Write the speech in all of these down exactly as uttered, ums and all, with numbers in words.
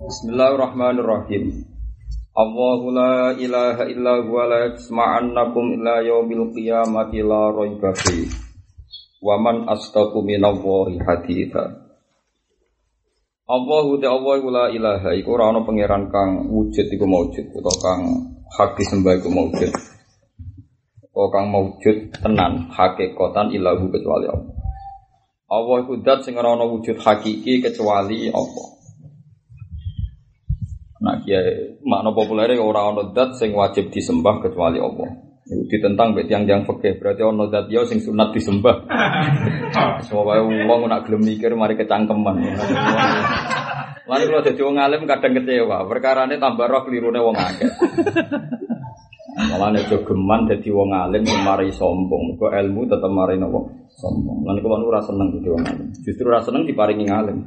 Bismillahirrahmanirrahim. Allahu la ilaha illa huwa la yasma'annakum illa yaumil qiyamati la raiba fi. Wa man astaqu minallahi haditha. Allahu ta Allahu la ilaha iku ora ana pangeran kang wujud iku maujud utawa kang hak disembah iku maujud. Utawa kang maujud tenan hakikatan ilahu kecuali Allah. Allah iku zat sing ora ana wujud hakiki kecuali Allah. Nah, kiai makna populer ora ana zat sing wajib disembah kecuali Allah. Iku ditentang mek tiyang-tiyang fikih, berarti ana zat ya sing sunat disembah. Semua wae wong nak gelem mikir mari kecangkeman. Lan kula dadi wong alim kadang kecewa, perkarane tambah roh klirune wong akeh. Malane jogeman dadi wong alim mari sombong, mergo ilmu tetep mari napa sombong. Lan kula ora seneng dadi wong alim. Justru ora seneng diparingi alim.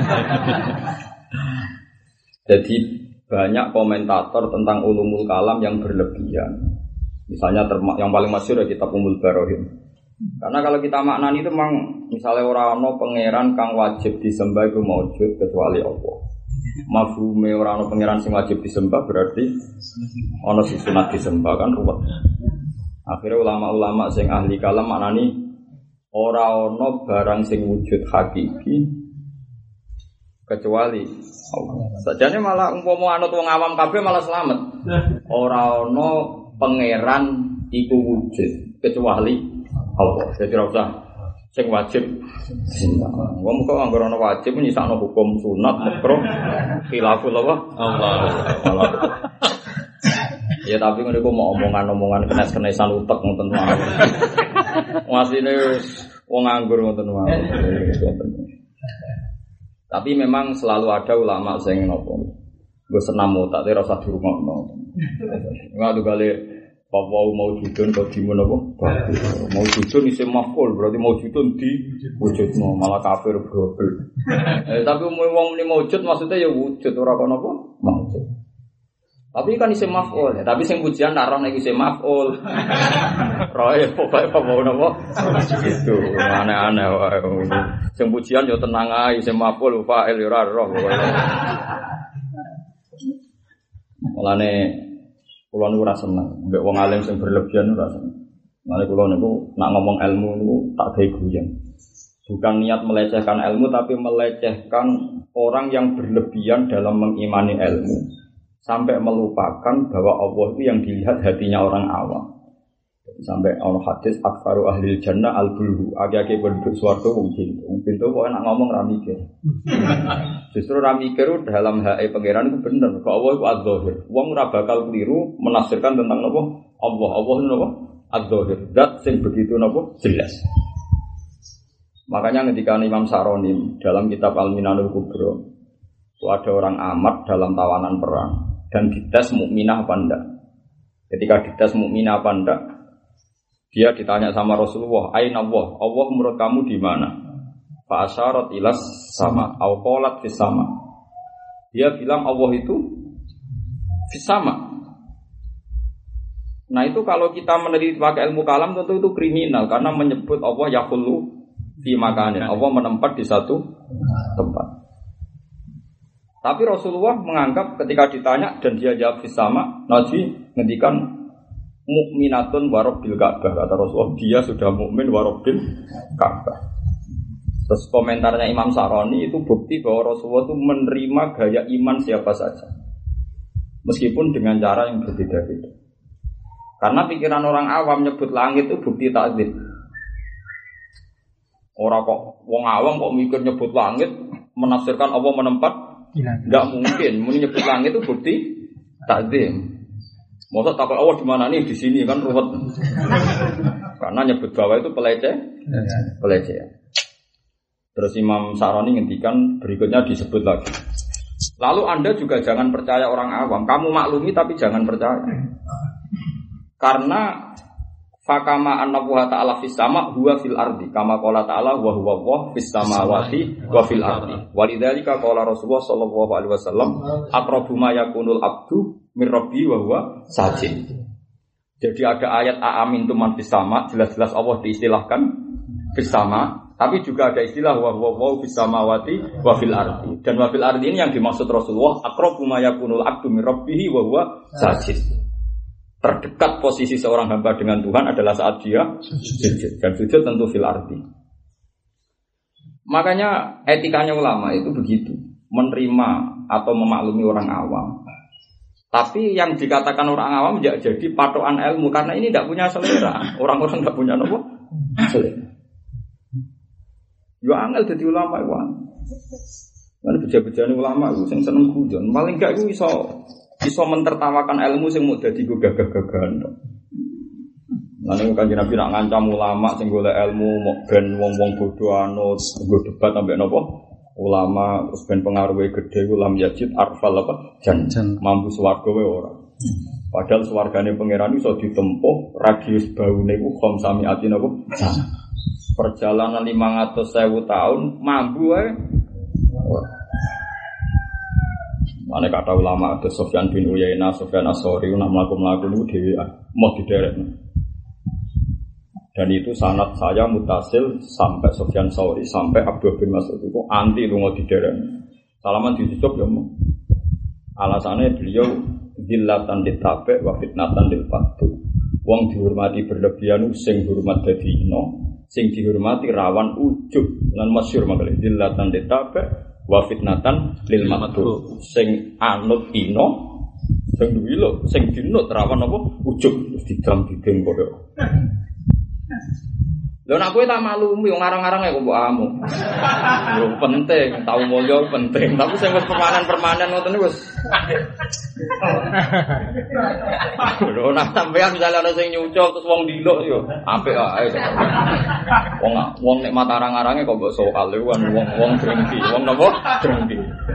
Jadi banyak komentator tentang ulumul kalam yang berlebihan. Misalnya terma- yang paling masyhur ya kitab Ummul Barohim. Karena kalau kita maknani itu memang misalnya orang ono pangeran kang wajib disembah itu maujud kecuali Allah. Mafhume orang ono pangeran sing wajib disembah berarti ono sing sunat disembah kan ruwet. Akhirnya ulama-ulama sing ahli kalam maknani ora ono barang sing wujud hakiki kecuali Allah. Sajane malah umpama anut wong awam kabeh malah selamat. Ora ana pangeran iku wujud kecuali Allah. Jadi ora usah sing wajib disembah. Wong kok anggere ana wajib nyisakno hukum sunat makruh khilaful apa? Allah. Ya tapi ngene kok mau omongan-omongan kenes-kenesan utek ngoten wae. Wasine wong nganggur ngoten wae. Tapi memang selalu ada ulama sing nopo. Gue senam otak tapi rasa dirungokno. Enggak tuh kali bahwa maujudun kok dimun apa? Maujudun isim maf'ul berarti maujudun di wujudno malah kafir global. Eh tapi wong muni maujud maksudnya ya wujud ora kono apa? Maujud. Tapi kan isim maf'ul ya, tapi sing pujian naron iki isim maf'ul. Roe pokoke apa napa? Itu aneh-aneh wae. Sing pujian yo tenang ae isim maf'ul fa'il yo ora roh pokoke. Mulane kula niku ora seneng mbek wong alim sing berlebihan ora seneng. Mulane kula niku nak ngomong ilmu niku tak gawe guyon. Bukan niat melecehkan ilmu tapi melecehkan orang yang berlebihan dalam mengimani ilmu. Sampai melupakan bahwa Allah itu yang dilihat hatinya orang awam. Sampai ono hadis akfaru ahli jannah al-bulhu. Agi-agi penduduk swarga wong pintu. Wong pintu kok enak ngomong ra mikir. Justru ra mikir dalam hae pangeran itu bener. Kok Allah itu az-zahir. Wong ora bakal keliru menafsirkan tentang apa? Allah. Allah itu apa? Az-zahir. Zat sing begitu napa? Jelas. Makanya ketika Imam Saroni dalam kitab Al-Minanul Kubra itu ada orang amat dalam tawanan perang dan dites mukminah apa enggak. Ketika dites mukminah apa enggak, dia ditanya sama Rasulullah, "Aina Allah? Allah menurut kamu di mana?" Fa asyarat ilas sama, au qalat fis sama. Dia bilang Allah itu fis sama. Nah, itu kalau kita meneliti pakai ilmu kalam tentu itu kriminal karena menyebut Allah yaqulu fi makanin. Allah menempat di satu tempat. Tapi Rasulullah menganggap ketika ditanya dan dia jawab sama, Nabi ngendikan mukminatun warabbil Ka'bah. Kata Rasulullah, dia sudah mukmin warabbil Ka'bah. Terus komentarnya Imam Saroni itu bukti bahwa Rasulullah itu menerima gaya iman siapa saja. Meskipun dengan cara yang berbeda-beda. Karena pikiran orang awam nyebut langit itu bukti takdzib. Orang kok wong awam kok mikir nyebut langit menafsirkan Allah menempat. Tidak mungkin, muni nyebut langit itu bukti takzim. Masa takut Allah di mana nih di sini kan ruwet. Karena nyebut bawah itu peleceh, peleceh. Terus Imam Saroni ngendikan berikutnya disebut lagi. Lalu Anda juga jangan percaya orang awam. Kamu maklumi tapi jangan percaya. Karena fakama annahu ta'ala fis sama huwa fil ardi kama qala ta'ala wa huwa wa fis samawati wa fil ardi walidzalika qala Rasulullah sallallahu alaihi wasallam aqrabu ma yakunul abdu mir rabbi wa huwa sajid. Jadi ada ayat aamintum man fis sama, jelas-jelas Allah diistilahkan fis sama, Tapi juga ada istilah wa wa wa fis samawati wa fil ardi. Dan wa fil ardi ini yang dimaksud Rasulullah aqrabu ma yakunul abdu min rabbih wa huwa sajid. Terdekat posisi seorang hamba dengan Tuhan adalah saat dia sujud. Dan sujud tentu fil ardi. Makanya etikanya ulama itu begitu, menerima atau memaklumi orang awam. Tapi yang dikatakan orang awam tidak jadi patokan ilmu karena ini tidak punya selera. Orang-orang tidak punya apa? Selera. Yo angel dadi ulama iku. Lan beja-bejane ulama iku sing seneng guyon, paling gak iku iso iso mentertawakan ilmu sing mau dadi gagah-gagahan. Lan Kanjeng Nabi nak ngancam ulama sing golek ilmu mok ben wong-wong bodho anut, nggo debat ambek napa? Ulama terus ben pengaruhe gedhe ulam yajid arfal apa? Jan mampu swarga wae ora. Padahal swargane pangeran iso ditempuh radius baune iku khamsami atin apa? Perjalanan lima ratus ribu tahun mampu ya. Mana kata ulama ada Sofyan bin Uyainah, Sofyan As-Sauri nak melaku-melaku itu dewi mau diderek. Dan itu sanad saya mutasil sampai Sofyan Sauri sampai Abdul bin Mas'ud itu anti lu mau diderek. Salaman ditutup ya mau. Alasannya beliau zillatan ditabe wa fitnatan lil fatu. Wong dihormati berlebihan sing hormat dadi ino. Sing dihormati rawan ujub lan masyhur makale zillatan ditabe wa fitnatan lil maqtu sing anut ino sing duwi lho sing dinut rawan apa ujub didam dideng padha lho nek kowe tak maklumi wong arang-arang kok mbok amu lho penting tau mulya penting tapi sing wis permanen-permanen ngoten wis lho nek sampeyan misale ana sing nyucul terus wong diluk yo apik ae wong wong nek mata arang-arange kok mbok soal kan wong-wong drengki wong napa drengki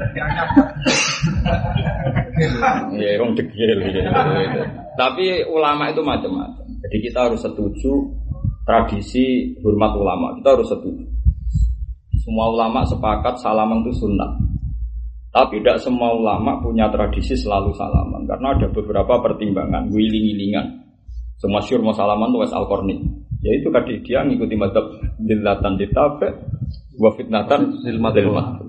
ya wong degil tapi ulama itu macam-macam jadi kita harus setuju tradisi hormat ulama, kita harus setuju. Semua ulama sepakat salaman itu sunnah. Tapi tidak semua ulama punya tradisi selalu salaman. Karena ada beberapa pertimbangan, wiling-wilingan. Semua syur mau salaman itu Wes Al-Qarni. Yaitu tadi dia ngikuti madhab dillatan ditabe wa fitnatan lilmat.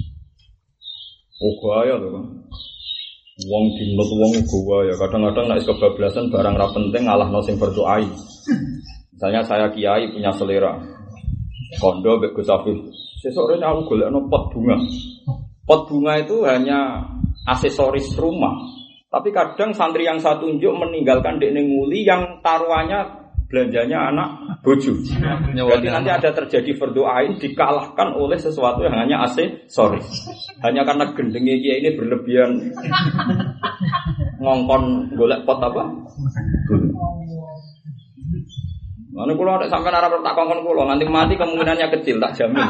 Oh gaya tuh kan. Wong dinut wong gaya. Kadang-kadang nek kebablasan barang ra penting ngalahno sing berdoai. Misalnya saya kiai punya selera kondo mbek Gus Afif. Sesuk rene aku golekno pot bunga. Pot bunga itu hanya aksesoris rumah. Tapi kadang santri yang saya tunjuk meninggalkan dekne nguli yang taruhannya belanjanya anak bojo. Jadi nanti ada terjadi berdoain dikalahkan oleh sesuatu yang hanya aksesoris. Hanya karena gendenge kiai ini berlebihan ngongkon golek pot apa? Mana kalau ada sampai arah tak kongkon kulo nanti mati kemungkinannya kecil tak jamin,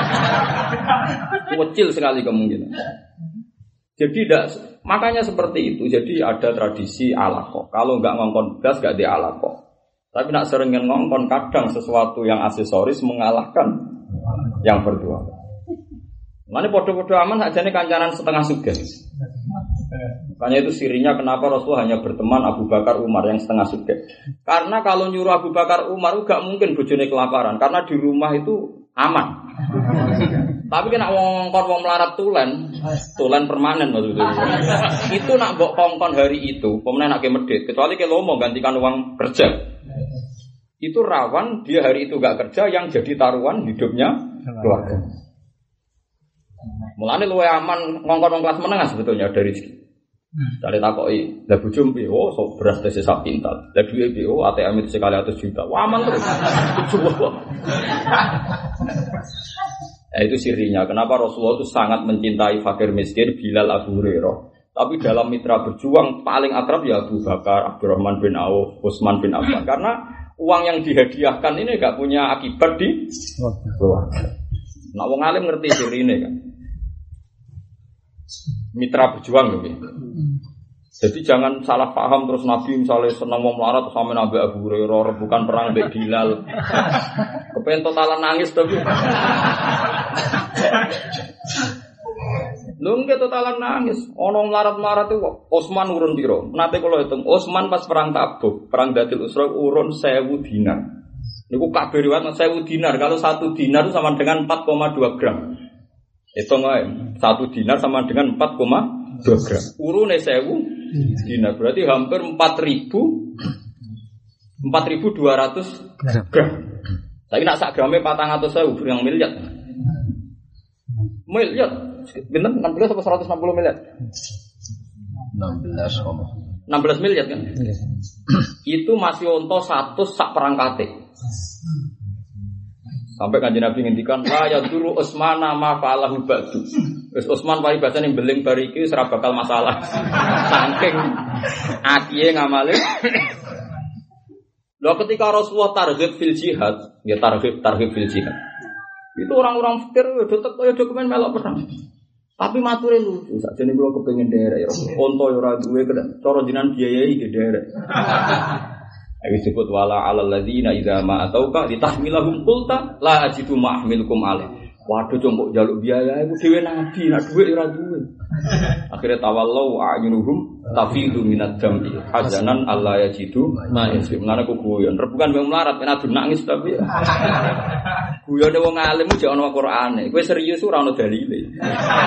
kecil sekali kemungkinan. Jadi tidak makanya seperti itu. Jadi ada tradisi alaqah. Kalau nggak ngongkon gas nggak di alaqah. Tapi nak seringin ngongkon kadang sesuatu yang aksesoris mengalahkan yang berdua. Mana podo-podo aman aja nih kancanan setengah sugen. Makanya itu sirinya kenapa Rasul hanya berteman Abu Bakar Umar yang setengah suge. Karena kalau nyuruh Abu Bakar Umar gak mungkin bojone kelaparan karena di rumah itu aman. Tapi kena wong kongkon wong melarat tulen, tulen permanen maksudnya. Itu nak mbok kongkon hari itu, pemenang nak ke medit, kecuali ke lomo gantikan uang kerja. Itu rawan dia hari itu gak kerja yang jadi taruhan hidupnya keluarga. Mulane luwe aman ngongkon wong kelas menengah sebetulnya dari rezeki. Dari takoki, lah bojo piye? Oh, sok beras tese sak pintal. Lah duwe piye? Oh, A T M itu sekali seratus juta. Wah, aman terus. Nah, itu sirinya. Kenapa Rasulullah itu sangat mencintai fakir miskin Bilal Abu Hurairah. Tapi dalam mitra berjuang paling akrab ya Abu Bakar, Abdurrahman bin Auf, Utsman bin Affan. Karena uang yang dihadiahkan ini enggak punya akibat di keluarga. Nah, wong alim ngerti sirine kan. Mitra berjuang gitu. Jadi jangan salah paham terus Nabi misalnya senang mau melarat sama Nabi Abu Hurairah bukan perang Mbak Bilal. Kepengen totalan nangis tapi. Lho nggih totalan nangis. Ono melarat-melarat itu Utsman urun piro? Nate kula hitung Utsman pas perang Tabuk, perang Datil Usra urun seribu dinar. Niku kabeh riwayat seribu dinar. Kalau satu dinar itu sama dengan empat koma dua gram. Hitung ae, satu dinar sama dengan empat koma dua gram. Urune seribu dinar berarti hampir empat ribu empat ribu dua ratus gram. Saiki nak sak grame patang atus ribu yang miliar. Miliar. Bener enam belas atau seratus enam puluh miliar? enam belas enam belas miliar kan? Itu masih onto satu sak perangkate. Sampai Kanjeng Nabi ngendikan la yaduru Utsmana ma fa'alahu ba'du. Wis Utsman pari basan ning beling bar iki ora bakal masalah. Saking akiye ngamale. Lho ketika Rasulullah targhib fil jihad, ya targhib targhib fil jihad. Itu orang-orang fikir udah kaya dokumen melok perang. Tapi mature lucu, sakjane kula kepengin derek ya. Onto ya ora duwe cara jenengan biayai ge derek. Ayo disebut wala alal ladzina idza ma atauka litahmilahum qulta la ajidu ma ahmilukum alaih. Waduh combok njaluk biaya iku dhewe nabi, nek dhuwit ora duwe. Akhire tawallau a'yunuhum tafidu minad dam'i hazanan alla yajidu ma yasim. Lan aku guyon, rebukan wong melarat nek adu nangis tapi. Guyone wong alim jek ana Qur'ane. Kowe serius ora ana dalile.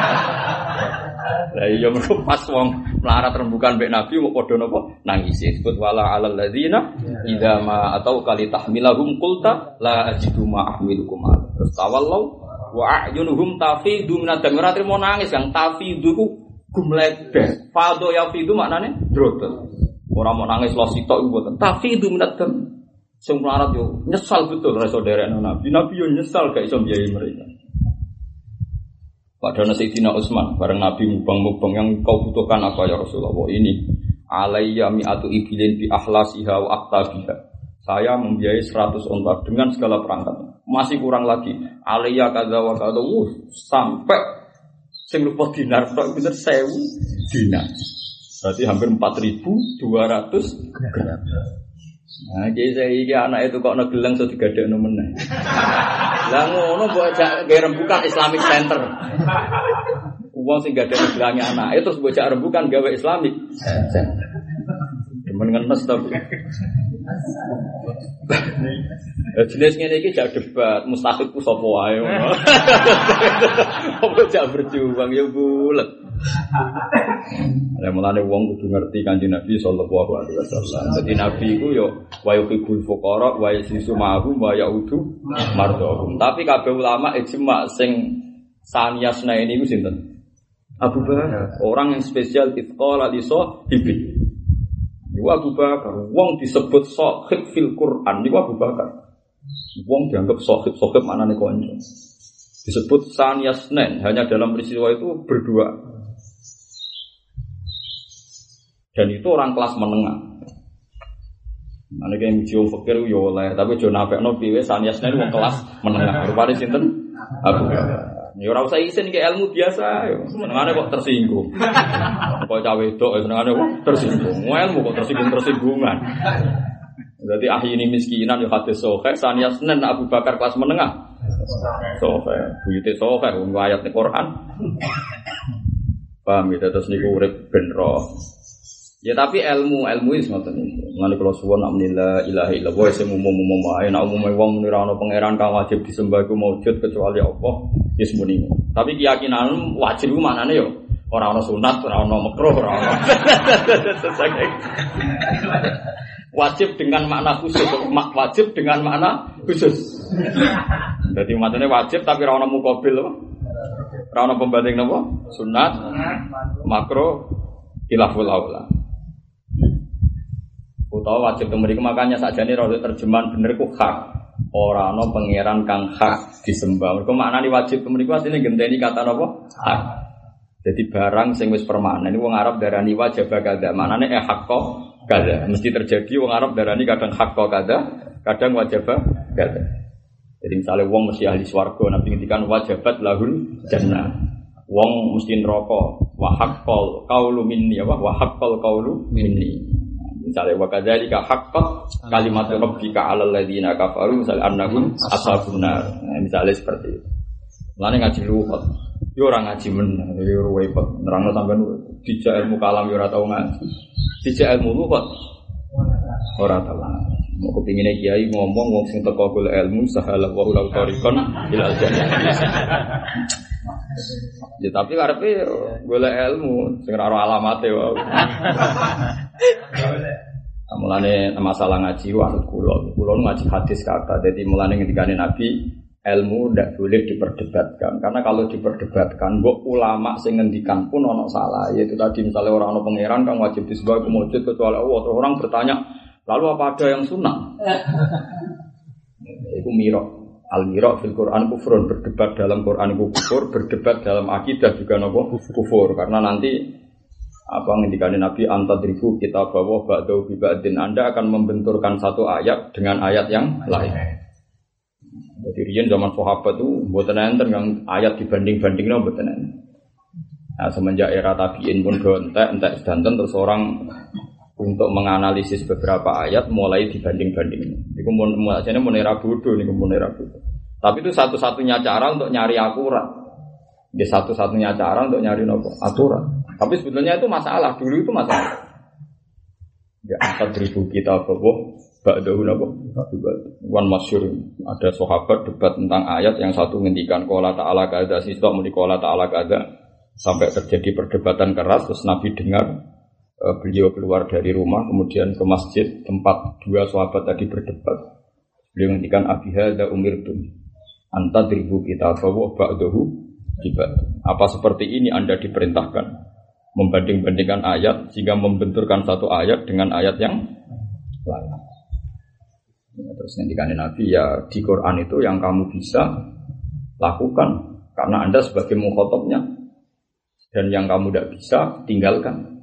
Lah iya mergo pas wong melarat rembukan mbek Nabi kok padha napa nangis. Disebut wala alal ladzina idza ma atau kali tahmilahum qulta la ajidu ma ahmilukum alaih. Terus tawallau wa a'yunuhum tafidu minad dam. Ora trimo nangis yang tafidu ku gumlebe. Fado ya fidu maknane drotos. Ora mau nangis lo sitok iku mboten. Tafidu minad dam. Sing melarat yo nyesal betul ra saudarane Nabi. Nabi yo nyesal gak iso biayai mereka. Padahal Sayyidina Utsman bareng Nabi mubang-mubang yang kau butuhkan apa ya Rasulullah ini alayya mi'atu ibilin bi ahlasiha wa aqtabiha. Saya membiayai seratus onta dengan segala perangkatnya. Masih kurang lagi. Alayya kadza wa kadza sampai sing lupa dinar tok bener seribu dinar. Berarti hampir empat ribu dua ratus gram. Nah, jadi saya iki anak itu kok negeleng so digadekno meneh. Lah ngono mbok ajak gawe rembukan Islamic Center. Wong sing gadekno gelange anake terus mbok ajak rembukan gawe Islamic Center. Demen ngenes tapi. Jenis ngene iki jak debat, mustahil ku sapa wae ngono. Apa jak berjuang ya bulet. Lah mulane wong kudu ngerti Kanjeng Nabi sallallahu alaihi wasallam. Dadi Nabi iku yo wa yuhibbul fuqara wa yasisu ma'hum wa yaudu mardhum. Tapi kabeh ulama ijma sing saniyasna ini iku sinten? Abu Bakar, orang yang spesial itqala li sahibi. Niku Abu Bakar, wong disebut sahib fil Quran niku Abu Bakar. Wong dianggap sahib-sahib maknane kanca. Disebut saniyasnen hanya dalam peristiwa itu berdua. Dan itu orang kelas menengah. Ana kene mujio fakir yo oleh, tapi jo nafekno piye saniyasnen wong kelas menengah. Rupane sinten? Abu Bakar. Ya ora usah isin ke ilmu biasa yo. Senengane kok tersinggung. Kok cawe wedok senengane kok tersinggung. Ilmu kok tersinggung-tersinggungan. Berarti ahli ini miskinan yo hadis sahih saniyasnen Abu Bakar kelas menengah. Sahih, buyute sahih wong ayat Al-Qur'an. Paham ya terus niku urip ben roh. Ya tapi ilmu ilmu wis ngoten niku. Ngene kula suwun alhamdulillah ilaha illallah sing umum-umum wae nek umume wong ora ana pangeran kang wajib disembah iku maujud kecuali Allah ya semuni. Tapi keyakinan wajib iku maknane yo ora ana sunat, ora ana makruh, ora ana. Wajib dengan makna khusus, wajib dengan makna khusus. Jadi maknane wajib tapi ora ana muqabil apa? Ora ana pembanding napa? Sunat, makruh, khilaful aula. Utawa wajib kemriku makanya sakjane ora terjemahan bener ku hak. Ora ana pangeran kang hak disembah. Mergo maknane wajib kemriku asline genteni kata napa? Hak. Jadi barang sing wis permanen wong Arab darani wajib kada. Maknane eh hakko kada. Mesti terjadi wong Arab darani kadang hakko kada, kadang wajib kada. Jadi misalnya wong mesti ahli swarga, Nabi ngendikan wajibat lahul jannah. Wong mesti neraka. Wa haqqal qaulu minni wa haqqal qaulu minni. Misalnya wa kadzalika haqqat kalimatu rabbika 'alal ladzina kafaru misal annahum ashabun nar. Nah, misalnya seperti itu. Lane ngaji luwat. Yo ora ngaji men, yo repot. Nerangno sampean dijak ilmu kalam yo ora tau ngaji. Dijak ilmu luwat. Ora tau. Mau kepinginnya kiai ngomong wong sing teko golek ilmu sahala wa ula tarikon ilal jannah. Ya tapi karepe golek ilmu sing ora alamate wae. Mulane masalah ngaji wanut kula. Kula ngaji hadis kata. Dadi mulane ngendikane Nabi ilmu ndak boleh diperdebatkan. Karena kalau diperdebatkan mbok ulama sing ngendikan pun ana salah. Yaitu tadi misalnya orang ana pangeran kang wajib disembah kemujud kecuali Allah. Terus orang bertanya, lalu apa ada yang sunnah? Itu mirok. Al-mirok fil Quran kufrun, berdebat dalam Quran itu kufur, berdebat dalam akidah juga nopo kufur. Karena nanti apa ngendikane Nabi antadribu kita bawa ba'dau bi ba'din, Anda akan membenturkan satu ayat dengan ayat yang lain. Jadi riyen zaman sahabat itu mboten enten kang ayat dibanding-bandingno mboten enten. Nah, semenjak era tabi'in pun gontek entek sedanten terus orang untuk menganalisis beberapa ayat mulai dibanding-banding. Niku mun ajane mun era bodho niku mun era bodho. Tapi itu satu-satunya cara untuk nyari akurat. Dia satu-satunya cara untuk nyari nopo aturan. Tapi sebetulnya itu masalah, dulu itu masalah. Ya empat ribu kita bawa ba'dahu nopo. Wan masyhur ada sahabat debat tentang ayat yang satu ngendikan qala ta'ala kadza sisa muni qala ta'ala kadza sampai terjadi perdebatan keras terus Nabi dengar. Beliau keluar dari rumah kemudian ke masjid tempat dua sahabat tadi berdebat. Beliau ngendikan abi hadza umirtum anta dribu kita bawa ba'dahu tiba. Apa seperti ini Anda diperintahkan membanding-bandingkan ayat sehingga membenturkan satu ayat dengan ayat yang lain. Terus ngendikan Nabi ya di Quran itu yang kamu bisa lakukan karena Anda sebagai mukhatabnya, dan yang kamu tidak bisa tinggalkan.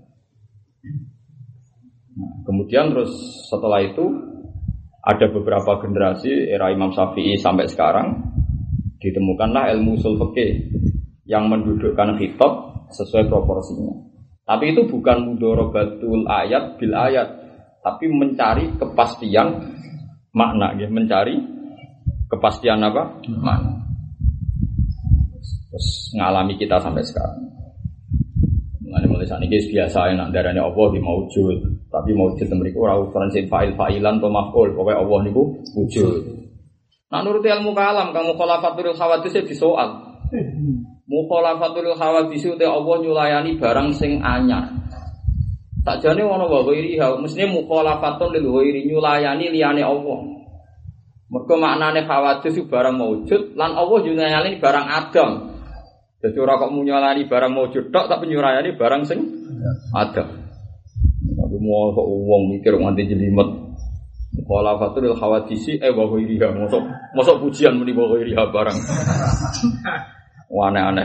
Nah, kemudian terus setelah itu ada beberapa generasi era Imam Syafi'i sampai sekarang ditemukanlah ilmu ushul fikih yang mendudukkan khitab sesuai proporsinya. Tapi itu bukan mudharabatul ayat bil ayat, tapi mencari kepastian makna, ya, mencari kepastian apa? Makna. Terus ngalami kita sampai sekarang. Mulai mulai saat ini biasa nak darahnya Allah di maujud, tapi maujud mriku ora ukuran sing fa'il fa'ilan atau maf'ul, pokoke Allah niku wujud. Nah nuruti ilmu kalam kamu khalafatul khawadis e disoal. Mukhalafatul khawadis te Allah nyulayani barang sing anyar. Sakjane ana wa ghairiha, mestine mukhalafatun lil ghairi nyulayani liyane Allah. Mergo maknane khawadis itu barang maujud lan Allah nyulayani barang adam. Jadi ora kok nyulayani barang maujud tok tapi nyulayani barang sing adam. Tapi mau kok wong mikir nganti jelimet. Mukhalafatul khawadisi eh wa ghairiha, mosok mosok pujian muni wa ghairiha barang. Aneh-aneh.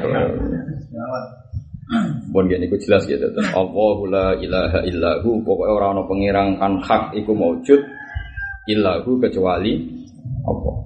Bon yen iku jelas gitu. Allahu la ilaha illahu, pokoke ora ana pangeran kan hak iku maujud illahu kecuali Allah.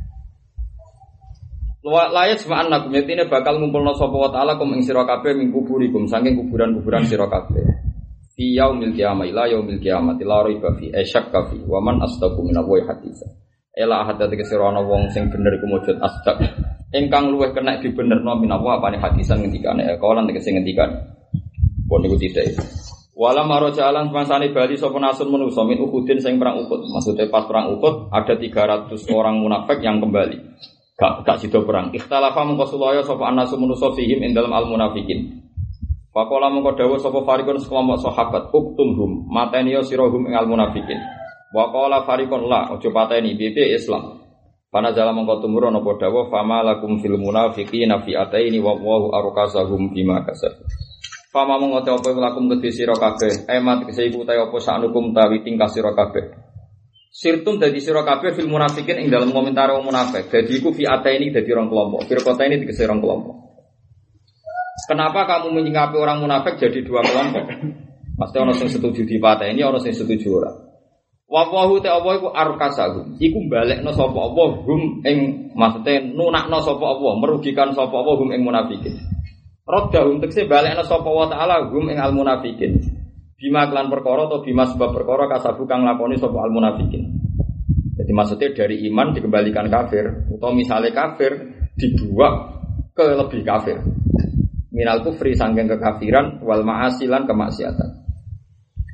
Layat sema'an nakum yatine bakal ngumpulna sapa wa ta'ala kum ing sira kabeh min kuburikum saking kuburan-kuburan sira kabeh. Fi yaumil qiyamah ila yaumil qiyamah la raiba fi asyak kafi wa man asdaqu minallahi hadisa. Ela hadate sira ana wong sing bener iku maujud asdaq. Engkang luweh kena dibenerno minawa apane hadisan ngendikane kawalan tegese ngendikan pun niku tidak. Wala marojalan semangsane bali sapa nasun manusa min Uhudin sing perang Uhud. Maksudnya pas perang Uhud ada tiga ratus orang munafik yang kembali. Gak gak sida perang. Ikhtalafa mungko sulaya sapa anasun manusa fihim ing dalem al munafikin. Faqala mungko dawuh sapa fariqun sekelompok sahabat uktumhum mateni sirahum ing al munafikin. Wa qala fariqun la ojo pateni piye Islam. Pana jala mongko tumurun apa dawuh fama lakum fil munafiqina fi ataini wa wallahu arqasahum bima kasab. Fama mongko te apa lakum kedhe sira kabeh emat kese iku ta apa sanukum tawi tingkah sira kabeh. Sirtum dadi sira kabeh fil munafiqin ing dalam komentar wong munafik. Dadi iku fi ataini dadi rong kelompok. Firqata ini dikese rong kelompok. Kenapa kamu menyingkapi orang munafik jadi dua kelompok? Pasti ana sing setuju di pateni, ana sing setuju ora. Wa wahu te apa iku arkasahum. Iku balekno sapa apa hum ing maksude nunakno sapa apa, merugikan sapa apa hum ing munafikin. Raddahum tekse balekno sapa wa taala hum ing al munafikin. Bima kelan perkara atau bima sebab perkara kasabu kang lakoni sapa al munafikin. Jadi maksudnya dari iman dikembalikan kafir atau misalnya kafir dibuat ke lebih kafir. Minal kufri sangking kekafiran wal ma'asilan kemaksiatan.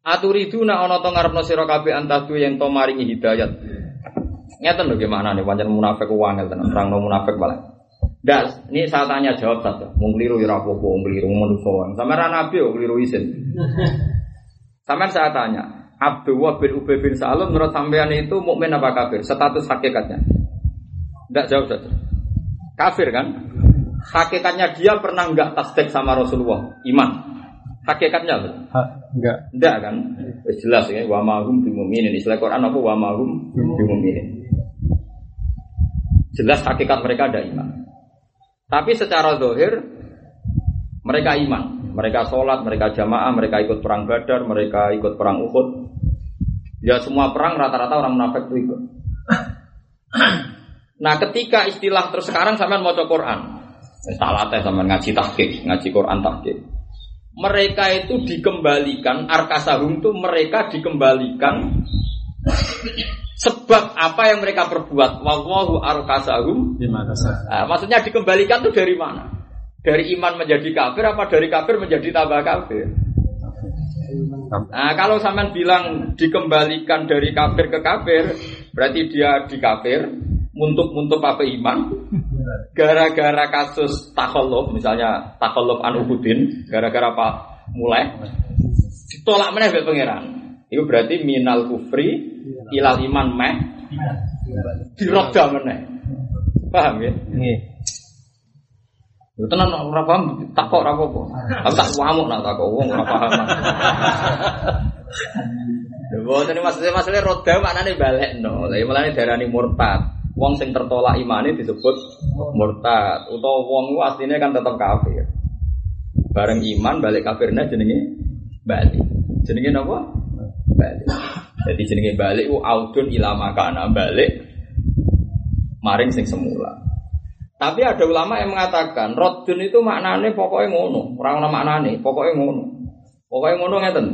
Aturiduna ana to ngarepno sira kabeh antadu yang to maringi hidayat. Ngeten lho gimana nih pancen munafik ku wangel tenan, terangno munafik balik. Ndak, ini saya tanya jawab saja. Wong kliru ya ora apa-apa, wong kliru manusa wae. Sampeyan nabi yo kliru isin. Sampeyan saya tanya, Abdullah bin Ubay bin Salul menurut sampean itu mukmin apa kafir? Status hakikatnya. Ndak jawab saja. Kafir kan? Hakikatnya dia pernah enggak tasdik sama Rasulullah? Iman. Hakikatnya apa? Ha, enggak. Enggak kan? Jelas ya, wa ma hum bimumin. Istilah Quran apa wa ma hum bimumin. Jelas hakikat mereka ada iman. Tapi secara zahir mereka iman, mereka sholat, mereka jamaah, mereka ikut perang Badar, mereka ikut perang Uhud. Ya semua perang rata-rata orang munafik itu ikut. Nah ketika istilah terus sekarang sampean maca Quran, tak latih sampean ngaji tahqiq, ngaji Quran tahqiq. Mereka itu dikembalikan arkasahum itu mereka dikembalikan sebab apa yang mereka perbuat. Wallahu arkasahum bima kasab. Nah, maksudnya dikembalikan itu dari mana? Dari iman menjadi kafir apa dari kafir menjadi tambah kafir? Nah, kalau sampean bilang dikembalikan dari kafir ke kafir, berarti dia di kafir, muntuk-muntuk apa iman? Gara-gara kasus takhalluf, misalnya takhalluf an Uhudin, gara-gara apa mulai ditolak meneh mbek pangeran. Itu berarti minal kufri ilal iman meh diroda meneh. Paham ya? Nggih. Yo tenan ora paham takok ora apa-apa. Aku tak wamuk nak takok wong ora paham. Lha boten maksud-maksudnya roda maknane balekno. Lah mulane darani murtad. Wong sing tertolak imane disebut murtad. Utawa wong ku asline kan tetep kafir. Bareng iman balik kafirnya jenenge balik. Jenenge napa? Balik. Jadi jenenge balik ku audun ila makana balik maring sing semula. Tapi ada ulama yang mengatakan raddun itu maknane pokoknya ngono, ora ono maknane, pokoknya ngono. Pokoknya ngono ngeten.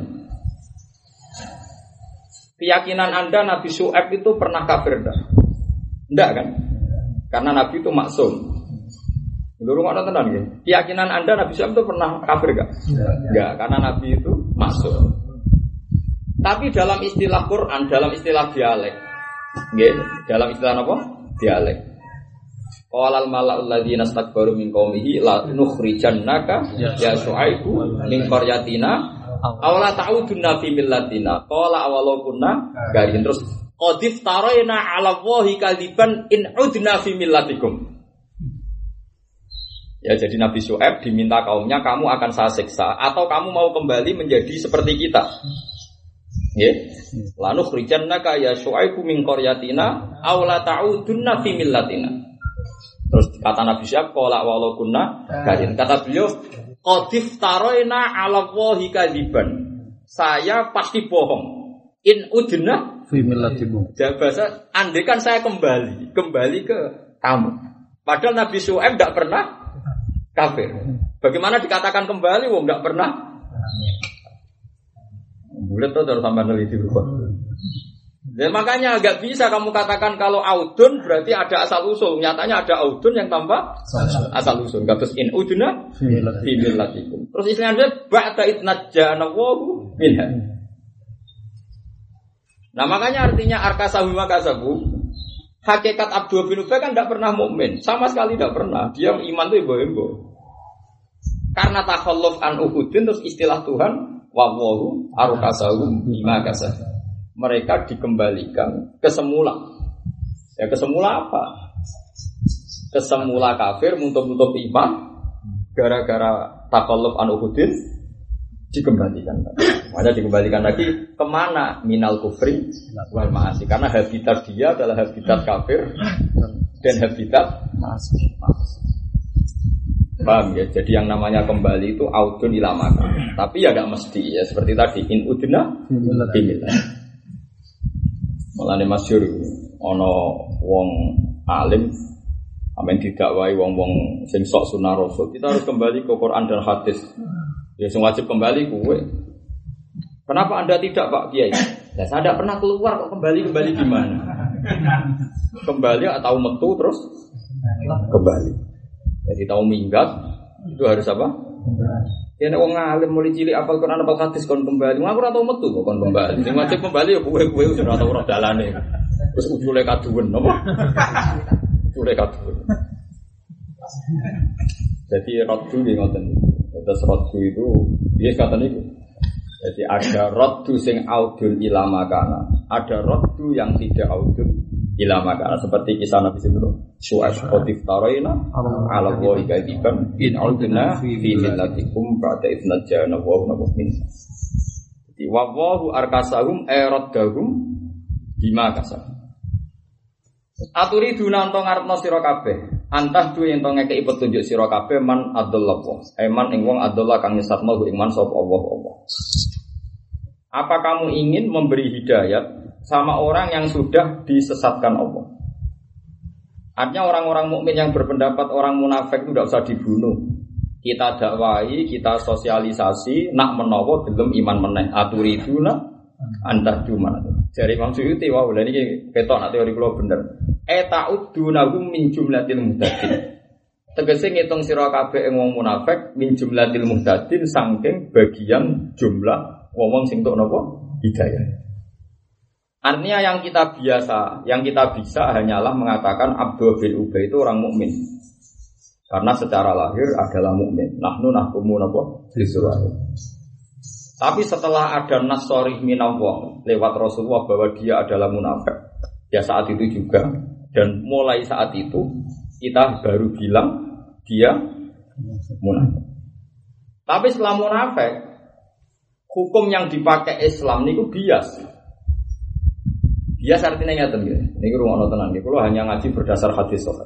Keyakinan Anda Nabi Syuaib itu pernah kafir enggak? Enggak kan? Karena Nabi itu maksum. Lho ngono tenan nggih. Keyakinan Anda Nabi Syuaib itu pernah kafir enggak? Enggak, karena Nabi itu maksum. Tapi dalam istilah Quran, dalam istilah dialek, nggih, dalam istilah apa? Dialek. Qalal mala'ul ladzina istakbaru min qaumihi la nukhrijannaka ya Syuaibu min qaryatina aw la ta'udunna fi millatina. Qala awalau kunna garin. Terus qadif taraina 'ala Allahi kadiban in udna fi millatikum. Ya jadi Nabi Syuaib diminta kaumnya kamu akan saya siksa atau kamu mau kembali menjadi seperti kita. Nggih. La nukhrijannaka ya Syuaibu min qaryatina aw la ta'udunna fi millatina. Terus kata Nabi Syuaib qala walau kunna garin. Kata beliau qadif taraina 'ala Allahi kadiban. Saya pasti bohong. In udna fi millatikum. Bahasa andekan saya kembali, kembali ke kamu. Padahal Nabi Syuaib enggak pernah kafir. Bagaimana dikatakan kembali wong enggak pernah? Bulat tuh harus sampai neliti berubah. Dan makanya agak bisa kamu katakan kalau audun berarti ada asal usul. Nyatanya ada audun yang tambah asal usul. Terus in uduna fi millatikum. Terus istilahnya ba'da itnajjana wahu minha. Nah makanya artinya arkasahu makasabu. Hakikat Abdullah bin Ubay kan tidak pernah mukmin, sama sekali tidak pernah. Dia iman itu ibu-ibu. Karena takhalluf an Uhudin terus istilah Tuhan wallahu arkasahu bima kasab. Mereka dikembalikan ke semula. Ya ke semula apa? Ke semula kafir muntuk-muntuk iman gara-gara takhalluf an Uhudin dikembalikan. Makanya dikembalikan lagi kemana? Minal kufri wal ma'asi. Karena habitat dia adalah habitat kafir dan habitat ma'asi. Paham ya? Jadi yang namanya kembali itu audun ila maka. Tapi ya tidak mesti ya seperti tadi in udna bimillah. Mulane masyhur ana wong alim amen didakwai wong-wong sing sok sunah rasul. Kita harus kembali ke Quran dan hadis. Ya sing wajib kembali kowe. Kenapa Anda tidak Pak Kiai? Ya saya tidak pernah keluar kok kembali-kembali gimana? Kembali atau metu terus kembali. Jadi tahu minggat itu harus apa? Kene wong alim mulai cilik apal Quran apal hadis kon kembali. Aku ora tau metu kok kon kembali. Sing wajib kembali ya kowe-kowe wis ora tau ora dalane. Wis ujule kaduwen apa? Ujule kaduwen. Jadi raddu nggih ngoten. Terus raddu itu dia kata niku. Jadi ada raddu sing audul ila makana, ada raddu yang tidak audul ila makana seperti kisah Nabi sallallahu Syu'aib qatif taraina ala wa ikadiban in audna fi millatikum ba'da idnajana wa nabumin. Jadi wa wahu arkasahum eraddahum bima kasab. Aturi dunanto ngarepno sira kabeh antah duwe ento ngekeki petunjuk sira kabeh man adallah eman ing wong adallah kang nyesatno ing man sapa Allah Allah. Apa kamu ingin memberi hidayat sama orang yang sudah disesatkan Allah? Artinya orang-orang mukmin yang berpendapat orang munafik itu tidak usah dibunuh. Kita dakwai, kita sosialisasi, nak menawa belum iman meneh. Aturiduna antar cuma. Dari Imam Suyuti, wah, wow, ini ketok nak teori kula bener. Eta'udunahum min jumlatil muhtadin. Tegese ngitung sira kabeh ing wong munafik min jumlatil muhtadin saking bagian jumlah wong sing tok napa hidayah. Artinya yang kita biasa, yang kita bisa hanyalah mengatakan Abdul bin Ubay itu orang mukmin. Karena secara lahir adalah mukmin. Nahnu nahkumu napa bisurah. Tapi setelah ada nas sharih minallah lewat Rasulullah bahwa dia adalah munafik. Ya saat itu juga dan mulai saat itu kita baru bilang dia munafik. Tapi setelah munafik hukum yang dipakai Islam niku bias. Bias artinya ngeten nggih. Niki rumono tenan nggih. Kula hanya ngaji berdasar hadis sahih.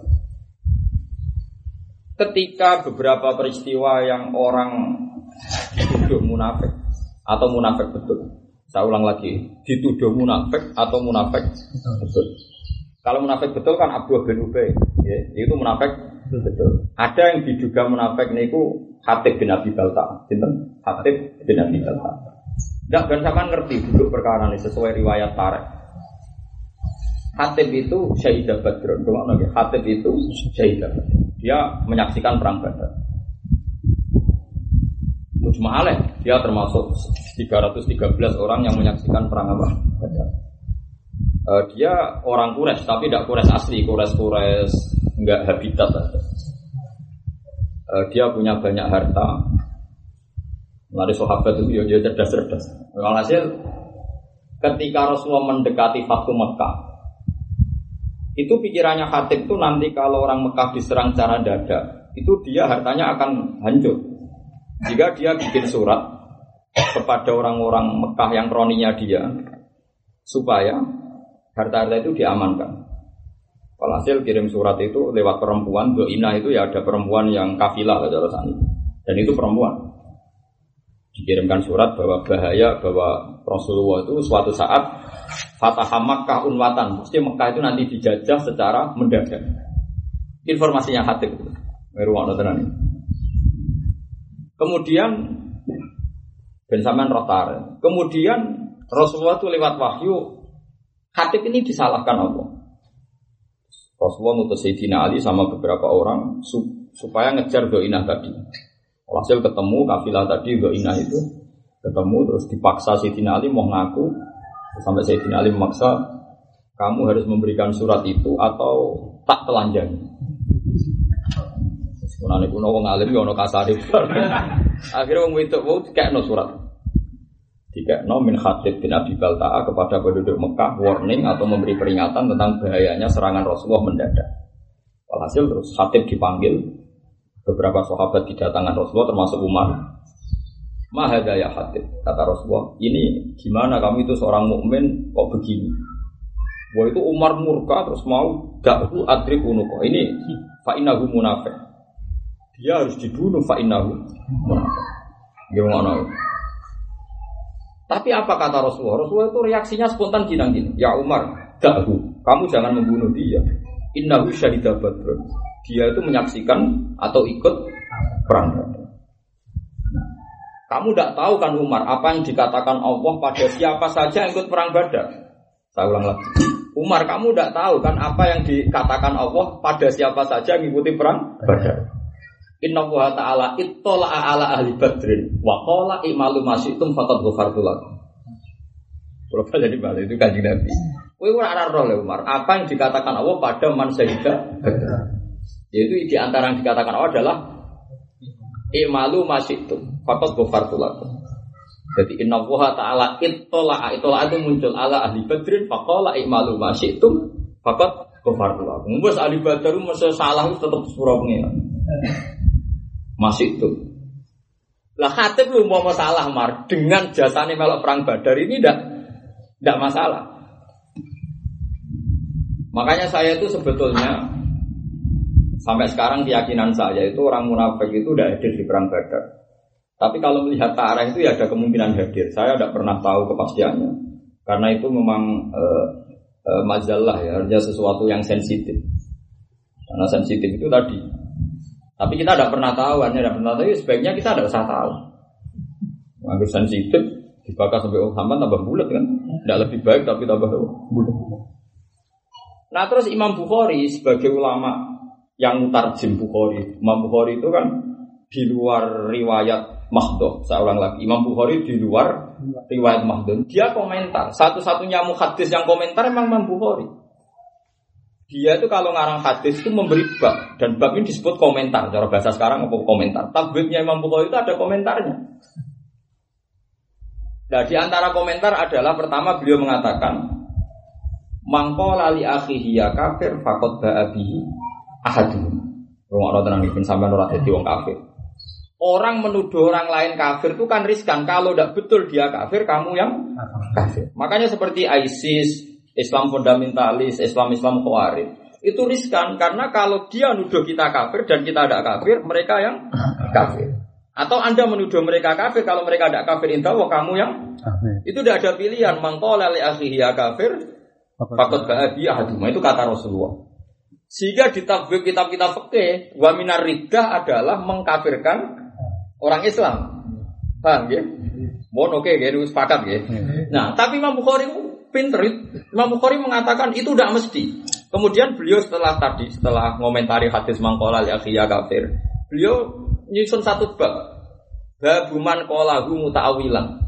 Ketika beberapa peristiwa yang orang dituduh munafik atau munafik betul. Saya ulang lagi, dituduh munafik atau munafik betul. Kalau munafik betul kan Abdul bin Ubay, ya, itu munafik betul. Ada yang diduga munafik niku Hatib bin Abi Balta, sinten? Hatib bin Abi Balta. Ndak ben sampean ngerti duduk perkara ini sesuai riwayat Tarikh. Hatib itu Syahidah Badr. Ngono nggih. Hatib itu Syahidah Badr. Dia menyaksikan perang Badar. Mujma'aleh, dia termasuk tiga ratus tiga belas orang yang menyaksikan perang apa? Badar. Uh, dia orang Quraisy tapi tidak Quraisy asli, Quraisy-Quraisy enggak habitat aja. Uh, dia punya banyak harta. Lari sahabat itu dia cerdas-cerdas. Alhasil ketika Rasulullah mendekati Fathu Mekah, itu pikirannya Khatib itu nanti kalau orang Mekah diserang cara dada, itu dia hartanya akan hancur. Jika dia bikin surat kepada orang-orang Mekah yang kroninya dia supaya harta-harta itu diamankan. Walhasil kirim surat itu lewat perempuan, Doina itu ya ada perempuan yang kafilah dan itu perempuan. Dikirimkan surat bahwa bahaya bahwa Rasulullah itu suatu saat Fatah Makkah unwatan, mesti Mekah itu nanti dijajah secara mendadak. Informasinya Khatib itu. Kemudian Ben Saman Rotar. Kemudian Rasulullah itu lewat wahyu Khatib ini disalahkan Allah. Rasulullah ngutus Sayyidina Ali sama beberapa orang supaya ngejar Doinah tadi. Hasil ketemu kafilah tadi Doinah itu ketemu terus dipaksa Sayyidina Ali mau ngaku sampai Sayyidina Ali memaksa kamu harus memberikan surat itu atau tak telanjang. Sebenarnya kuno wong alim yo ono kasare. Akhirnya wong wedok wau dikekno surat. Dikekno min Khatib bin Abi Balta'a kepada penduduk Mekah warning atau memberi peringatan tentang bahayanya serangan Rasulullah mendadak. Walhasil terus Khatib dipanggil, beberapa sahabat didatangkan Rasulullah termasuk Umar. Mahada ya Khatib, kata Rasulullah, ini gimana kamu itu seorang mukmin kok begini? Wah itu Umar murka terus mau dakhu adrib unuqa. Ini fa innahu munafiq. Dia harus dibunuh fa innahu munafiq. Gimana? Tapi apa kata Rasulullah? Rasulullah itu reaksinya spontan gini-gini. Ya Umar, dakhu, kamu jangan membunuh dia. Innahu syahidah Badr. Dia itu menyaksikan atau ikut perang Badar. Kamu tidak tahu kan Umar apa yang dikatakan Allah pada siapa saja yang ikut perang Badar. Saya ulang lagi. Umar, kamu tidak tahu kan apa yang dikatakan Allah pada siapa saja yang mengikuti perang Badar. Inna wa ta'ala ittala'a ala ahli badrin wa qala i'malu ma syi'tum faqad ghafartu lakum. Kalau jadi balik itu Kanjeng Nabi. Kowe ora ora roh le Umar, apa yang dikatakan Allah pada man syahida Badar. Yaitu di antara yang dikatakan Allah adalah i'malu ma syi'tum faqad ghafartu lakum. Jadi inna wa ta'ala ittala'a ittala'a itu muncul ala ahli badrin fa qala i'malu ma syi'tum faqad ghafartu lakum. Wes ahli Badar mesti salah tetep sepuro pengen. Masih itu. Lah Khatib lu mau masalah Mar dengan jasane melok perang Badar ini ndak ndak masalah. Makanya saya itu sebetulnya sampai sekarang keyakinan saya itu orang munafik itu udah hadir di perang Badar. Tapi kalau melihat tarikh itu ya ada kemungkinan hadir. Saya tidak pernah tahu kepastiannya. Karena itu memang eh, eh, majalah ya, artinya sesuatu yang sensitif. Karena sensitif itu tadi. Tapi kita tidak pernah tahu, hanya tidak pernah tahu. Sebaiknya kita tidak usah tahu. Mengambil sensitif, dibakar sampai Muhammad tambah bulat kan? Tidak lebih baik tapi tambah bulat. Nah terus Imam Bukhari sebagai ulama yang mutarjim Bukhari, Imam Bukhari itu kan di luar riwayat Mahdhuf. Saya ulang lagi, Imam Bukhari di luar riwayat Mahdhuf. Dia komentar. Satu-satunya muhaddis yang komentar memang Imam Bukhari. Dia itu kalau ngarang hadis itu memberi bab, dan bab ini disebut komentar. Cara bahasa sekarang apa komentar? Tabibnya Imam Bukhari itu ada komentarnya. Nah di antara komentar adalah pertama beliau mengatakan mangqala li akhihi ya kafir faqad ba'a bihi ahadun. Rungokno tenan iki sampean ora dadi wong kafir. Orang menuduh orang lain kafir itu kan riskan. Kalau tidak betul dia kafir, kamu yang kafir. Makanya seperti ISIS, Islam fundamentalis, Islam-Islam Khawarij. Itu riskan karena kalau dia nuduh kita kafir dan kita tidak kafir, mereka yang kafir. Atau Anda menuduh mereka kafir, kalau mereka tidak kafir, intawa kamu yang kafir. Itu tidak ada pilihan. Mangqala li akhihi ya kafir faqad ba'a bi ahaduma. Itu kata Rasulullah. Sehingga di tabwib kitab-kitab fikih, wa minar riddah adalah mengkafirkan orang Islam. Paham ya? Mohon oke, okay, sepakat ya. Nah, tapi Imam Bukhari pinter. Imam Bukhari mengatakan itu tidak mesti. Kemudian beliau setelah tadi, setelah ngomentari hadis mangqala li akhihi kafir, beliau nyusun satu bab. Babuman qalahu muta'awilan.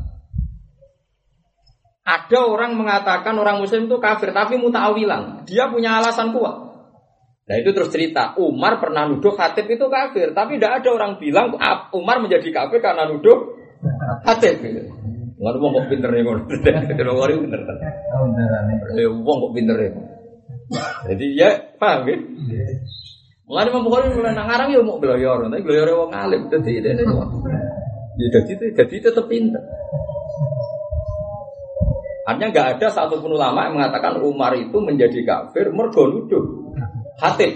Ada orang mengatakan orang muslim itu kafir tapi muta'awilan. Dia punya alasan kuat. Nah itu terus cerita, Umar pernah nuduh Khatib itu kafir, tapi tidak ada orang bilang Umar menjadi kafir karena nuduh Khatib. Nggak ada orang kok pinter nih, kalau orang pinter kan? Orang kok pinter ya? Jadi ya paham ya? Nggak ada orang mulai ngarang ya mau belajar, tapi belajar orang alim, jadi jadi jadi jadi tetap pinter. Artinya nggak ada satupun ulama yang mengatakan Umar itu menjadi kafir mergo nuduh Khatib.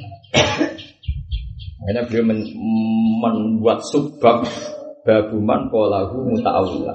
Akhirnya beliau men, membuat subbab babuman qalahu muta'awilan.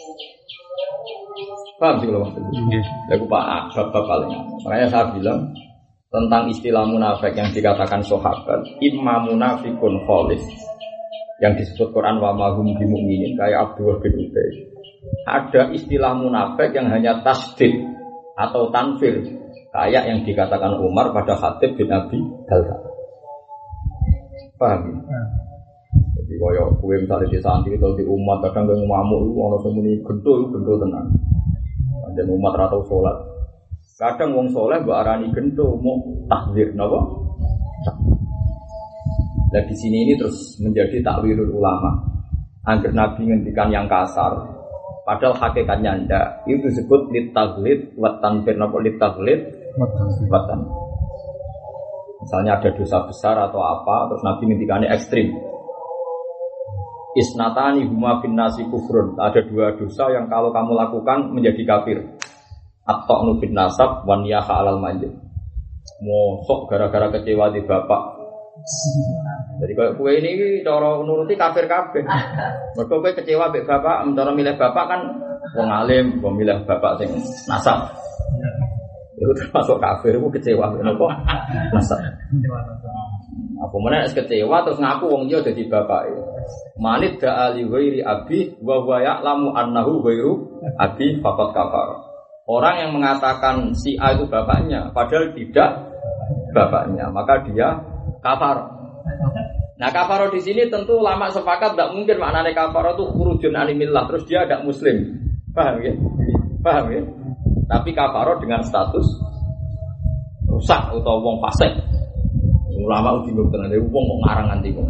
Paham sih kalau maksudnya? Aku pak bab paling. Makanya saya bilang tentang istilah munafik yang dikatakan sahabat, imma munafikun khalis yang disebut Quran wa ma hum bimu'minin kayak Abdullah bin Ubay. Ada istilah munafik yang hanya tasdid atau tanfir kayak yang dikatakan Umar pada Khatib bin Abi Balta. Paham? Hmm. Jadi kaya kowe misalnya di santri atau di umat kadang kowe ngamuk iku ana sing muni gento iku gento tenan. Panjen umat ra tau salat. Kadang wong saleh mbok arani gento mau tahdzir napa? Nah di sini ini terus menjadi takwilul ulama. Angger Nabi ngendikan yang kasar padahal hakikatnya ndak. Itu disebut litaghlid wa tanfir napa litaghlid Batan. Misalnya ada dosa besar atau apa, terus Nabi ngendikannya ekstrim. Isnatani huma fin nasi kufrun. Ada dua dosa yang kalau kamu lakukan menjadi kafir. At-ta'nu bin nasab wan yaha alal manjid. Mosok gara-gara kecewa di bapak. Jadi kalau kue ini cara nuruti kafir kabeh. Mergo kowe kecewa mbek bapak, cara milih bapak kan wong alim, wong milih bapak sing nasab. Itu termasuk kafir, itu kecewa kenapa? Nasab. Apa mana kecewa terus ngaku wong dia jadi bapak. Manid da'ali ghairi abi wa huwa ya'lamu annahu ghairu abi faqad kafar. Orang yang mengatakan si A itu bapaknya padahal tidak bapaknya, maka dia kafar. Nah kafaro di sini tentu ulama sepakat tidak mungkin maknanya kafaro itu khurujun animillah terus dia tidak muslim, paham ya? Paham ya? Tapi kafaro dengan status rusak atau wong fasik. Ulama udah bingung tenan, wong kok ngarang nganti kok.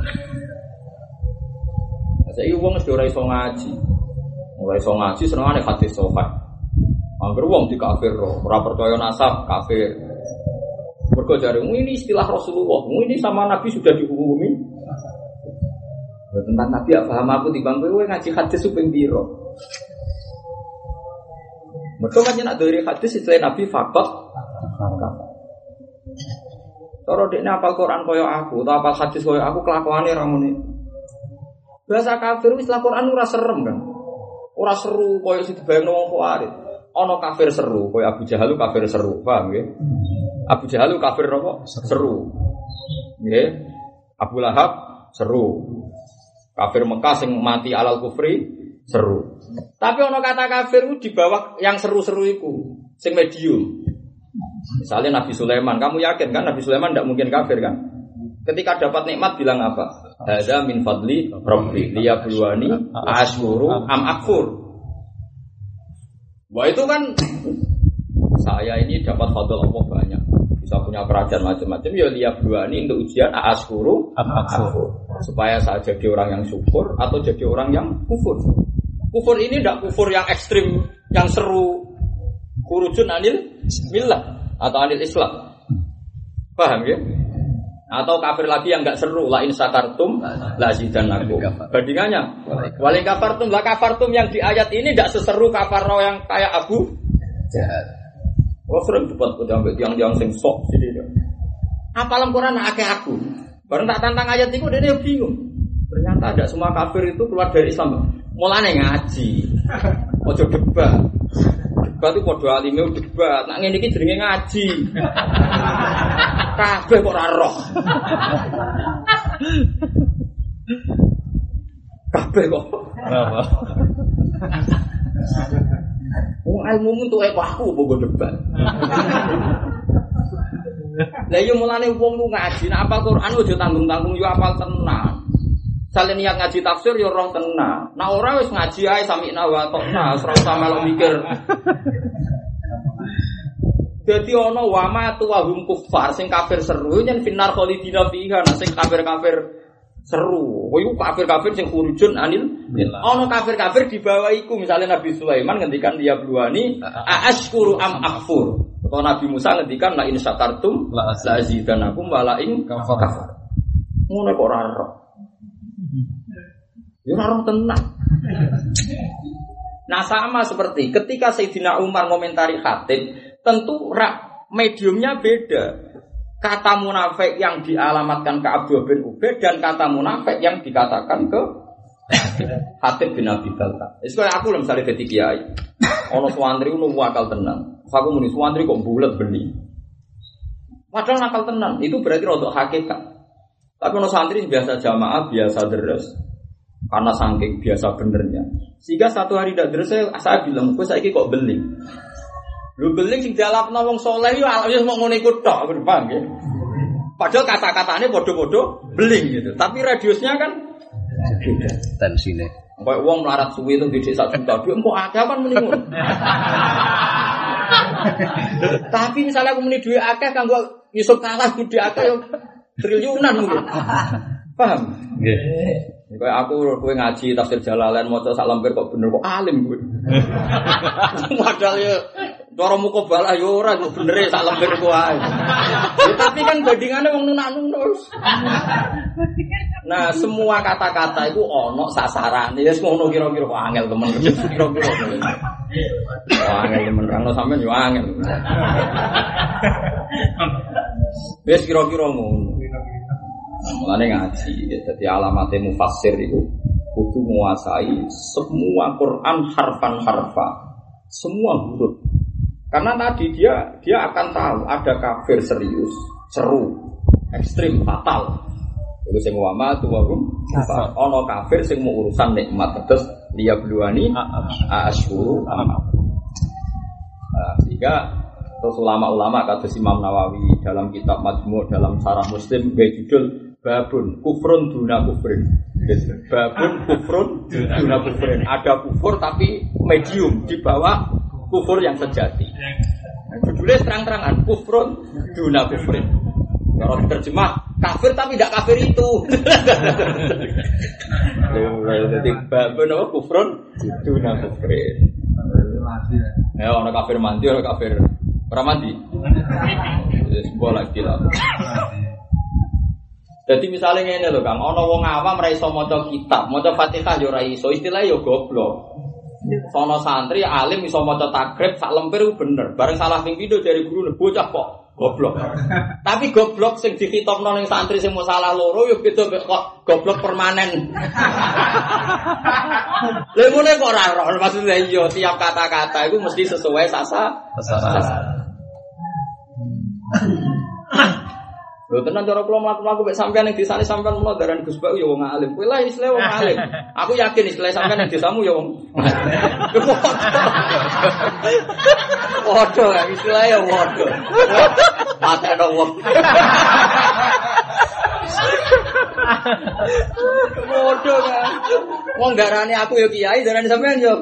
Saya wong wis ora iso ngaji, ora iso ngaji senengane hadis sahih. Angger wong dikafirno, ora percaya nasab kafir. Mergo jare ini istilah Rasulullah, ini sama Nabi sudah dihukumi. Tentang Nabi ya paham aku timbang kowe ngaji hadis suping piro. Mergo kan nek dari hadis istilah Nabi fakot. Cara dekne apal Quran kaya aku, atau apal hadis kaya aku kelakuane ra muni. Bahasa kafir istilah Quran ora serem kan. Ora seru kaya sing dibayangno wong Khawarij. Ana kafir seru, kaya Abu Jahal kafir seru, paham nggih? Abu Jahal kafir apa? Seru. Nggih. Abu Lahab seru. Kafir Mekah sing mati alal kufri seru. Tapi ono kata kafir di bawah yang seru-seru iku, sing medium. Misalnya Nabi Sulaiman, kamu yakin kan Nabi Sulaiman tidak mungkin kafir kan? Ketika dapat nikmat bilang apa? Hadza min fadli rabbi liyabluwani ashkuru am akfur. Wah itu kan saya ini dapat fadl Allah banyak. Bisa punya kerajaan macam-macam ya liyabluwani untuk ujian ashkuru am akfur. Supaya saya jadi orang yang syukur atau jadi orang yang kufur. Kufur ini tidak kufur yang ekstrim, yang seru, khurujun anil millah atau anil Islam. Paham ya? Atau kafir lagi yang enggak seru, la in sakartum la zidannakum. Bandingannya, wal kafartum la kafartum yang di ayat ini tidak seseru kafaro yang kayak Abu Jahal. Kalau sering debat sampai tiang-tiang sing sok sini. Apalam Quran akeh aku. Bareng tak tantang ayat itu dia bingung. Ternyata ada semua kafir itu keluar dari Islam. Mulane ngaji. Ojo debat. Debat itu podo alime debat. Nak ngene iki jenenge ngaji. Kabeh kok ora roh. Kabeh kok. Apa? Wong ilmu untuk aku bogo debat. Lah yo mulane wong lu ngaji, nek apal Quran ojo tanggung-tanggung yo apal tenan. Sale niat ngaji tafsir yo roh tenan. Nek ora wis ngaji ae sami wa ta'na, ora usah melok mikir. Dadi ana wa ma tu wa hum kuffar sing kafir seru yen finar khalidina fiha, sing kafir-kafir seru. Kowe iku kafir-kafir sing khurujun anil ana kafir-kafir di bawah iku misalnya Nabi Sulaiman ngendikan dia bluani aashkuru am akfur. Atau Nabi Musa ngendikan la in syakartum la azidanakum wa la in kafar. Ngono kok ora ora. Ya ora tenan. Nah sama seperti ketika Sayyidina Umar ngomentari khatib, tentu mediumnya beda. Kata munafik yang dialamatkan ke Abdullah bin Ubay dan kata munafik yang dikatakan ke Hatib bin Abi Balta. Wis kaya aku lho misale dadi kiai. Ana suwantri ngono wakal tenan. Aku muni suwantri kok bulet beli. Padahal nakal tenan, itu berarti rodok hakikat. Tapi ana santri biasa jamaah, biasa deres. Karena saking biasa benernya. Sehingga satu hari ndak deres saya, saya bilang, "Kok saiki kok beling?" Lu beling sing dialapno wong saleh yo wis mok ngene iku tok, paham nggih. Padahal kata-katane padha-padha beling gitu. Tapi radiusnya kan beda tensine. Kayak wong melarat suwi itu di sak juta, dia kok akeh kan muni ngono. Tapi misalnya aku muni duwe akeh kanggo Yusuf kalah gede akeh yo triliunan mungkin. Paham? Nggih. Kayak aku kowe ngaji tafsir Jalalain maca sak lembar kok bener kok alim kowe. Padahal yo cara muka balah yo ora kok bener sak lembar ku ae. Tapi kan bandingane wong nunak-nunus. Nah, semua kata-kata itu ono sasarane. Wis ngono kira-kira kok angel temen. Kira-kira. Wah, angel temen rano sampean yo angel. Wis kira-kira ngono. Mulane ngaji, jadi alamatnya mufassir itu kudu menguasai semua Quran harfan-harfa, semua huruf. Karena tadi dia dia akan tahu ada kafir serius, seru, ekstrim, fatal. Itu sing wama tu warum. Ono kafir sing mau urusan nikmat terus dia bluani asyuru am. Sehingga terus ulama-ulama kata Imam Nawawi dalam kitab Majmu' dalam Syarah Muslim gawe judul babun kufrun duna kufrin. Babun kufrun duna kufrin. Ada kufur tapi medium di bawah kufur yang sejati. Nah, judulnya terang-terangan kufrun duna kufrin. Kalau diterjemah kafir tapi tidak kafir itu. Jadi babun apa kufrun duna kufrin. Ya orang kafir mandi orang kafir orang mandi. Sebuah lagi lah. Jadi misalnya ini loh Kang, ono wong awam ra iso maca kitab, maca Fatihah yo ra iso, istilahnya yo goblok. Sono santri alim iso maca takrib sak lemper bener, bareng salah ping pindho dari guru bocah kok goblok. Tapi goblok sing dikitokno ning santri sing mau salah loro yo beda kok goblok permanen. Lha ngene kok ora roh, maksudnya yo tiap kata-kata itu mesti sesuai sasa sasa. Lho tenan cara kula mlaku-mlaku mek sampean ning desane sampean mulo daran Gus Bak ya wong alim. Kowe lah istilah wong alim. Aku yakin istilah sampean ning desamu ya wong. Waduh, istilah ya waduh. Mate ada wong. Waduh kan. Wong darane aku ya kiai, darane sampean yo.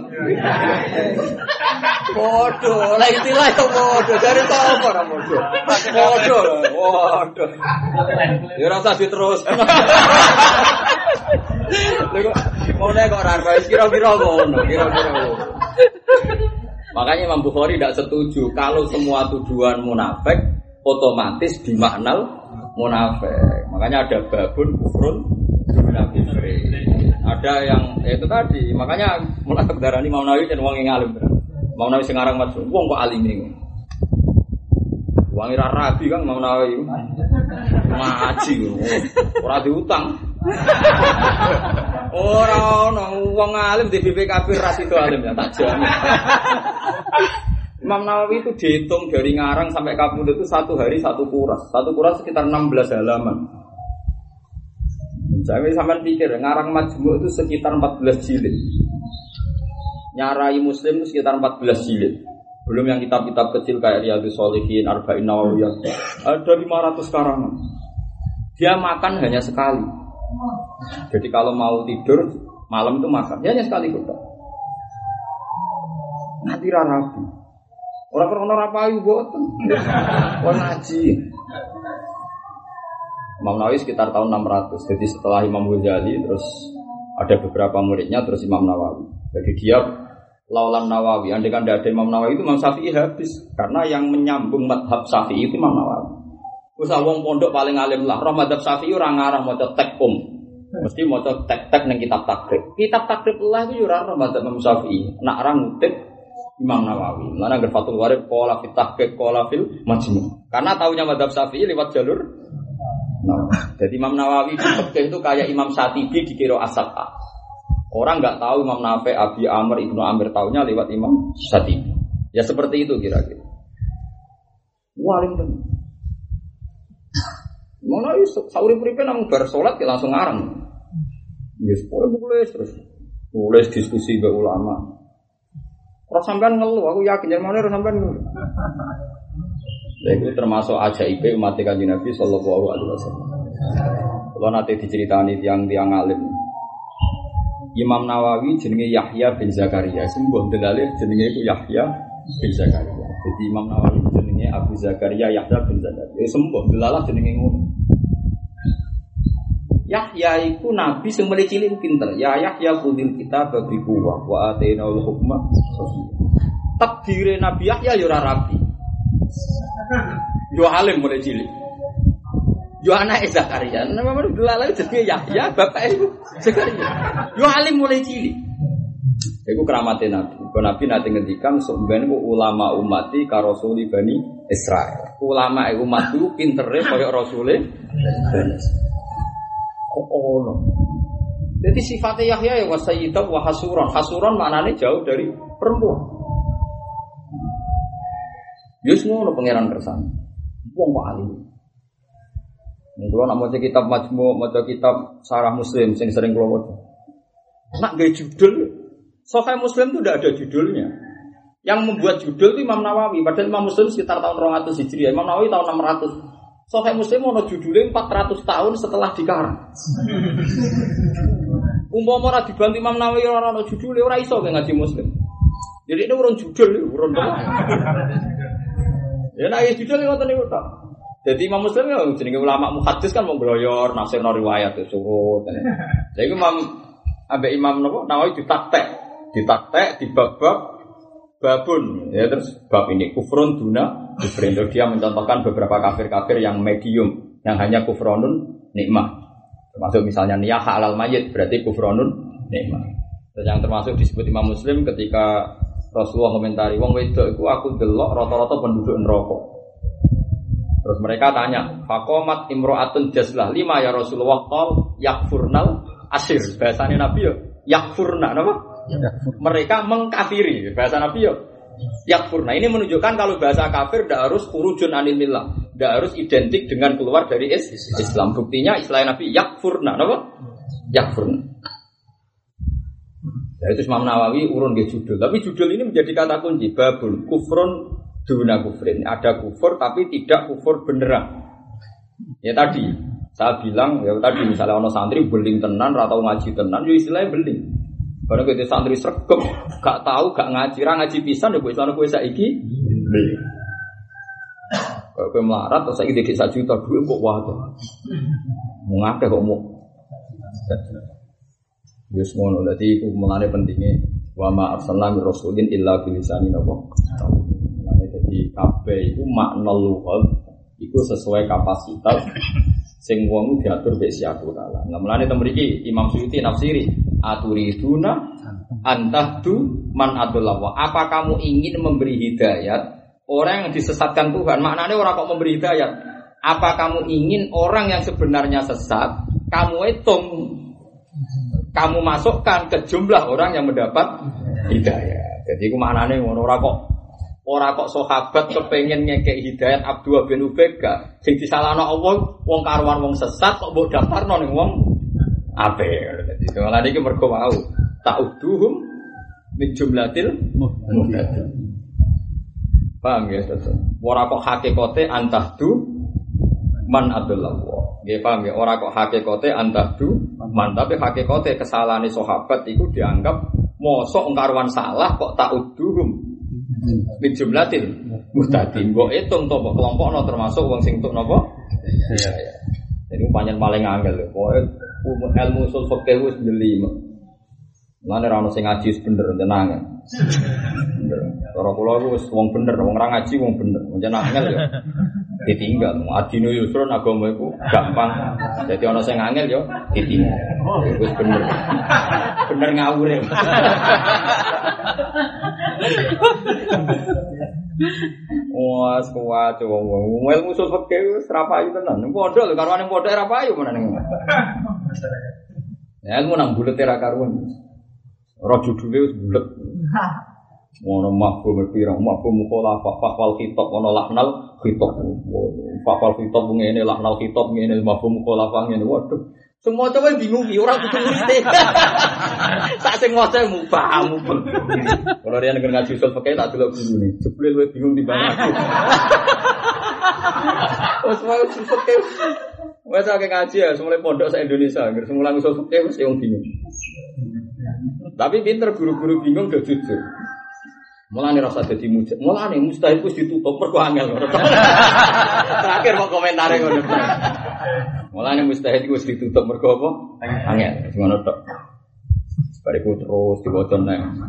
Waduh, lah istilah itu waduh dari sapa ora waduh. Waduh, waduh. Ya rasa diterus. Lha kok ngene kok ora kira-kira ngono, kira-kira. Makanya Imam Bukhari tidak setuju kalau semua tuduhan munafik otomatis dimaknal munafik. Makanya ada babun kufrun munafik. Ada yang ya itu tadi. Makanya munafik darani Imam Nawawi dan wong yang alim. Imam Nawawi sing aran matsum, wong kok alim iki. Wong ora rabi kan Imam Nawawi. Ngaji ora diutang. Ora ono wong alim di B P K B ras itu alim ya tak jamin. Imam Nawawi itu dihitung dari ngarang sampai kabul itu satu hari satu kuras. Satu kuras sekitar enam belas halaman. Saya sampai pikir ngarang Majmu' itu sekitar empat belas jilid. Nyarai Muslim itu sekitar empat belas jilid. Belum yang kitab-kitab kecil kayak Riyadhus Shalihin, Arba'in Nawawiyah. Ada lima ratus karangan. Dia makan hanya sekali. Jadi kalau mau tidur malam itu makan, ya hanya sekali kita. Nanti rapi. Orang-orang rapayu boten. Wong ngaji. Imam Nawawi sekitar tahun enam ratus. Jadi setelah Imam Ghazali terus ada beberapa muridnya terus Imam Nawawi. Jadi dia laulan Nawawi. Andai kan tidak ada Imam Nawawi itu Imam Syafi'i habis. Karena yang menyambung madhab Syafi'i itu Imam Nawawi. Terus wong pondok paling alim lah. Roh madhab Syafi'i orang ngarang maca tek um. Mesti maca tek-tek ning kitab takrib. Kitab takrib lah itu ora roh madhab Imam Syafi'i. Nak arang ngutip Imam Nawawi. Mana nggak Fathul Warib qala fit tahqiq qala fil majmu'. Karena taunya madhab Syafi'i lewat jalur Nawawi. Jadi Imam Nawawi di fikih itu kayak Imam Syatibi di Qiraah As-Sab'ah. Orang enggak tahu Imam Nafi', Abi Amr, Ibnu Amir taunya lewat Imam Syatibi. Ya seperti itu kira-kira. Waling tenan. Imam Nawawi sauri-uripe nang bar salat ya langsung ngarang. Ya sepuluh terus tulis diskusi be ulama. Ora sampean ngeluh, aku yakin jenenge ora sampean ngeluh. Itu termasuk ajaib umat Kanjeng Nabi sallallahu alaihi wasallam. Kalau nanti diceritani tiang-tiang alim. Imam Nawawi jenenge Yahya bin Zakaria, sembuh delalih jenenge iku Yahya bin Zakaria. Jadi Imam Nawawi jenenge Abu Zakaria Yahya bin Zakaria. Ya sembuh delalah jenenge ngono. Yahya iku nabi sing mulai cilik pinter. Ya Yahya khudil kitab bi quwwah wa atainaul hukma sabiyya. Takdire Nabi Yahya ya ora rapi. Yo alim mulai cilik. Yo anake Zakaria. Nama mana delalah jenenge Yahya, bapake iku Zakaria. Yo alim mulai cilik. Iku keramate Nabi. Kok Nabi nate ngendikan sampeyan ku ulama umati ka rasuli Bani Israil. Ulama umatku pintere kaya rasule Bani Israil. Kok ono. Jadi sifatnya Yahya ya wasayyidah wa hasuran. Hasuran maknanya jauh dari perempuan. Yus ngono pangeran kersane. Wong kok alim. Nek kula nak maca kitab Majmu', maca kitab Syarah Muslim sing sering kula waca. Nak gawe judul Sahih Muslim itu tidak ada judulnya. Yang membuat judul itu Imam Nawawi. Padahal Imam Muslim sekitar tahun dua ratus Hijriah, Imam Nawawi tahun enam ratus. Sahih Muslim ono judulnya empat ratus tahun setelah dikarang. Umpama ora dibantu Imam Nawawi ora ono judulnya ora iso ngaji Muslim. Jadi ini urun judul, urun apa? Ya nek judul ngoten niku tok. Jadi Imam Muslim ya jenenge ulama muhaddis kan wong gloyor nafsir riwayat surut. Jadi Imam ambek Imam napa Nawawi ditaktek, ditaktek dibab-bab babun ya terus bab ini kufrun duna kufrin. Dia mencontohkan beberapa kafir-kafir yang medium yang hanya kufronun nikmah. Termasuk misalnya niyah halal mayit berarti kufronun nikmah. Terus yang termasuk disebut Imam Muslim ketika Rasulullah komentari wong wedok iku aku delok rata-rata penduduk neraka. Terus mereka tanya, faqamat imra'atun jazlah lima ya Rasulullah qol yakfurnal asir. Bahasane Nabi yo yakfurna napa? Yakfur. Mereka mengkafiri. Bahasa Nabi yo yakfurna. Ini menunjukkan kalau bahasa kafir tidak harus khurujun anil millah, tidak harus identik dengan keluar dari Islam. Buktinya istilah Nabi yakfurna napa? Yakfurna. Ya, itu Imam Nawawi urun ke judul. Tapi judul ini menjadi kata kunci. Babul kufrun duna kufrin. Ada kufur tapi tidak kufur beneran. Ya tadi saya bilang ya tadi misalnya ono santri beling tenan atau ngaji tenan, ya istilahnya beling. Karena kita santri sregep, gak tahu gak ngaji, ra ngaji pisan ya kok iso kowe saiki beling. Kok kowe melarat terus saiki dik sak juta duit kok wae. Mau ngakeh kok mau. Wis ngono dadi iku mulane pentinge wa ma arsalna mir rasulin illa bil lisani napa. Mulane dadi kabeh iku makna lughah iku sesuai kapasitas sing wong diatur mbek siapa taala. Nah mulane teng mriki Imam Suyuti nafsiri aturiduna antahdu man adallah. Apa kamu ingin memberi hidayat orang yang disesatkan Tuhan? Maknanya orang kok memberi hidayat. Apa kamu ingin orang yang sebenarnya sesat kamu hitung, kamu masukkan ke jumlah orang yang mendapat hidayah. Jadi itu maknanya orang kok orang kok sahabat kepengen ngekek hidayat Abdullah bin Ubay gak sing disalahno Allah wong karuan wong sesat kok mbok daftarno ning wong apik. Dadi malah iki mergo wau ta'uduhum min jumlatil muhtadin. Paham ya, Ustaz? Ora kok hakikate antahdu man adallahu. Nggih paham ya, ora kok hakikate antahdu man, tapi hakikate kesalahane sahabat iku dianggap mosok karuan salah kok ta'uduhum min jumlatil muhtadin. Kok hitung to kelompokno termasuk wong sing entuk napa? Iya ya. Jadi pancen paling angel lho. Pokoke ilmu usul fikih wis jeli. Lan ora ono sing ngaji bener tenang. Bener. Cara kula iku wis wong bener, wong ora ngaji wong bener. Pancen angel ya. Ditinggal. Adino yusrun agama iku gampang. Jadi ono sing angel ya ditinggal. Wis bener. Bener ngawure. Wah, kuat wong-wong. Ilmu usul fikih wis ra payu tenan. Ning pondok lho karwane pondok ra payu menan. Ya ilmu nang bulet ra karuan. Ora judule wis bulet. Ono mafhum pirang mafhum mukhalafah faqal khitab ono lahnal khitab. Faqal khitab ngene lahnal khitab ngene mafhum mukhalafah ngene. Waduh. Semua coba bingung iki ora kudu ngerti. Sak sing waca mubah mubah. Kalau dia nang ngaji usul fikih tak delok gurune. Jebule luwih bingung timbang aku. Wes wae usul fikih. Wes akeh ngaji ya, semule pondok sak Indonesia, nggih semula usul fikih mesti wong bingung. Tapi pinter guru-guru bingung do jujur. Mulane rasa dadi mujib. Mulane mustahil wis ditutup mergo angel. Terakhir mau komentare ngono. Mulane mustahil wis ditutup mergo apa? Angel. Ngono tok. Bariku terus diwaca nang.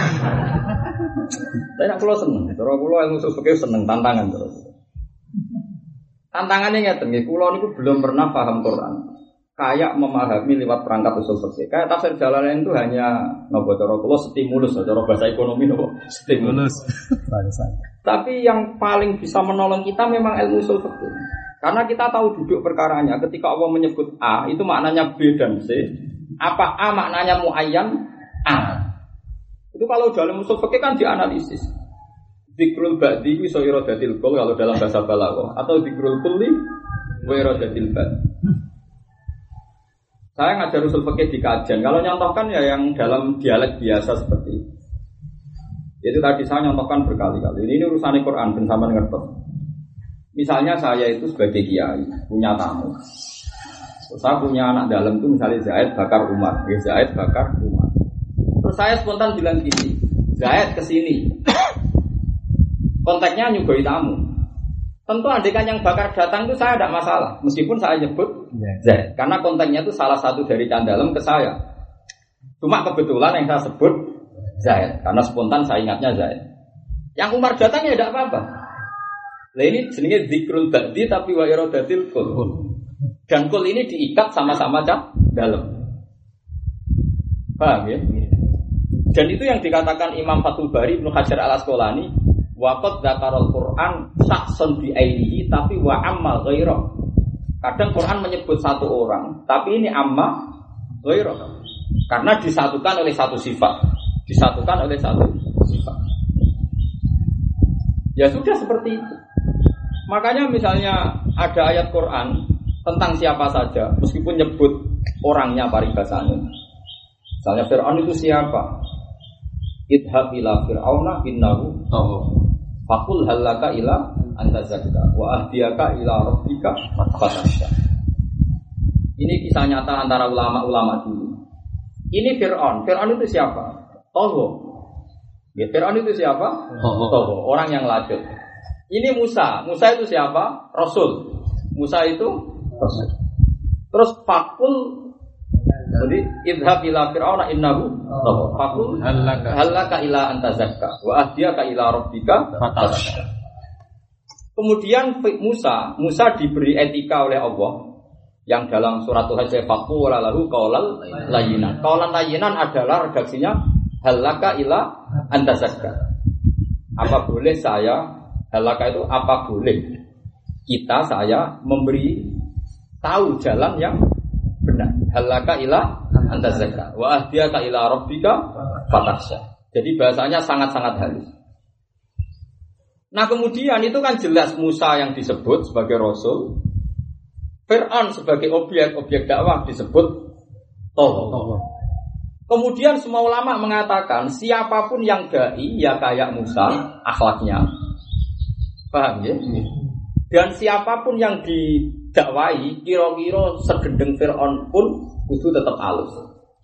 Saya kula seneng. Cara kula ilmu usul fikih seneng tantangan terus. Tantangannya ngeten nggih, kula niku belum pernah paham Quran. Kayak memahami lewat perangkat usul fikih. Kayak tafsir Jalalain itu hanya napa cara kula stimulus, cara bahasa ekonomi napa stimulus. Tapi yang paling bisa menolong kita memang ilmu usul fikih. Karena kita tahu duduk perkaranya. Ketika Allah menyebut A, itu maknanya B dan C. Apa A maknanya muayyan A. Itu kalau dalam usul fikih kan dianalisis. Dzikrul ba'di ku iso iradatil kul kalau dalam bahasa balaghah atau dzikrul kulli wa iradatil ba'd. Saya ngajar usul fikih di kajian. Kalau nyontohkan ya yang dalam dialek biasa seperti itu. Itu tadi saya nyontohkan berkali-kali. Ini urusan Quran ben sampean ngertos. Misalnya saya itu sebagai kiai punya tamu. Saya punya anak dalam itu misalnya Zaid bakar Umar, ya Zaid bakar Umar. Terus saya spontan bilang gini, Zaid kesini. Konteksnya nyugoi tamu. Tentu andekan yang bakar datang itu saya tidak masalah, meskipun saya nyebut Zaid, karena konteksnya itu salah satu dari candalem ke saya. Cuma kebetulan yang saya sebut Zaid, karena spontan saya ingatnya Zaid. Yang Umar datang ya tidak apa-apa. Nah ini jenisnya zikrul ba'di tapi wa iradatil kul. Dan kul ini diikat sama-sama cak dalam. Paham ya? Dan itu yang dikatakan Imam Fathul Bari Ibnu Hajar Al-Asqalani, waqad dzakarul Qur'an saksun bi ainihi tapi wa amma ghaira. Kadang Quran menyebut satu orang, tapi ini amma ghaira. Karena disatukan oleh satu sifat. Disatukan oleh satu sifat. Ya sudah seperti itu. Makanya misalnya ada ayat Quran tentang siapa saja, meskipun nyebut orangnya paribasanya. Misalnya Fir'aun itu siapa? Idhab ila Fir'auna innahu faqul halaka ila anta zakka wa ahdiyaka ila rabbika fatasya. Ini kisah nyata antara ulama-ulama dulu. Ini Fir'aun. Fir'aun itu siapa? Togo. Ya, Fir'aun itu siapa? Togo. Orang yang lajut. Ini Musa. Musa itu siapa? Rasul. Musa itu terus fakul, jadi idhab ila fir'auna innahu fakul halaka ila anta zakka wa ahdiyaka ila rabbika fatasya. Kemudian Musa, Musa diberi etika oleh Allah yang dalam surat Al-Hajj fakul lalu qaulal layyinan. Qaulan layyinan adalah redaksinya halaka ila anta zakka. Apa boleh saya, halaka itu apa boleh kita saya memberi tahu jalan yang benar. Halaka ila anta zakka wa ahdiyaka ila rabbika fatasya. Jadi bahasanya sangat-sangat halus. Nah kemudian itu kan jelas Musa yang disebut sebagai Rasul, Fir'aun sebagai objek-objek dakwah disebut Toh. Kemudian semua ulama mengatakan siapapun yang da'i ya kayak Musa akhlaknya. Paham ya? Dan siapapun yang didakwai kira-kira segendeng Fir'aun pun kudu tetap halus.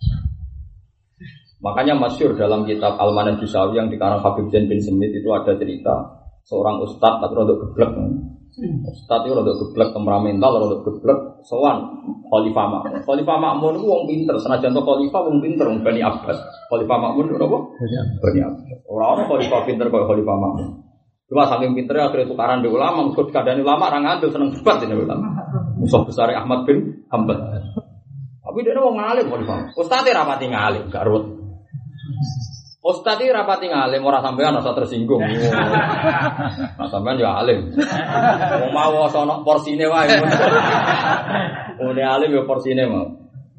Makanya masyhur dalam kitab Al-Manhaj Jusawi yang dikarang Habib Zain bin Semit itu ada cerita seorang ustadz tapi rada geblek. Ustadz itu rada geblek temperamental, rada geblek sowan Khalifah Ma'mun. Khalifah Ma'mun itu wong pinter, senajan to Khalifah wong pinter wong Bani Abbas. Khalifah Ma'mun itu apa? Bani Abbas. Ora ono Khalifah pinter kaya Khalifah Ma'mun. Cuma saking pinternya akhirnya tukaran di ulama, mengikut keadaan ulama, orang ngantuk seneng debat ini ulama. Musuh besar Ahmad bin Hanbal. Tapi dia mau ngalim, Ustadz rapati ngalim, garut. Ustadz rapati ngalim, orang sampean rasa tersinggung. Nah sampean ya alim. Mau mau sono porsine wae. Udah alim ya porsine mau.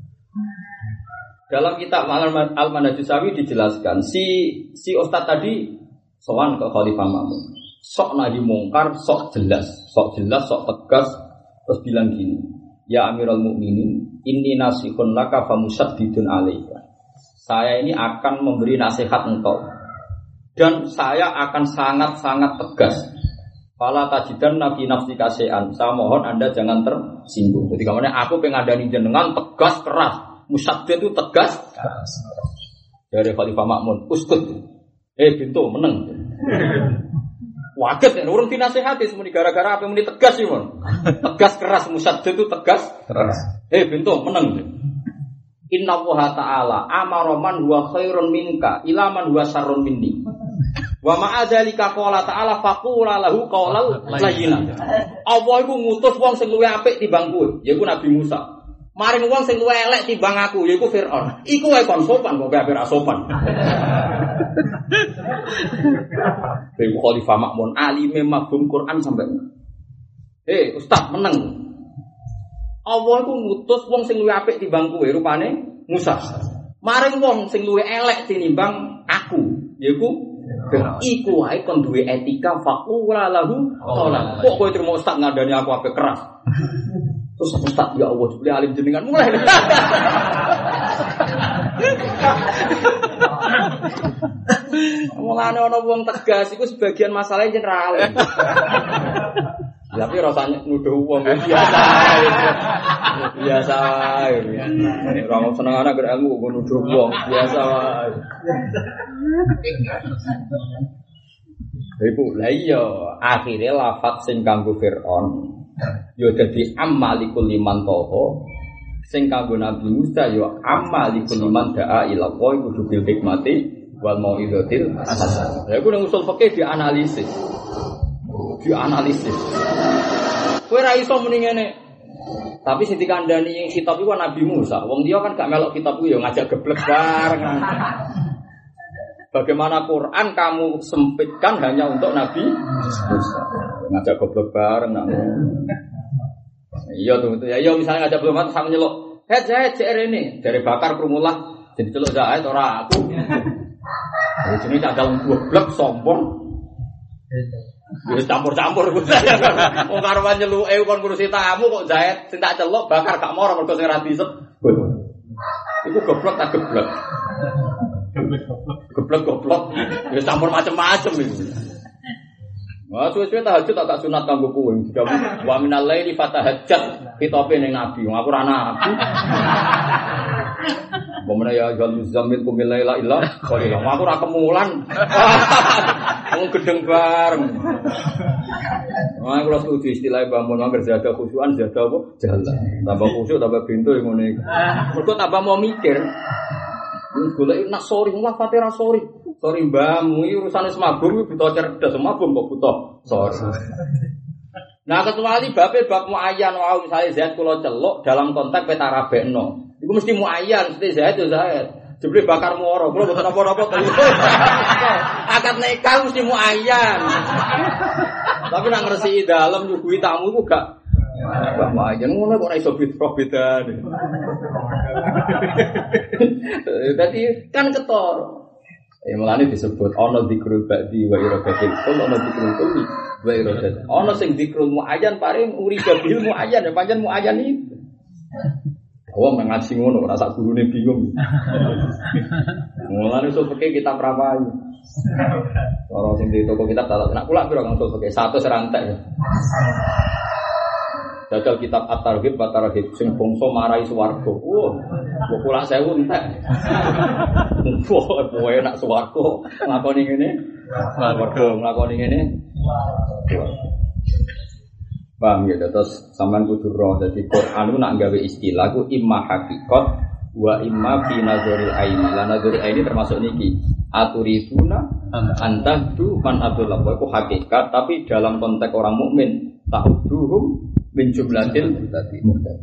Dalam kitab Al-Manhaj Jusawi dijelaskan si si Ustadz tadi sowan ke Khalifah Ma'mun. Sok nahi mungkar, sok jelas, sok jelas, sok tegas, terus bilang gini, ya Amirul Mukminin, inni nasihun laka famusaddidun alaika. Saya ini akan memberi nasihat engkau, dan saya akan sangat-sangat tegas. Fala tajidanna fi nafsika syai'an. Saya mohon Anda jangan tersinggung. Jadi kemana aku pengadani jenengan tegas keras, musaddid itu tegas. Dari Khalifah Ma'mun, uskut. Eh bintu meneng. Waget nek urung dinasihati semuni gara-gara apa muni tegas sih, Mon. Tegas keras musaddid itu tegas keras. Eh bintu meneng. Inna wa ta'ala amara man huwa khairun minka ila man huwa syarrun minni. Wa ma adzalika qala ta'ala faqula lahu qaulal layyinan. Allah iku ngutus wong sing luwih apik timbang kowe, yaiku Nabi Musa. Maring wong sing luwih elek timbang aku, yaiku Firaun. Iku wae kon sopan kok gak ora sopan. Ibu Khalifah Ma'mun alime mafhum Quran sampai. Eh, Ustaz meneng. Allah iku ngutus wong sing luwih apik timbang kowe, rupane Musa. Maring wong sing luwih elek tinimbang aku, yaiku iku wae kon duwe etika faqula lahu qala. Kok kowe terima Ustaz ngandani aku apik keras. Terus Ustaz ya Allah jebule alim jenengan mulai. Mulane ana wong tegas iku sebagian masalahnya jeneng alim. Tapi rasanya nuduh wong biasa. Biasa wae. Ora seneng ana ger ilmu kok nuduh wong biasa wae. Iku lha iya akhire lafat sing kanggo Firaun ya dadi amalikul liman toho sing kanggo Nabi Musa ya amalikul liman da'a ila Allah kudu bil hikmati wal mau'izatil hasanah. Lha iku nang usul fikih dianalisis. Dianalisis. Kowe ra iso muni ngene. Tapi sing dikandani yang kitab iku Nabi Musa. Wong dia kan gak melok kitab iku ya ngajak geblek bareng. Bagaimana Quran kamu sempitkan hanya untuk Nabi Musa. Ngajak goblok bareng nak. Iya tuh itu. Ya iya misalnya ngajak goblok sama nyeluk. "Hei, Zaid, C R ini dari bakar krumulah jadi celuk Zaid ora aku." Jadi jenenge candal goblok sombong. Wis campur-campur. Wong karuan nyeluke kon ngurusi tamu kok Zaid sing tak celuk bakar gak moro mergo sing ra disep. Iku goblok tak goblok. Goblok-goblok, ya campur macam-macam itu. Wah, suwe-suwe tahajud tak tak sunat kanggo kowe. Wa minal laili fatahajjat khitabe ning nabi. Wong aku ora nabi. Bomene ya jal muzammil kumil laila illa qalila. Aku ora kemulan. Wong gedeng bareng. Wah, kula setuju istilah bangun mangger jaga khusyuan jaga apa? Jalan. Tambah khusyuk tambah pintu ngene iki. Mergo tambah mau mikir. Golek nak sorry, lah fatira sorry. Sorry mbahmu iki urusane semabum iki butuh cerdas, semabum kok butuh sorry. Nah, kecuali bape bab muayyan wae misale Zaid kula celuk dalam konteks petarabekno. Iku mesti muayyan, mesti Zaid yo Zaid. Jebule bakar muara, kula mboten apa-apa to. Akad nikah mesti muayyan. Tapi nang ngresiki dalem nyuguhi tamu iku gak Mbak Mayan ngono kok ora iso beda-beda. Dadi kan ketor. Ya mulane disebut ana dzikrul ba'di wa iradatil kul ana dzikrul kulli wa iradatil. Ana sing dzikrul muayyan paring urida bil muayyan ya pancen muayyan itu. Wong nang ngaji ngono ora sak gurune bingung. Mulane iso peke kitab rapai. Ora sing di toko kitab tak nak kula piro kang iso peke satu serantek. Jajal kitab At-Targhib wa Tarhib sing bangsa marai swarga. Wah, kok kula sewu entek. Wah, kowe nak swarga nglakoni ngene. Swarga nglakoni ngene. Paham ya, terus sampean kudu roh dadi Quran nak gawe istilah ku imma hakikat wa imma fi nazaril aini. La nazaril aini termasuk niki. Aturiduna antahdu man abdullah. Iku hakikat tapi dalam konteks orang mukmin tahduhum min jumlatil muhtadi.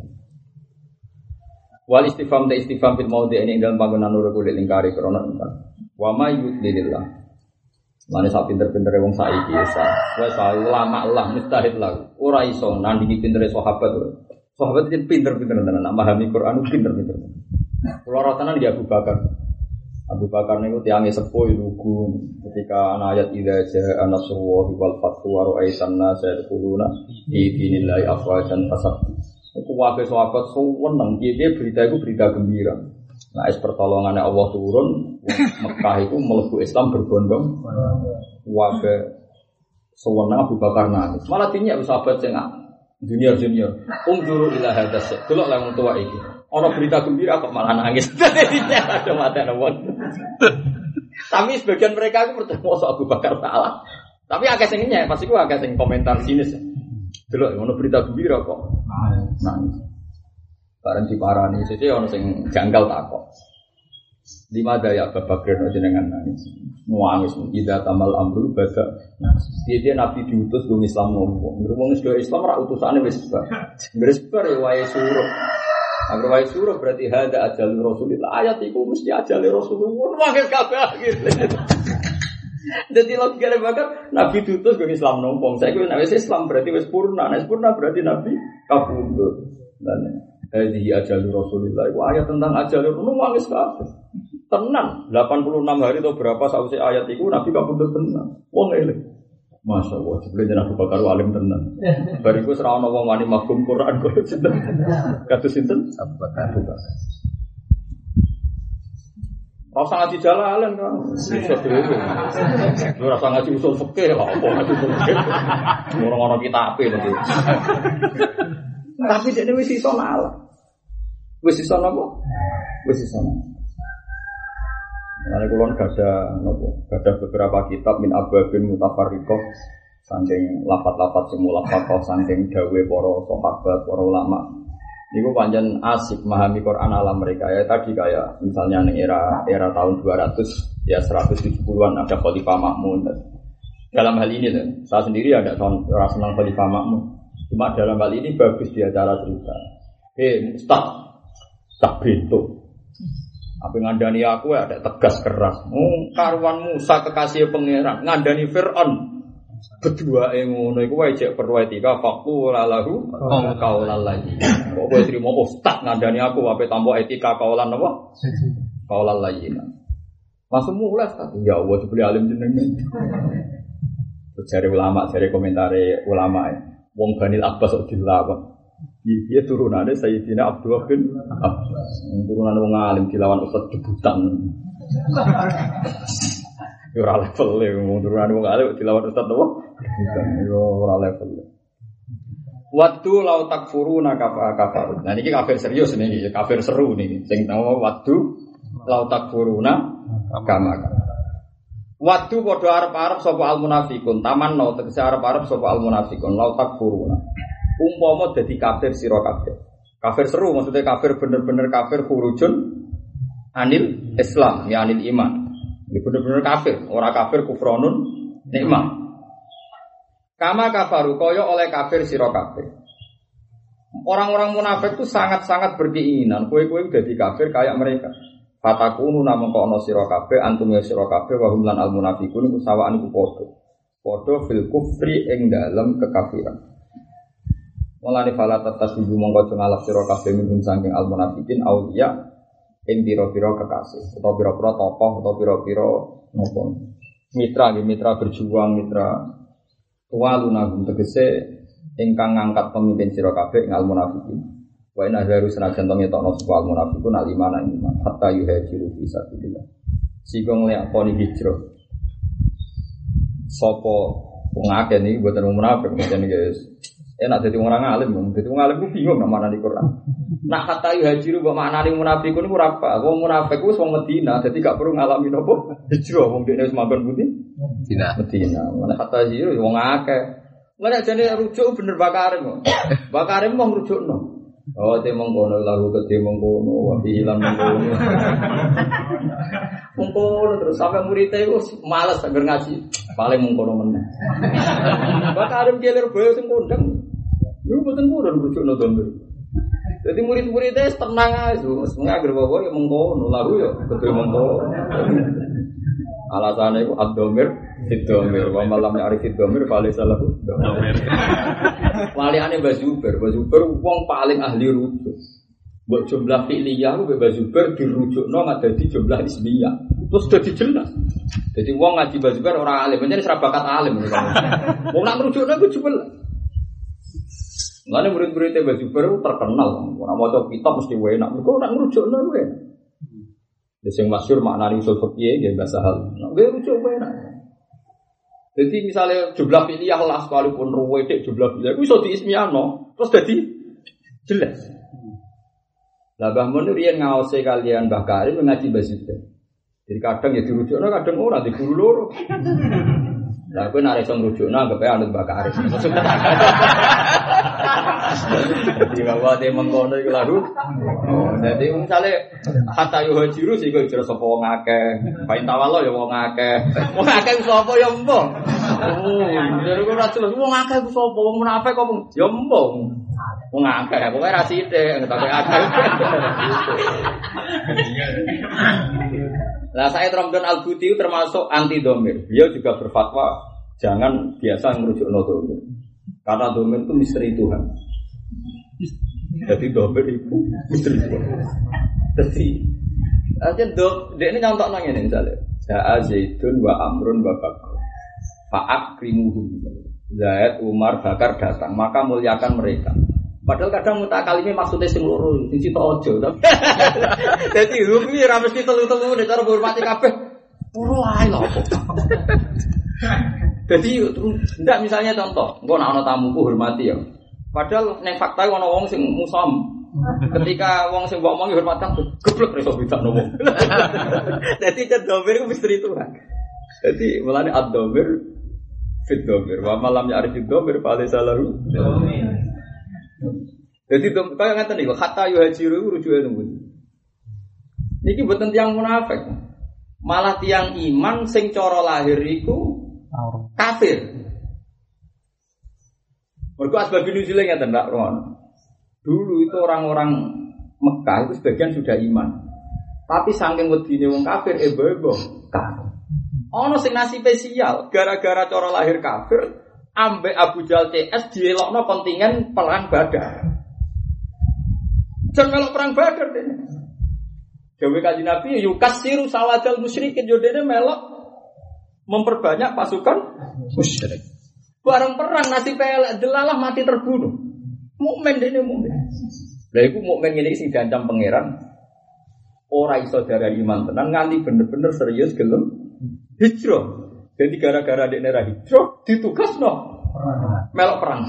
Wal istifham ta istifham fil maudhi ini dalam panggonan nur kulit lingkari krana ingkang. Wa may yudlilillah. Mane sak pinter-pintere wong saiki isa. Wes ulama lah mustahil lah. Ora iso nandingi pintere sahabat. Sahabat itu pinter-pinter tenan, nak pahami Quran pinter-pinter. Kula ratanan di Abu Bakar. Abu Bakar niku tiange sepuh lugu ketika ana ayat idza jaa nasrullahi wal fathu wa ra'aitan nasa yadkhuluna fi dinillahi afwajan fasab. Iku wae sahabat seneng piye berita iku berita gembira. Nah, es pertolongannya Allah turun, Mekah itu mlebu Islam berbondong. Wae seneng Abu Bakar nangis. Malah dinyak sahabat sing junior-junior. Unzuru ila hadas. Delok lah wong tuwa iki. Ana berita gembira kok malah nangis. Ada mata nawon. Tapi sebagian mereka itu percaya Abu Bakar salah. Tapi akeh sing nyek, pasti ku akeh sing komentar sinis. Delok ana berita gembira kok nangis. Bareng diparani sithik ana sing janggal takok. Di madaya Abu Bakar jenengan nangis. Nangis ida tamal amru bada. Dia Nabi diutus go Islam nopo. Wong Islam ra utusane wis bar. Wis bar wae suruh. Agar wae suruh berarti hada ajal Rasulullah. Ayat iku mesti ajal Rasulullah. Wae kabeh gitu. Jadi logikane bakal Nabi diutus go Islam nopo. Saiki nek wis Islam berarti wis purna. Nek purna berarti Nabi kabundut. Dan hadi ajal Rasulullah. Iku ayat tentang ajal Rasulullah wis kabeh. Tenang, delapan puluh enam hari atau berapa sausé ayat itu Nabi kabundut tenang. Wong eling. Masya Allah, sebelumnya Abu Bakar alim tenang. Bariku serah ana wong wani mafhum Quran kok sinten. Kados sinten? Abu Bakar. Rasa ngaji jalalan kan. Iso dhewe. Lu rasa ngaji usul fikih kok apa ngaji fikih. Orang-orang kitabe lho. Tapi dekne wis iso nalar. Wis iso napa? Wis iso. Nah, kulon gada nopo, gada beberapa kitab min ababin mutafarriqah saking lafat-lafat sing mulafaqah saking dawuh para sahabat, para ulama. Niku pancen asik memahami Quran ala mereka ya tadi kayak misalnya ning era era tahun dua ratus ya seratus tujuh puluhan ada Khalifah Ma'mun. Dalam hal ini loh, saya sendiri ada tahun ora senang Khalifah Ma'mun. Cuma dalam hal ini bagus dia cara cerita. Eh, Ustaz, tak bintu. Apa ngandani aku ya ada tegas keras. Oh, karuan Musa kekasih pangeran ngandani Fir'aun. Kedua ngono iku wae cek perlu etika faqul lahu qaulan lagi. Kok kowe trimo ustaz ngandani aku ape tampa etika kaulan apa? Qaulan lagi. Langsung mulai tadi ya Allah sebeli alim jenenge. Cari ulama, cari komentare ulama. Wong Banil Abbas kok dilawan. Dia turunannya Sayyidina Abdullah bin Abbas. Turunan wong alim dilawan ustaz debutan. Yo ora level e wong turunan wong alim dilawan ustaz apa? Debutan. Yo ora level. Waktu lau takfuruna kafar. Nah niki kafir serius niki, kafir seru niki. Sing nama waktu lau takfuruna kama. Waktu padha arep-arep sapa al munafiqun, tamanno tegese arep-arep sapa al munafiqun lau takfuruna. Umpama dadi kafir sira kabeh. Kafir seru maksudnya kafir bener-bener kafir khurujun anil Islam ya anil iman. Ini bener-bener kafir, ora kafir kufronun nikmah. Kama kafaru kaya oleh kafir sira kabeh. Orang-orang munafik itu sangat-sangat berkeinginan kowe-kowe dadi kafir kayak mereka. Fatakunu namung kono sira kabeh antum ya sira kabeh wa hum lan al munafiqun iku sawaan iku padha. Padha fil kufri ing dalem kekafiran. Mulane fala tatasibu mongko ngalap sira kabeh minum saking al munafiqin auliya ing pira-pira kekasih utawa pira-pira tokoh utawa pira-pira napa mitra nggih mitra berjuang mitra tuwalunahum tegese ingkang ngangkat pemimpin sira kabeh ing al munafiqin wa inna harus senajan to ngetokno sapa al munafiqun al iman iman hatta yuhajiru fi sabilillah sing nglakoni hijrah sapa wong akeh niki mboten munafik mboten guys. Enak jadi orang alim, jadi orang alim itu bingung nak mana di Quran. Nak kata yuhajiru, buat mana di munafikun itu apa? Wong munafik itu wong Medina, jadi gak perlu ngalamin apa. Hijrah, wong dia semakan putih. Medina. Medina. Mana kata yuhajiru, wong akeh. Mana jadi rujuk bener bakarim, bakarim mau rujuk no. Oh, dia mengkono lagu ke dia mengkono, wabi hilang mengkono. Mengkono terus sampai muridnya itu malas agar ngaji, paling mengkono mana. Bakarim gelir boyo sing kondang. Lu betul bukan rujuk no domber. Jadi murid-muridnya tenang aja, semuanya agar bawa yang mengkono lagu ya, betul mengkono. Alasannya itu abdomir, fidomir, wa malam arif fidomir, paling salah domir. Waliane Bazuber, Bazuber wong paling ahli rujuk. Buat jumlah fi'liyah ku Bazuber dirujukno ngada di jumlah ismiyah. Terus dadi jelas. Jadi wong ngaji Bazuber ora alim, pancen ora bakat alim. Wong nak ngrujukno ku jebel. Ngene murid-muridé Bazuber terkenal, ora maca kitab mesti enak. Mergo nak ngrujukno kuwi. Ya sing masyhur maknane usul fikih nggih bahasa hal. Nek rujuk kuwi enak. Jadi misalnya jumlah fi'liyah lah sekalipun ruwedek jumlah fi'liyah itu bisa diismiyahno terus jadi jelas. Lah Mbah Mun riyen ngaose kalian Mbah Karim ngaji Bazuber. Jadi kadang ya dirujukno kadang ora di guru loro. Lah kowe nek iso ngrujukno anggap ae anut Mbah Karim. Jadi bahwa dia mengkono iku lagu. Jadi misale hatta yo hajiru sing kok jero sapa wong akeh. Pain tawalo ya wong akeh. Wong akeh sapa ya mbok. Oh, jero kok ora jelas wong akeh ku sapa wong munafik kok ya mbok. Wong akeh pokoke ra sithik ngetake akeh. Lah saya Ramdan Al-Buti termasuk anti domir. Beliau juga berfatwa jangan biasa merujukno domir. Karena domir itu misteri Tuhan. Jadi domir itu misteri Tuhan. Jadi aja dok, dia ini nyontok nanya nih misalnya. Ja'a Zaidun wa Amrun wa Bakr. Fa'akrimuhum. Zaid, Umar, Bakar datang, maka muliakan mereka. Padahal kadang mutakalime maksudnya sing loro, sing sitok aja. Dadi hukum iki ra mesti telu-telu nek cara hormati kabeh. Puro ae lho. Dadi ndak misalnya contoh, engko nek ana tamuku hormati ya. Padahal nek fakta ana wong sing musam. Ketika wong sing mbok omongi hormat kabeh, goblok iso bedakno wong. Dadi cedhomir ku misteri Tuhan. Dadi mulane ad-dhamir fit dhamir wa malam ya'rif ad-dhamir fa laysa lahu dhamir. Jadi kaya ngaten niku hatta yuhajiru rujuke nunggu. Niki mboten tiyang munafik. Malah tiyang iman sing cara lahir iku kafir. Mergo asbab nuzule ngaten ndak rono. Dulu itu orang-orang Mekah itu sebagian sudah iman. Tapi saking wedine wong kafir ebo-ebo kafir. Ono sing nasibe sial gara-gara cara lahir kafir ambek Abu Jahal C S dielokno kontingen perang Badar. Jan melok perang Badar dene. Dewe Kanjeng Nabi yukasiru sawadal musyrikin yo dene melok memperbanyak pasukan musyrik. Bareng perang nasibe elek delalah mati terbunuh. Mukmin dene mukmin. Lah iku mukmin ngene iki sing diancam pangeran. Ora iso darani iman tenan nganti bener-bener serius gelem hijrah. Jadi gara-gara dekne ra hijrah ditugasno melok perang.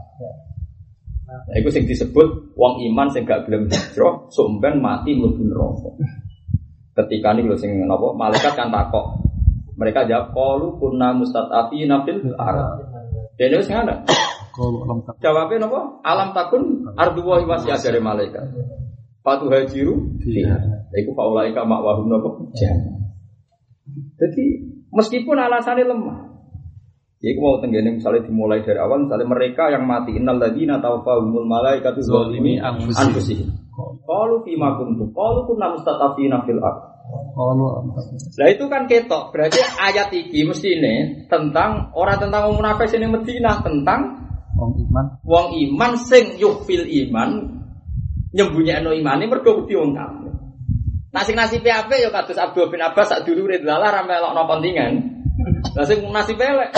Nah, iku sing disebut wong iman sing gak gelem hijrah sampean mati mlebu neraka. Ketika niku lho sing napa malaikat kan takok. Mereka jawab qalu kunna mustatafina fil ardh. Dene wis ngono. Jawabe napa? Alam takun ardu wa wasi'ah dari malaikat. Fatu hajiru fiha. Iku faulaika ma'wahum napa? Jannah. Jadi meskipun alasannya lemah. Iku mau tenggene misalnya dimulai dari awal misalnya mereka yang mati innal ladzina tawaffahumul malaikatu zalimi anfusihim. Qalu fima kuntum? Qalu kunna mustatafina fil ardh. Nah itu kan ketok. Berarti ayat iki mestine tentang orang tentang wong munafik sing Madinah, tentang wong iman. Wong iman sing yuhfil iman nyembunyikan imane mergo wedi wong kafir. Nah sing nasibe apik ya kados Abdul bin Abbas sak dulure lalah ra melokno kontingen. Lah sing nasibe elek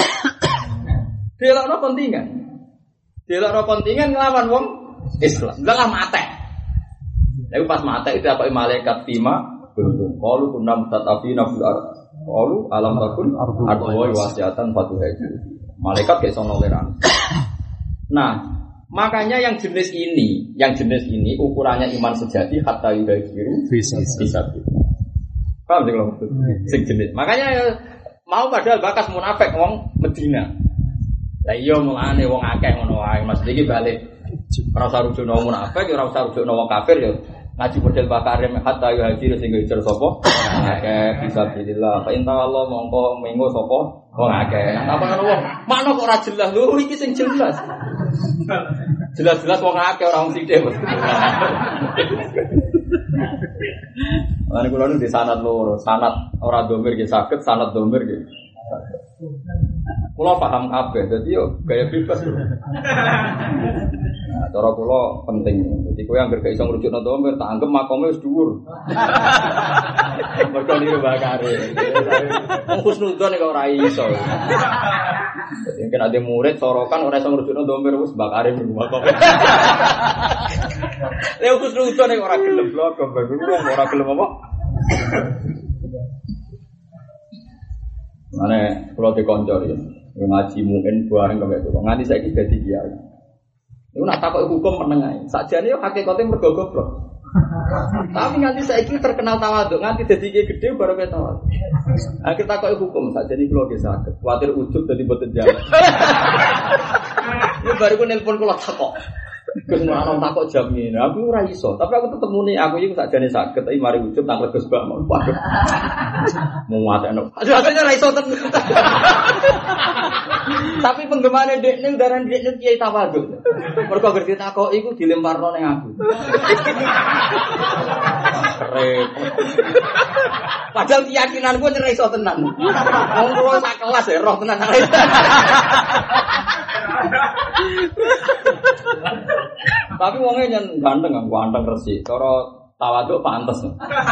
delokno kontingen. Delokno kontingen nglawan wong Islam. Lah mate. Lha pas mate itu apa malaikat fima kuntum qalu kunna mustatafina fil ardh. Qalu alam takun ardu wa wasi'atan fatuhaji. Malaikat ge sono leran. Nah, makanya yang jenis ini, yang jenis ini ukurannya iman sejati hatta yudahiru bisa bisa. Paham sih kalau maksud? Sing jenis. Makanya mau padahal bakas munafik wong Medina. Lah iya mulane wong akeh ngono wae. Mas iki balik ora usah rujukno munafik, ora usah rujukno wong kafir ya. Ngaji model bakarim hatta yudahiru sing hijrah sapa? Akeh bisa bilillah. Fa inta Allah mongko mengo sapa? Wong akeh. Apa ngono wong? Makno kok ora jelas. Lho iki sing jelas. Jelas-jelas wong akeh ora wong sithik. Lan kula nu di sanad loro, sanad ora domir nggih saged, sanad domir nggih. Kula paham kabeh, dadi yo gaya bebas. Nah, cara kula penting. Dadi kowe anggere gak iso ngrujukno domir, tak anggap makome wis dhuwur. Mergo niru bakare. Wong husnudzon kok ora iso. Jadi mungkin ada murid sorokan orang yang ngerujukno domir wis bakare rumah kok. Lha kok husnudzon nek ora gelem blok, ora gelem apa? Mane kula dikonco ya, ngaji mungkin bareng kok itu. Nganti saiki dadi kiai. Iku nak takok hukum meneng ae. Sakjane yo hakikate mergo goblok. Tapi nganti saiki terkenal tawaduk, nganti dadi kiai gedhe baru kaya tawaduk. Ah kita kok hukum sakjane kula ge saged. Kuwatir ujug dadi mboten jalan. Yo baru ku nelpon kula takok. Gus ana takok jam ngene. Aku ora iso, tapi aku tetep muni aku iki sakjane saged, tapi mari ujug tak leges bak. Waduh. Mau watekno. Aduh asline ora iso tenan. Tapi penggemane dekne udaran dekne kiai tawaduk. Mergo gerti takok iku dilemparno ning aku. Repot. Padahal keyakinanku ora iso tenan. Wong kula sak kelas ya roh tenan. Tapi wongnya nyen ganteng kan, ganteng resik. Cara tawaduk pantes.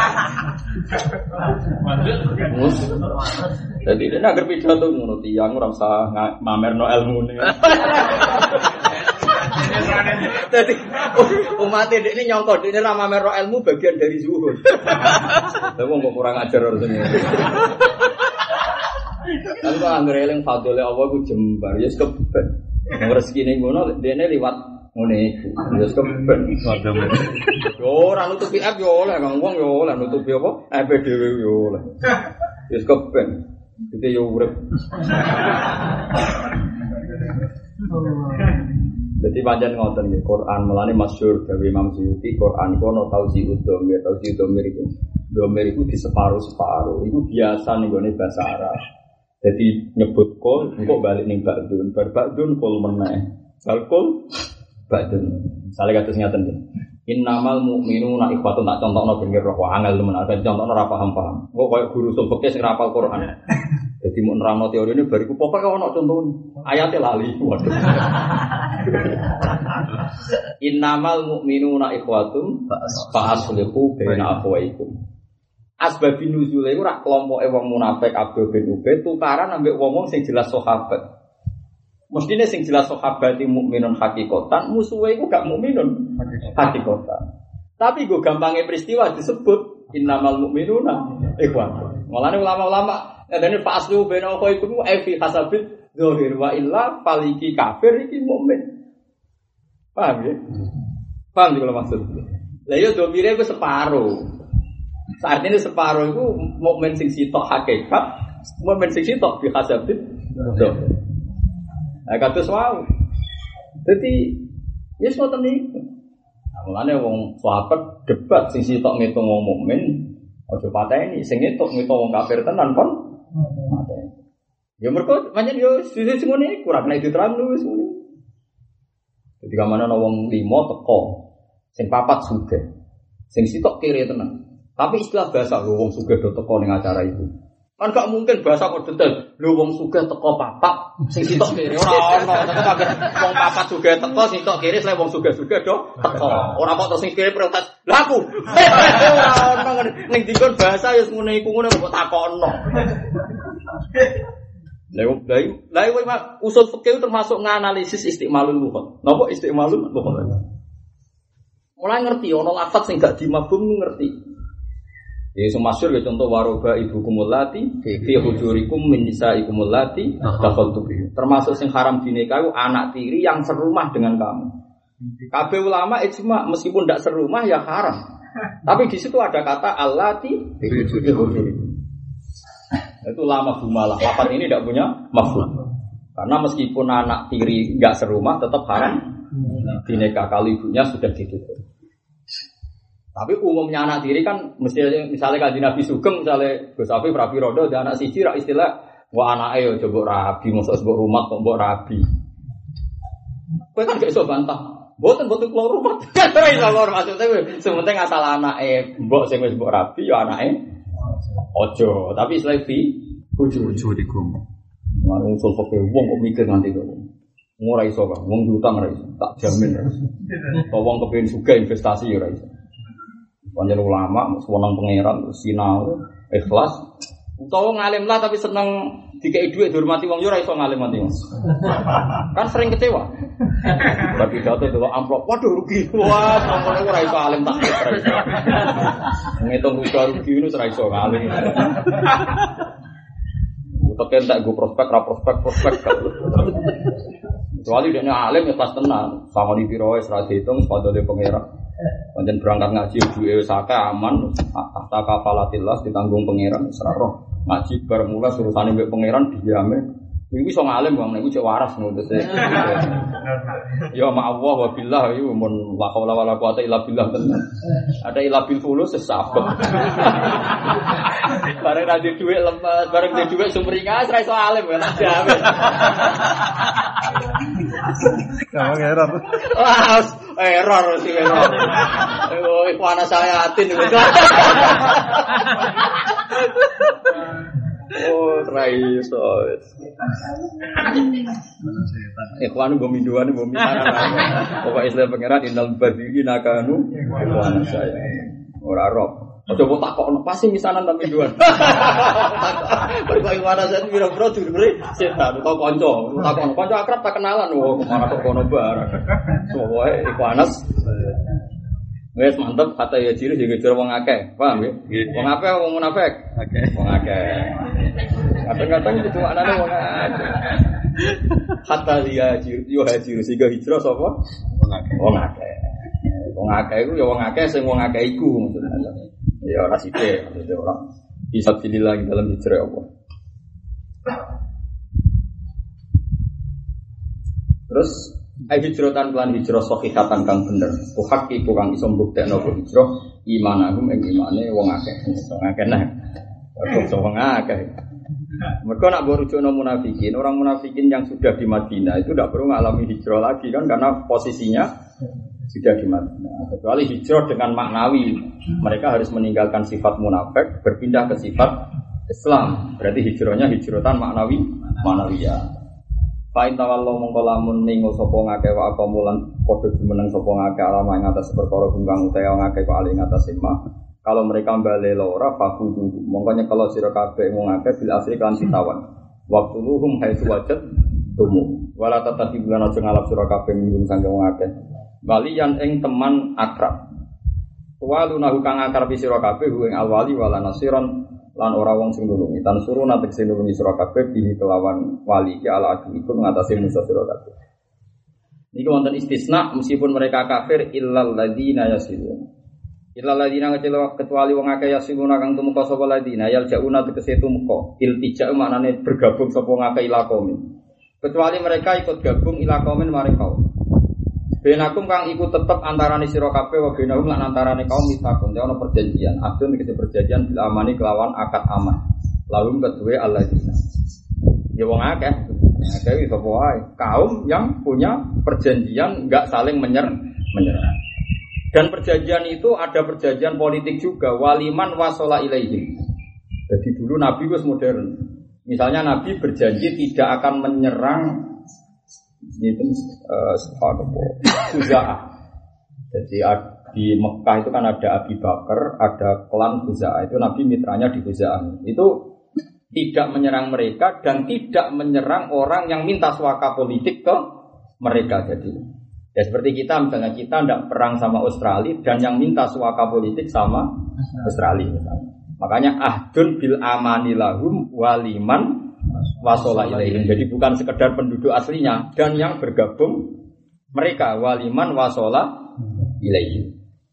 Mus. Jadi dia nak berpidato ngono tiyang ora usah mamerno ilmune. Jadi umat ini nyongkok ini ramah merok ilmu bagian dari zuhud. Tapi kok kurang ajar harusnya. Tapi kalau anggere eling fadhole Allah ku jembar ya keben. Wong rezekine ngono dene liwat ngene iku. Ya keben. Yo ora nutupi app yo oleh kang wong yo oleh nutupi apa? App dhewe yo oleh. Ya keben. Dite yo urip. Jadi pancen ngoten nggih Quran melane masyhur dewe Imam Suyuti Quran iku ana tauzi'ud dhamir tauzi'ud dhamir iku dhamir iku di separo-separo iku biasa ning gone basa Arab. Jadi nyebut kol engko balik ning ba'dun bar ba'dun kol meneh. Bal kol ba'dun. Misale kados ngaten nggih. Innamal mu'minuna ikhwatun tak contohno ben roh angel temen ada contohno ora paham-paham. Engko koyo guru usul fikih sing rapal Quran. Jadi mau nerangno teorine bariku pokoke ono contone. Ayate lali. Waduh. Innamal mu'minuna ikhwatun fa aslihu baina akhwaikum. Asbabun nuzule iku rak kelompoke wong munafik Abdul bin Ubay tukaran ambek wong-wong sing jelas sahabat. Mestine sing jelas sahabat iki mukminun hakikatan, musuhe iku gak mukminun hakikatan. Tapi go gampange peristiwa disebut innamal mu'minuna ikhwatun. Mulane ulama-ulama ngene fa aslihu baina akhwaikum ai fi hasabil zahir wa illa faliki kafir iki mukmin. Paham ya? Paham juga maksud. Lah yo domire ku separo. Saat ini separuh itu mukmin sing sitok hakikat, mukmin sing sitok bi hasabit. Nah kados wae. Dadi ya ngoten niku. Nah, mulane wong sahabat debat sing sitok ngitung wong mukmin, aja pateni sing ngitung ngitung wong kafir tenan kon. Pateni. Ya mergo pancen yo sisi sing ngene kurang nek diterangno wis ngene. Ketika mana wong lima teko, sing papat sugih, sing sitok kiri tenan. Tapi istilah bahasa lho wong sugih do teko ning acara itu. Kan gak mungkin bahasa kok detail. Lho wong sugih teko papat, sing sitok kiri ora ono. Tapi wong papat sugih teko, sing sitok kiri selain wong sugih-sugih do teko. Ora kok terus sing kiri protes. Lah aku. Ora ono ning dikon bahasa ya ngene iku ngono kok takokno. Lah lah lah usul fikih termasuk nganalisis istimalul lughat. Napa istimalul lughat? Mulai ngerti ono lafaz sing gak dimafhum ngerti. Ya masyhur ya contoh waroba ibukumul lati fi hujurikum min nisaikumul lati dakhaltu bihi. Termasuk sing haram dinikahi anak tiri yang serumah dengan kamu. Kabeh ulama ijma meskipun tidak serumah ya haram. Tapi di situ ada kata allati fi hujurikum. Itu lama bumalah. Lafaz ini tidak punya mafhum. Karena meskipun anak tiri enggak serumah tetap haram dinikah kalau ibunya sudah ditutup. Tapi umumnya anak tiri kan mesti misalnya Kanjeng Nabi Sugeng misalnya Gus Afif Rabi Rodo dan anak siji ra istilah wa anake yo coba rabi mosok sebut rumah kok mbok rabi. Kowe kan gak iso bantah. Mboten mboten keluar rumah. Ora iso keluar maksudnya sementing asal anake mbok sing wis mbok rabi yo anake ojo. Tapi istilah fi bojo dikum. Manung usul fikih wong kok mikir nanti kok. Ora iso kok wong diutang ora iso. Tak jamin ora iso. Kok wong kepengin sugih investasi ora iso. Panjen ulama, sewenang pangeran, sinau, ikhlas. Utawa ngalim lah tapi seneng dikei duit dihormati wong yo ora iso ngalim mati. Kan sering kecewa. Bagi jatuh delok amplop, waduh rugi. Wah, sampeyan ora iso alim tak ora iso. Ngitung rugi ngono ora iso ngalim. Teken tak go prospek ra prospek prospek. Kecuali dia alim ya pas tenang, sama di biro wis ra diitung padha pangeran. Pancen berangkat ngaji duwe sake aman, tahta kafalatillah ditanggung pangeran wis ra roh. Ngaji bar mulai urusane mbek pangeran diame. Kuwi iso ngalim wong niku cek waras ngono terus. Ya ma'allah wa billah iku mun la haula wala quwata illa billah tenan. Ada ila bil fulus sesabek. Bareng ra di dhuwit lemes, bareng di dhuwit sumringah ra iso alim ya tak jamin. Kamu error. Wah, error sih error. Oh, iku ana saya atin. Oh, raiso. Ikhwan go minduan go minara. Pokoke Islam pangeran innal badiri nakanu ikhwan saya. Ora roh. Coba takok pasti misanan tapi dua. Berbagai mana saya biro-biro dulu setan atau konco, takok konco akrab tak kenalan, wah kemana kok kono barang. Semua iku Anas. Wes mantep kata ya ciri juga ciri wong akeh, paham ya? Wong akeh wong munafik. Wong akeh. Kadang-kadang itu cuma anane wong akeh. Kata dia ciri yo ciri sehingga hijrah sapa? Wong akeh. Wong akeh. Wong akeh iku ya wong akeh sing wong akeh iku maksudnya. Ya ora sithik, maksudnya orang bisa pilih lagi dalam hijrah apa. Terus ai hijratan lan hijrah sahihatan kang bener. Tuhak iku kang iso mbuktekno hijrah imanahum ing imane wong akeh. Wong akeh nah. Wong akeh. Mereka nak berujukno munafikin, orang munafikin yang sudah di Madinah itu tidak perlu mengalami hijrah lagi kan karena posisinya sudah di Madinah. Kecuali hijrah dengan maknawi, mereka harus meninggalkan sifat munafik, berpindah ke sifat Islam. Berarti hijrahnya hijratan maknawi, maknawiyah. Fa in tawallu mongko lamun ningo sapa ngake wa apa mulan padha jumeneng sapa ngake alama ing atas perkara kungkang utawa ngake kok ali ing atas sema. Kalau mereka bali ora fakudu mongko nyekelo sira kabeh wong akeh bil asri kan sitawan. Waktu luhum haitsu wajad tumu. Wala tatati bulan aja ngalap sira kabeh minum sange wong akeh. Waliyan ing teman akrab. Walunahu kang akrab sira kabeh ing alwali wala nasiron lan ora wong sing nulungi. Tan suruh natek sing nulungi sira kabeh bihi kelawan wali ki ala aduiku ngatasi musuh sira kabeh. Niki wonten istisna meskipun mereka kafir illal ladzina yasilun. Illal ladzina kecuali wong akeh yasiluna kang tumeka sapa ladzina yal jauna tegese tumeka. Iltija maknane bergabung sapa ngakeh ilakomin. Kecuali mereka ikut gabung ilakomin maring kaum. Benakum kang iku tetep antarane sira kabeh wa benahum lan antarane kaum misakun te ana perjanjian. Abdun iki perjanjian bil amani kelawan akad aman. Lalu kedue alladzina. Ya wong akeh, akeh iso wae. Kaum yang punya perjanjian enggak saling menyerang, menyerang. Dan perjanjian itu ada perjanjian politik juga waliman wasola ilaihim. Jadi dulu Nabi wis modern. Misalnya Nabi berjanji tidak akan menyerang itu uh, subhanallah Khuza'ah. Jadi di Mekah itu kan ada Abi Bakar, ada klan Khuza'ah. Itu Nabi mitranya di Khuza'ah. Itu tidak menyerang mereka dan tidak menyerang orang yang minta suaka politik ke mereka. Jadi ya seperti kita misalnya kita tidak perang sama Australia dan yang minta suaka politik sama Australia misalnya. Makanya ahdun bil amani lahum waliman wasola ilaihim. Jadi bukan sekedar penduduk aslinya dan yang bergabung mereka waliman wasola ilaihim.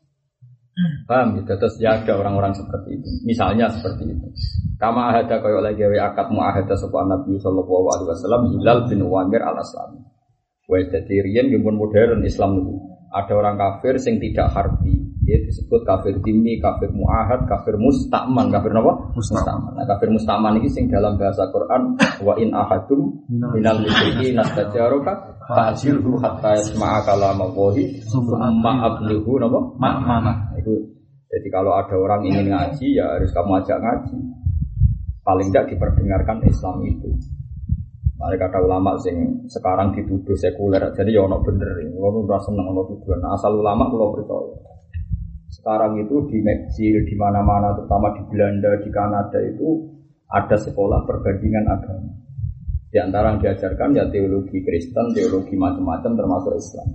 Paham gitu? Terus ya ada orang-orang seperti itu. Misalnya seperti itu. Kama ahada kaya lagi wa akad muahada sapa Nabi sallallahu alaihi wasallam Hilal bin Uwaimir al-Aslami. Wa tadiriyan gimun modern Islam itu. Ada orang kafir sing tidak harbi, dia disebut kafir dhimmi, kafir muahad, kafir musta'man, kafir napa? Musta'man. Nah, kafir musta'man iki sing dalam bahasa Quran wa in ahadum minal musyrikin nastajaruka fa'jilhu hatta yasma'a kalamallahi summa ablighu napa? Makna. Itu jadi kalau ada orang ingin ngaji ya harus kamu ajak ngaji. Paling tidak diperdengarkan Islam itu. Mereka kata ulama sing sekarang dituduh sekuler, jadi ya ono bener, ono ora seneng ono tuduhan. Nah, asal ulama kula percaya. Sekarang itu di Mesir, di mana-mana, terutama di Belanda, di Kanada itu ada sekolah perbandingan agama. Di antara yang diajarkan ya teologi Kristen, teologi macam-macam termasuk Islam.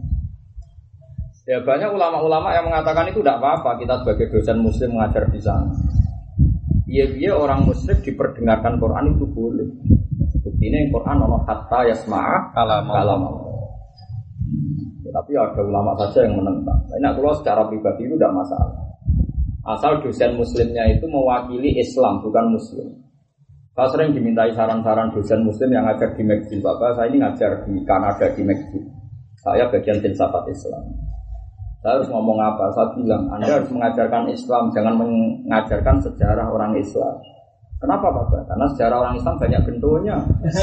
Ya banyak ulama-ulama yang mengatakan itu tidak apa-apa kita sebagai dosen Muslim mengajar di sana. Iya-iya orang Muslim diperdengarkan Quran itu boleh. Ini Quran ono hatta yasma'a kalam Allah. Ya, tapi ada ulama saja yang menentang. Nah, kalau secara pribadi itu tidak masalah. Asal dosen muslimnya itu mewakili Islam bukan muslim. Saya sering dimintai saran-saran dosen muslim yang ngajar di McGill. Bapak saya ini ngajar di Kanada di McGill. Saya bagian filsafat Islam. Saya harus ngomong apa? Saya bilang Anda harus mengajarkan Islam, jangan mengajarkan sejarah orang Islam. Kenapa Bapak? Karena sejarah orang Islam banyak bentuknya.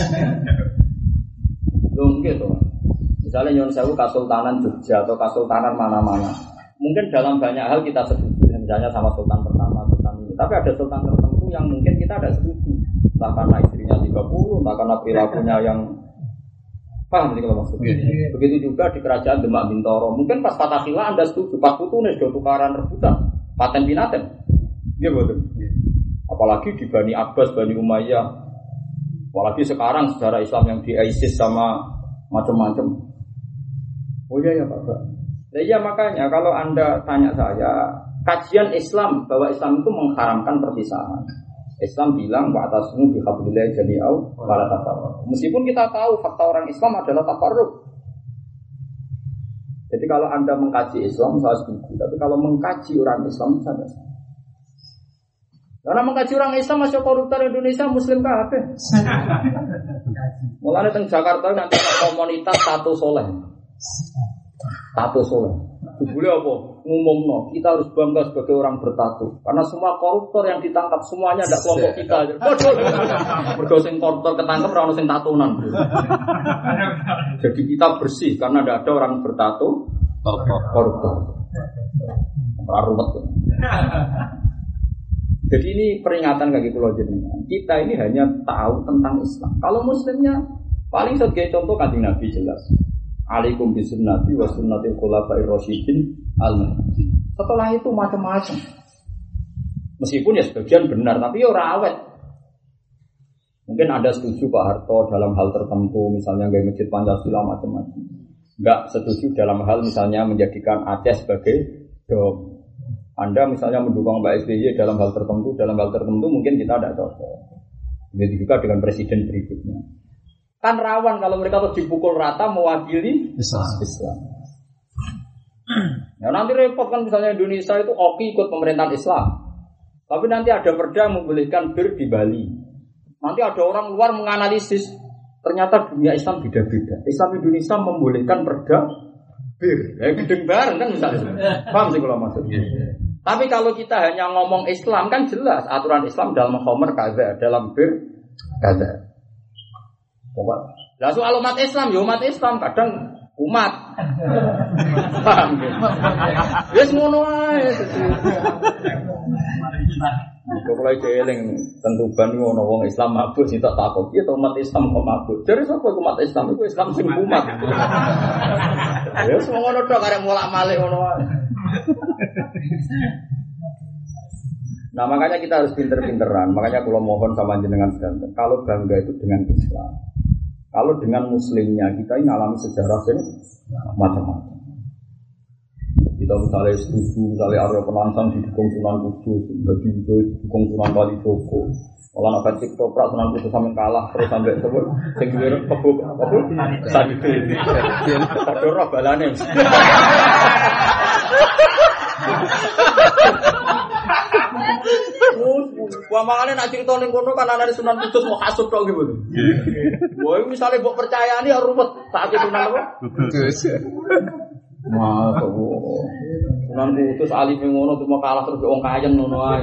Belum gitu. Misalnya Nyon Sewu Kasultanan Jogja atau Kasultanan mana-mana. Mungkin dalam banyak hal kita setuju, misalnya sama Sultan pertama, Sultan ini. Tapi ada Sultan tertentu yang mungkin kita ada setuju. Entah karena istrinya tiga puluh, entah karena perilakunya yang paham sih kalau maksudnya. Begitu juga di Kerajaan Demak Bintoro. Mungkin pas Fatahillah Anda setuju, pas Putu nih sudah tukaran rebutan, paten binaten. Iya betul. Apalagi di Bani Abbas, Bani Umayyah. Apalagi sekarang sejarah Islam yang di ISIS sama macam-macam. Oh iya ya Pak. Nah, iya makanya kalau Anda tanya saya, kajian Islam bahwa Islam itu mengharamkan perpisahan. Islam bilang wa'tasmu bihablillah jami'au wala tafarraqu. Meskipun kita tahu fakta orang Islam adalah tafarruq. Jadi kalau Anda mengkaji Islam saya setuju, tapi kalau mengkaji orang Islam saya tidak setuju. Karena mengkaji orang Islam masih koruptor Indonesia Muslim kabeh. Mulane teng Jakarta nanti komunitas tato soleh. Tato soleh. Boleh apa? Ngumumno, kita harus bangga sebagai orang bertato. Karena semua koruptor yang ditangkap semuanya ada kelompok kita. Bodoh. Mergo sing koruptor ketangkep ora ono sing tatonan. Jadi kita bersih karena tidak ada orang bertato koruptor. Ora ruwet. Jadi ini peringatan bagi pulau jenengan. Kita ini hanya tahu tentang Islam. Kalau Muslimnya paling sebagai contoh Kanjeng Nabi jelas. Alaikum bisunnati wa sunnatil khulafa'ir rasyidin al-mahdiyyin. Setelah itu macam-macam. Meskipun ya sebagian benar, tapi ya ora awet. Mungkin Anda setuju Pak Harto dalam hal tertentu, misalnya gaya masjid Pancasila macam-macam. Enggak setuju dalam hal misalnya menjadikan Aceh sebagai dom. Anda misalnya mendukung Mbak S B Y dalam hal tertentu, dalam hal tertentu mungkin kita tidak cocok. Begitu juga dengan presiden berikutnya. Kan rawan kalau mereka terus dipukul rata mewakili Islam. Islam. Ya nanti repot kan misalnya Indonesia itu oke ikut pemerintahan Islam. Tapi nanti ada perda membolehkan bir di Bali. Nanti ada orang luar menganalisis ternyata dunia Islam beda-beda. Islam Indonesia membolehkan perda bir. Ya gedeng bareng kan misalnya. Paham sih kalau maksudnya. Tapi kalau kita hanya ngomong Islam kan jelas aturan Islam dalam khomer kaza, dalam bir kaza. Lah soal umat Islam, ya umat Islam kadang umat. Paham ya? Wis ngono wae. Kok mulai jeling tentuban ngono wong Islam mabuk sing tak takok, piye to umat Islam kok mabuk? Jare sapa umat Islam iku Islam sing umat. Ya wis ngono tok arek molak-malik ngono wae. Nah makanya kita harus pinter-pinteran. Makanya kalau mohon sama jenengan sedanten, kalau bangga itu dengan Islam. Kalau dengan Muslimnya kita ini alami sejarah yang macam-macam. Kita misalnya setuju, misalnya Arya Penangsang didukung Sunan Kudus, bagi itu didukung Sunan Kalijogo. Kalau nak baca toprak Sunan Kudus sampai kalah terus sampai sebut, sehingga kebuk, kebuk, sakit. Ada roh balane. Wah makanya nak cerita ning kono kan ana Sunan Kudus mau hasud tok gitu. Wah misalnya mbok percayani ya ruwet saat itu nang apa? Kudus. Masuk. Sunan Kudus alif ngono cuma kalah terus wong kayen ngono ae.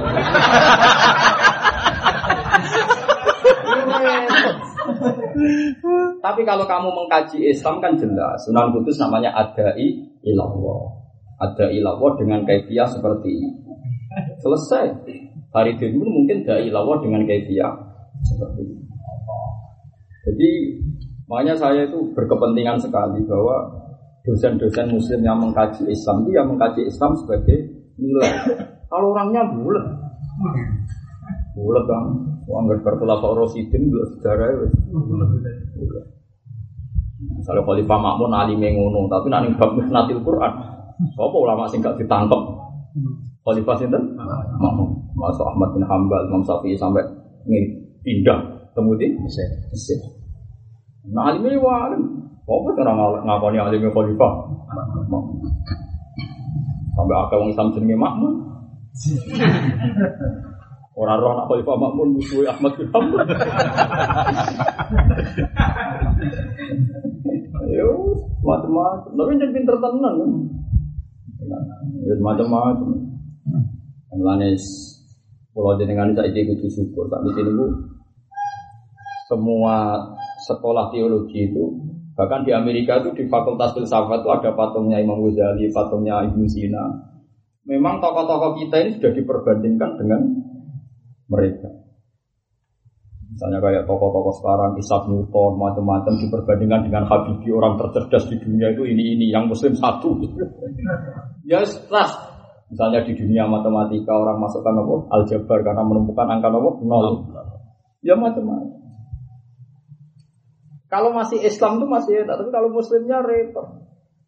Tapi kalau kamu mengkaji Islam kan jelas Sunan Kudus namanya adai ilallah. Adai ilallah dengan kaifiah seperti itu. Selesai. Hari ini mungkin dai ilallah dengan kaifiah seperti itu. Jadi makanya saya itu berkepentingan sekali bahwa dosen-dosen muslim yang mengkaji Islam itu yang mengkaji Islam sebagai nilai. Kalau orangnya bulat, bulat kan, anggap berkhulafah Rasyidin bulat sejarah itu. Misalnya Khalifah Ma'mun alim ngono, tapi nanti bab musnatil Quran, apa ulama sing gak ditangkap? Khalifah sinten? Ma'mun, masuk Ahmad bin Hanbal, Imam Syafi'i sampai pindah kemudian Mesir. Nah alimnya walim. Apa orang ngakoni alimnya Khalifah? Sampai akal orang Islam jenenge Makmun. Orang roh nak Khalifah Makmun musuh Ahmad bin Hanbal. Ayo, macam-macam. Tapi jangan pinter tenan kan? Ya macam-macam. Mulane kalau jenengan saiki kudu syukur. Sak iki niku semua sekolah teologi itu, bahkan di Amerika itu di Fakultas Filsafat itu ada patungnya Imam Ghazali, patungnya Ibnu Sina. Memang tokoh-tokoh kita ini sudah diperbandingkan dengan mereka. Misalnya kayak tokoh-tokoh sekarang Isaac Newton, macam-macam diperbandingkan dengan Habibie, orang tercerdas di dunia itu ini ini yang Muslim satu. Ya jelas. Misalnya di dunia matematika orang masukkan apa? Aljabar karena menemukan angka apa? Nol. Ya macam-macam. Kalau masih Islam itu masih enak, tapi kalau Muslimnya repot.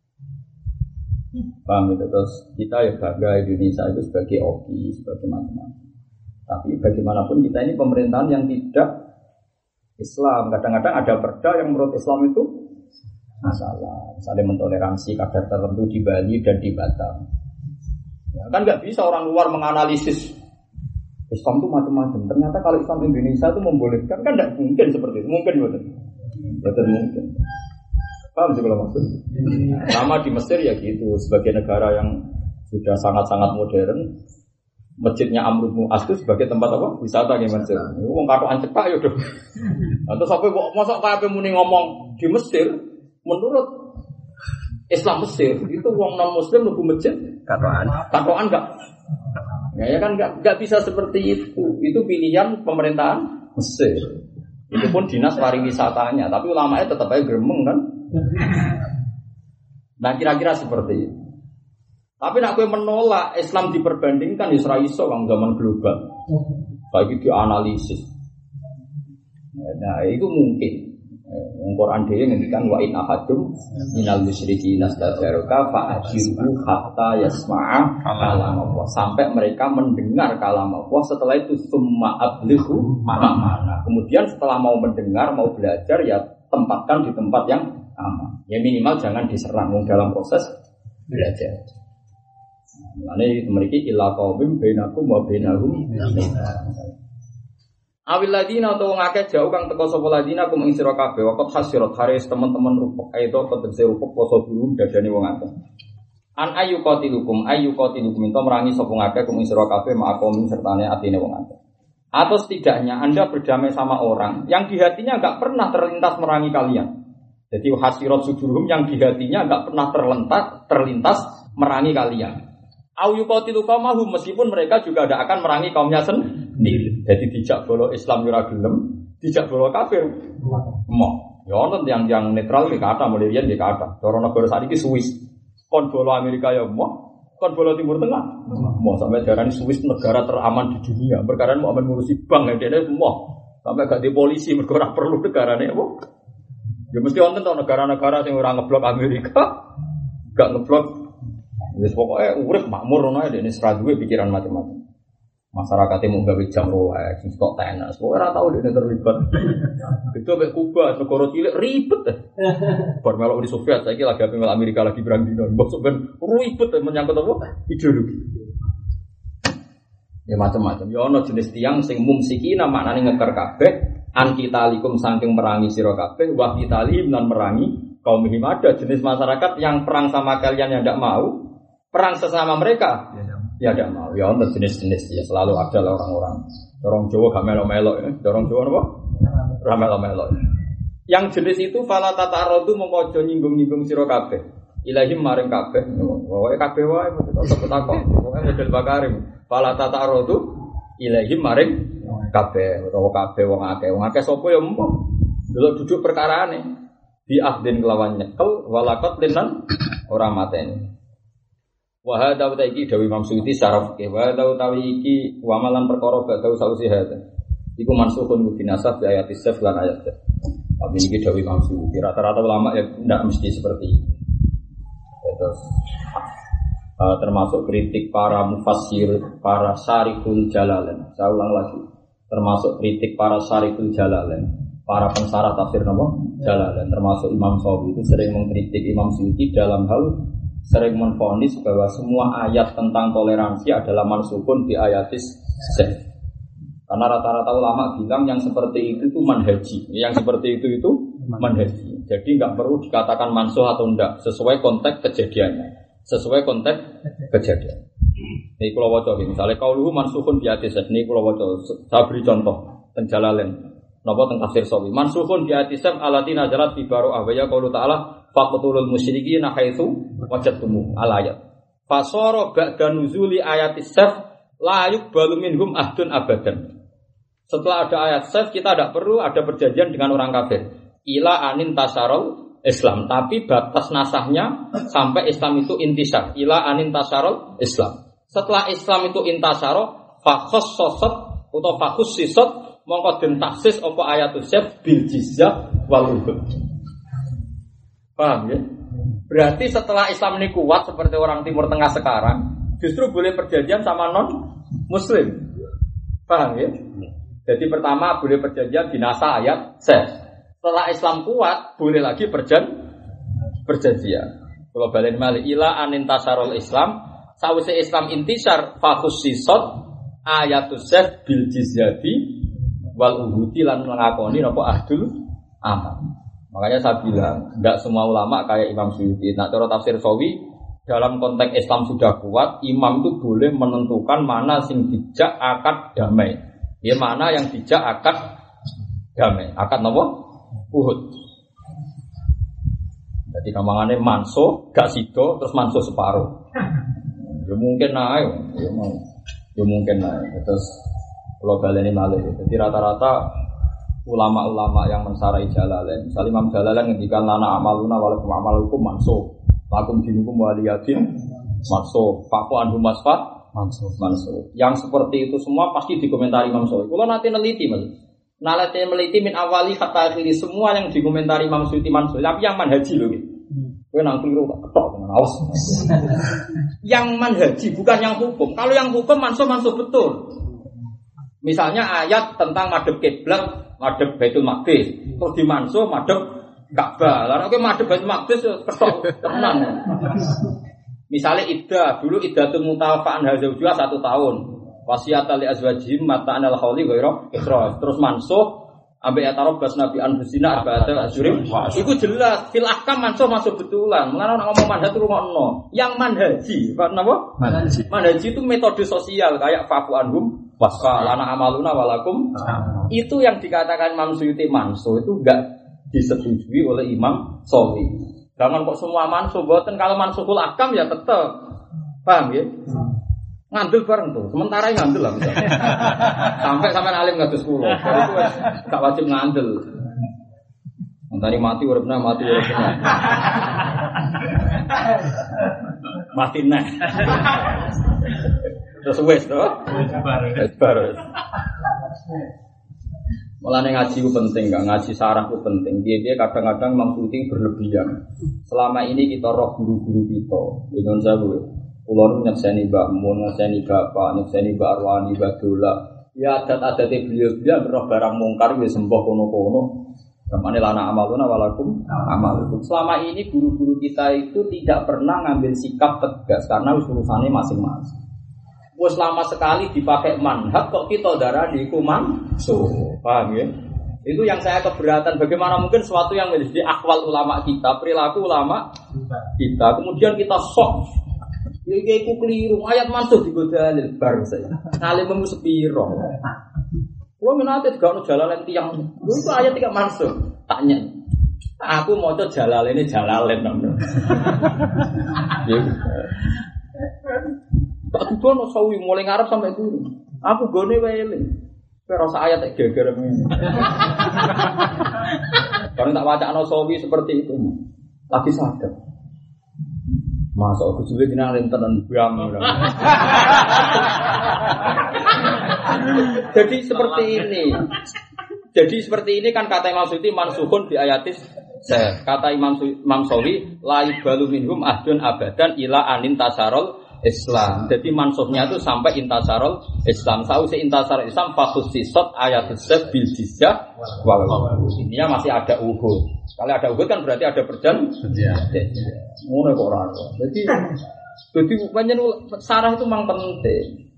Paham itu? Terus kita ya bangga Indonesia itu sebagai O K I, sebagai macam-macam. Tapi bagaimanapun kita ini pemerintahan yang tidak Islam. Kadang-kadang ada perda yang menurut Islam itu masalah. Misalnya mentoleransi kadar tertentu di Bali dan di Batam. Ya, kan nggak bisa orang luar menganalisis Islam itu macam-macam. Ternyata kalau Islam Indonesia itu membolehkan, kan tidak mungkin seperti itu. Mungkin betul, betul mungkin. Paham sih kalau maksud? Sama di Mesir ya gitu. Sebagai negara yang sudah sangat-sangat modern, masjidnya Amr bin As itu sebagai tempat apa? Wisata di Mesir. Ini wong katokan cepak ya udah. Atau sampai kok mosok kabeh muni ngomong di Mesir menurut Islam Mesir itu wong non muslim mlebu masjid Katoan. Katokan enggak? Ya, ya kan enggak enggak bisa seperti itu. Itu pilihan pemerintahan Mesir. Itu pun dinas pariwisatanya, tapi ulamanya tetap aja gremeng kan? Nah kira-kira seperti itu. Tapi nak gue menolak Islam diperbandingkan Israel orang zaman global, baik itu analisis. Nah itu mungkin. Al-Quran dia ngendikan wa in ahadum minal musyrikin nastajaruka fa'ajiru hatta yasma'a kalam Allah, sampai mereka mendengar kalam Allah. Setelah itu summa ablighu ma'amana. Kemudian setelah mau mendengar, mau belajar, ya tempatkan di tempat yang aman. Ya minimal jangan diserang dalam proses belajar. Ini memiliki illa qaumim bainakum wa bainahum. Awil ladina atau ngake jauh kang teko sapa ladina kum ing sira kabeh waqt hasirat haris teman-teman rupuk aito tegese rupuk poso dulu dadane wong akeh. An ayu qatilukum ayu qatilukum ento merangi sapa ngake kum ing sira kabeh ma'akum sertane atine wong akeh. Atau setidaknya Anda berdamai sama orang yang di hatinya enggak pernah terlintas merangi kalian. Jadi hasirat sudurum yang di hatinya enggak pernah terlintas terlintas merangi kalian. Au yuqatilukum mahum, meskipun mereka juga tidak akan merangi kaumnya sendiri. Jadi dijak bolo Islam ora gelem, dijak bolo kafir. Mo, ya ono yang yang netral iki kata mulai riyen iki kata. Cara negara saiki Swiss. Kon bolo Amerika ya mo, kon bolo Timur Tengah. Mo sampai darani Swiss negara teraman di dunia. Perkara mau aman ngurusi bank ya dene mo. Sampai gak di polisi mergo ora perlu negarane apa. Ya mesti wonten to negara-negara sing ora ngeblok Amerika, gak ngeblok. Wis pokoke urip makmur ngono ae dene ora duwe pikiran macam-macam. Masyarakatnya mau gawe jam Rolex, stok tenis, pokoknya ora tau dene terlibat. Itu mek Kuba, negara cilik ribet deh. Bar melok Uni Soviet saiki lagi apel Amerika lagi perang dino. Mbok ben ribet menyangkut apa? Ideologi. Ya macam-macam. Ya ana jenis tiyang sing mumsikina maknane ngeker kabeh, an kitalikum saking merangi sira kabeh, wa kitalim lan merangi kaum himada, jenis masyarakat yang perang sama kalian yang ndak mau. Perang sesama mereka, ya tidak mau. Ya untuk jenis-jenis ya selalu ada lah orang-orang. Dorong Jawa gak melo-melo ya. Dorong Jawa apa? Ramelo-melo. Yang jenis itu fala tatarodu mengkojo nyinggung-nyinggung sira kabeh. Ilahim maring kabeh. Pokoke kabeh wae tetep takon. Pokoke model bakarim. Fala tatarodu ilahim maring kabeh. Utawa kabeh wong akeh. Wong akeh sapa ya empuk. Delok duduk perkarane. Bi ahdin kelawan nyekel walakot linan ora mateni. Wa hadza utaiki dawi Imam Suyuti syaraf ke wa hadza utawi iki wa malan perkara badau sausi hadza iku mansukhun binasab di ayat isaf lan ayat. Tapi iki dawi Imam Suyuti rata-rata ulama ya tidak mesti seperti itu. Terus uh, termasuk kritik para mufassir, para syarihul jalalain. Saya ulang lagi. Termasuk kritik para syarihul jalalain, para pensarah tafsir nama Jalalain, termasuk Imam Sawi itu sering mengkritik Imam Suyuti dalam hal sering menfonis bahwa semua ayat tentang toleransi adalah mansukun di ayatis seh. Karena rata-rata ulama bilang yang seperti itu itu manhaji, yang seperti itu itu manhaji. Jadi nggak perlu dikatakan mansuh atau enggak, sesuai konteks kejadiannya, sesuai konteks kejadian. Ini kalau wajah, misalnya kauluhu mansuhun di ayatis seh. Ini kalau wajah, saya beri contoh Jalalain. Napa teng tafsir Sawi mansukhun bi atisam alatina jalat fi baru ahwaya qaulu ta'ala faqtulul musyrikina haitsu wajadtum al ayat fasara ba'da nuzuli ayatis saf la yuqbalu minhum ahdun abadan. Setelah ada ayat saf kita tidak perlu ada perjanjian dengan orang kafir ila anin tasarul Islam, tapi batas nasahnya sampai Islam itu intisar ila anin tasarul Islam. Setelah Islam itu intasaro, fakhossosot atau fakhussisot mongko den taksis apa ayatus syaf bil jizyah wal uhud. Paham ya? Berarti setelah Islam ini kuat seperti orang Timur Tengah sekarang, justru boleh perjanjian sama non Muslim. Paham ya? Jadi pertama boleh perjanjian dinasa ayat syaf. Setelah Islam kuat, boleh lagi perjan perjanjian. Kalau balen mali ila anintasarul Islam, sawise Islam intisar fakhussisot ayatus syaf bil jizyati wal uhudi lan ngakoni napa ahdul aman. Makanya saya bilang, enggak semua ulama kayak Imam Suyuti. Nah, cara tafsir Sawi dalam konteks Islam sudah kuat, imam itu boleh menentukan mana sing dijak akad damai. Ya mana yang dijak akad damai. Akad napa? Uhud. Jadi kamangane manso gak sido terus manso separuh. Ya mungkin naik, ya mau. Ya mungkin naik. Terus kalau baleni malih. Jadi rata-rata ulama-ulama yang mensarai Jalalain, misalnya Imam Jalalain ngendikan lana amaluna walakum amalukum mansuh, lakum dinukum waliyadin mansuh, faku anhum masfat mansuh, mansuh. Yang seperti itu semua pasti dikomentari Imam Suyuti. Kalau nanti neliti mas, nanti meliti min awali hatta akhiri semua yang dikomentari Imam Suyuti mansuh. Tapi yang manhaji loh, gue nang keliru tak ketok dengan awas. Yang manhaji bukan yang hukum. Kalau yang hukum mansuh mansuh betul. Misalnya ayat tentang madhep kiblat, madhep Baitul Maqdis, terus dimansuh madhep Ka'bah. Lah nek madhep Baitul Maqdis ketok tenan. Misalnya iddah, dulu iddatul mutawafa'an hazaujuha satu tahun. Wasiatan li azwajihim mata'an al-khawli ghairu ikhraj. Terus mansuh ambek atarobas nabi anfusina arba'ata asyurim. Iku jelas fil ahkam mansuh masuk betulan. Mulane nek ngomong manhaj itu rungokno. Yang manhaji, Pak napa? Manhaji. Manhaji itu metode sosial kayak faku anhum wasfa lana amaluna walakum. Itu yang dikatakan Imam Suyuti mansuh itu enggak disetujui oleh Imam Sawi. Jangan kok semua mansuh, boten kalau mansuhul ahkam ya tetap. Paham ya? Ngandel bareng tuh. Sementara ngandel lah misalnya. Sampai sampai alim ngatus kulo. Jadi itu gak wajib ngandel. Mentari mati uripna mati uripna. Mati nah. Terus wes to. Wes bar. Mulane ngaji ku penting, gak ngaji sarah ku penting. Dia-dia kadang-kadang mengikuti berlebihan. Selama ini kita roh guru-guru kita. Ingon sawu. Kulo nyekseni Mbak Mun, nyekseni Bapak, nyekseni Mbak Arwani, Mbak Dola. Ya adat-adate beliau-beliau roh barang mungkar wis sembah kono-kono. Kamane lana amaluna walakum amalukum. Selama ini guru-guru kita itu tidak pernah ngambil sikap tegas karena urusannya masing-masing. Wes lama sekali dipakai manhaj kok kita darani iku mansuh. Paham ya? Itu yang saya keberatan. Bagaimana mungkin sesuatu yang menjadi akwal ulama kita, perilaku ulama kita, kemudian kita sok. Iki iku keliru, ayat mansuh digodalil bar saya. Ngalim sepiro. Kulo menate gak ono jalalen tiyang. Lho itu ayat tidak mansuh. Tanya. Aku maca jalalene jalalen nang. Ya. Tak dudono sawi mulai ngarep sampai guru. Aku gone wae eling. Kowe rasa ayat tak geger ngene. Karena tak wacana sawi seperti itu. Lagi sadar. Masa aku juga dina lenten bram. Jadi seperti ini. Jadi seperti ini kan kata Imam Suyuti mansuhun bi ayatis. Kata Imam Imam Sawi la yubalu minhum ahdun abadan ila anin tasarul Islam. Jadi mansuhnya itu sampai intasarul Islam. Sause intasarul Islam fakhussisat ayatus syaf bil jizyah wal ini masih ada uhud. Kalau ada uhud kan berarti ada perjanjian. Ngono kok ora. Jadi jadi panjen sarah itu memang penting.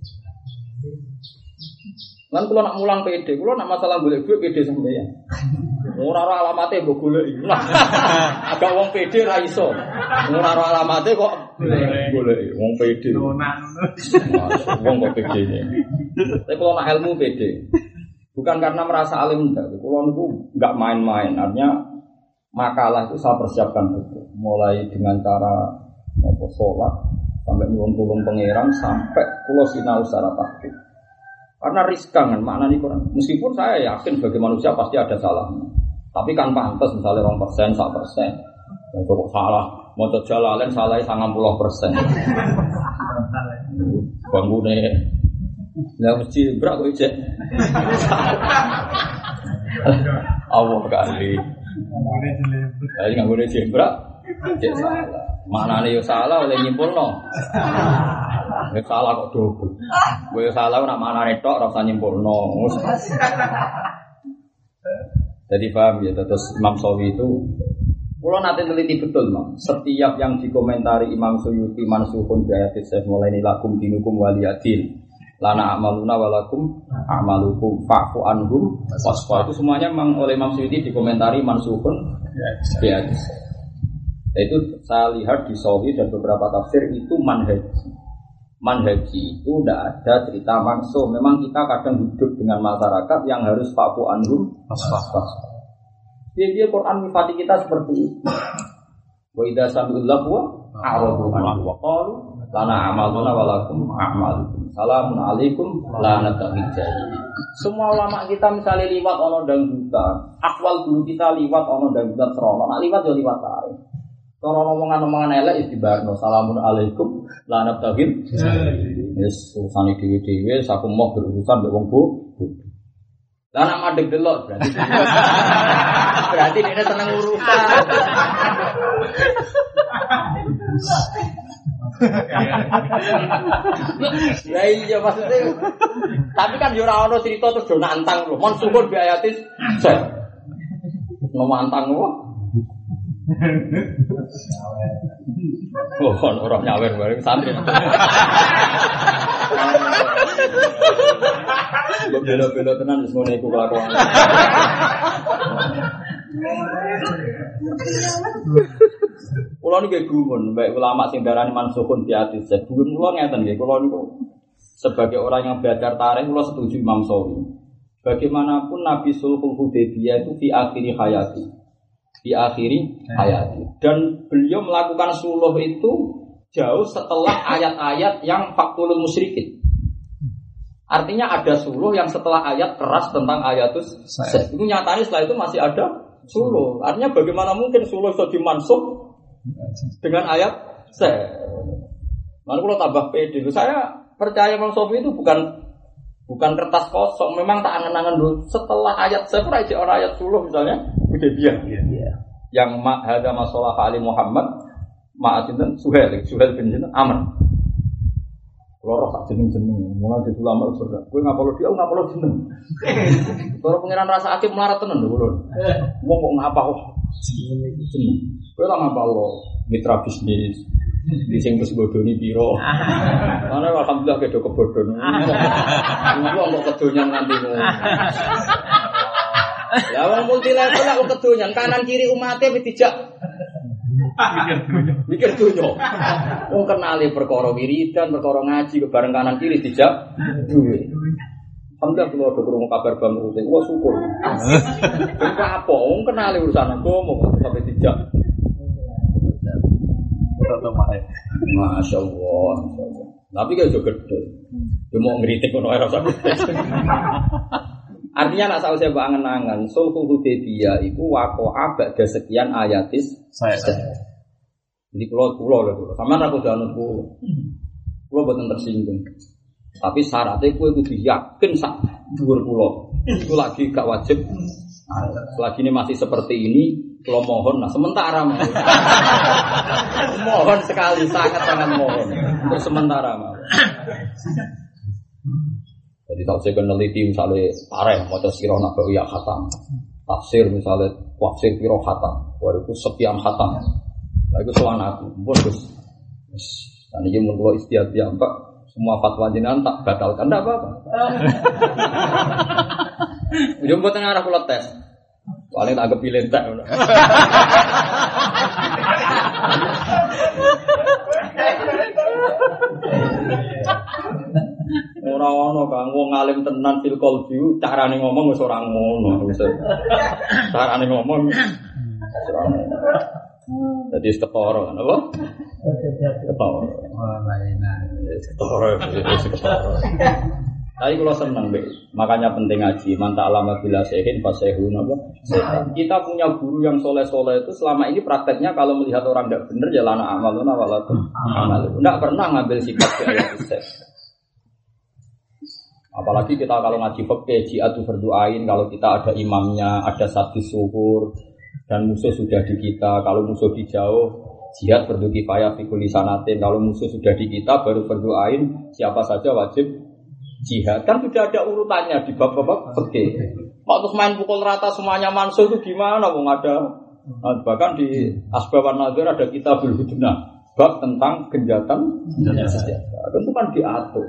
Lan kula nak mulang P D, kula nak masalah golek duit P D sampeyan. Ora ora alamate mbok goleki. Agak wong P D ra iso. Ora ora alamate kok goleki wong P D. Wong kok P D-ne. Tapi kula nak ilmu P D. Bukan karena merasa alim enggak. Kula niku enggak main-main. Artinya makalah itu saya persiapkan betul. Mulai dengan cara apa sholat sampai nyuwun tulung pangeran sampai kula sinau secara taktik. Karena riskan kan maknanya Quran. Meskipun saya yakin sebagai manusia pasti ada salahnya. Tapi kan pantas misalnya dua persen, satu persen. Untuk salah, mau Jalalain salahnya sembilan puluh persen. Bangune. Lah mesti brak kok cek. Allah kali. Lah nggak boleh jebrak. Cek salah. Maknane yo salah oleh nyimpulno. Nek salah kok dobel. Kowe salah ora maknane tok ora usah nyimpulno. Jadi paham ya, terus Imam Sawi itu kalau nanti teliti betul, Mam. Setiap yang dikomentari Imam Suyuti mansukhun bi ayatis sayf mulai ini lakum dinukum waliyadin lana amaluna walakum amalukum fa'fu anhum wasfa itu semuanya memang oleh Imam Suyuti dikomentari mansukhun bi ayatis. Itu saya lihat di Sawi dan beberapa tafsir itu manhaji. Manhaji itu tidak ada cerita mansuh. Memang kita kadang hidup dengan masyarakat yang harus fa'fu anhum wasfa. Dia Quran mifati kita seperti itu. Wa idza sami'ul lahwa a'radu anhu wa qalu lana amaluna wa lakum a'malukum. Salamun alaikum la nattabi'ul jahilin. Semua ulama kita misalnya liwat ana dangdutan, akwal guru kita liwat ana dangdutan serono, nak liwat yo liwat ae. Cara omongan-omongan elek istibarno salamun alaikum la nattabi'ul jahilin. Wis urusane dhewe-dhewe saku mau berurusan mbek wong bodoh. Lah nak madeg delok berarti berarti dia seneng urusan. Lah iya maksudnya. Tapi kan yo ora ono cerita terus do nantang lho. Mon syukur bi ayatis. No mantang lho. Oh, orang nyawer bareng santri. Bela-bela tenan wis ngene iku kelakuan. Kula niku gumun, baik ulama sing darani mansukhun bi hadis. Gumun kula ngeten nggih, kula niku sebagai orang yang belajar tarikh kula setuju Imam Sawi. Bagaimanapun Nabi Sulhul Hudaybiyah itu di akhiri hayati. Di akhiri hayati. Dan beliau melakukan suluh itu jauh setelah ayat-ayat yang faktulul musyrikin. Artinya ada suluh yang setelah ayat keras tentang ayatus seh. Itu nyatanya setelah itu masih ada suluh. Artinya bagaimana mungkin suluh itu dimansuh dengan ayat seh. Lalu kalau tambah pede, saya percaya Imam Sofi itu bukan bukan kertas kosong. Memang tak angan-angan dulu. Setelah ayat seh pun aja orang ayat suluh misalnya Hudaybiyah. Yeah. Yang ma hada masalah Ali Muhammad ma'asinten Suhail, Suhail bin Jinten Amr. Loro sak jeneng-jeneng, mulai di ulama berat. Kowe ngapalo dia, ngapalo jeneng. Kalau pengiran rasa aktif melarat tenan lho, Lur. Wong kok ngapal jeneng. Kowe ora ngapalo mitra bisnis. Di sing wis bodoni pira. Ana alhamdulillah kedo kebodhon. Wong kok kedonyan nganti ngono. Ya wong multilevel kok kedonyan kanan kiri umate wis dijak mikir dunya. Wong kenali perkara wiridan, perkara ngaji bareng kanan kiri dijak duwe. Alhamdulillah kula ada krungu kabar bang rutin. Wah syukur. Kok apa wong kenali urusan agama sampai dijak. Masya Allah. Tapi kan juga gede. Dia mau ngeritik kono era sampai. Artinya nak saya angen-angen Sulhul Hudaybiyah itu waqa'a ba'da sekian ayatis saya. Jadi pulau pulau lah pulau. Sama aku jangan pulau. Pulau bukan tersinggung. Tapi syaratnya kue kudu yakin sak dhuwur pulau. Itu lagi gak wajib. Selagi ini masih seperti ini, pulau mohon. Nah sementara mohon. Mohon sekali, sangat sangat mohon. Untuk sementara mohon. Jadi tak saya meneliti misalnya tareh, macam sirah nabawiyah khatam, tafsir misalnya tafsir piro khatam, walaupun sekian khatam, nah itu soal aku, bonus. Dan ini menurut istiadat ya mbak, semua fatwa jenengan tak batalkan, tidak apa-apa. Ujung buat tengah arah pulau tes, paling tak kepilih tak. Ora ono Kang wong alim tenan fil qalbi carane ngomong wis ora ngono wis. Carane ngomong ora ngono. Dadi ketara apa? Ketara. Oh, lainah. Ketara wis ketara. Tapi kalau seneng be, makanya penting ngaji. Manta alama bila sehin fasehun apa? Kita punya guru yang soleh-soleh itu selama ini prakteknya kalau melihat orang tidak benar jalan amaluna walaupun amal. Tidak pernah ngambil sikap kayak itu. Apalagi kita kalau ngaji fikih, jihad berdoain kalau kita ada imamnya, ada satgas syukur dan musuh sudah di kita. Kalau musuh di jauh, jihad fardu kifayah fi kulli sanatin. Kalau musuh sudah di kita baru berdoain siapa saja wajib jihad. Kan sudah ada urutannya di bab-bab fikih. Mau terus main pukul rata semuanya mansuh itu gimana? Wong ada nah, bahkan di Asbaban Nazir ada kitabul hudnah bab tentang genjatan senjata. Itu kan diatur.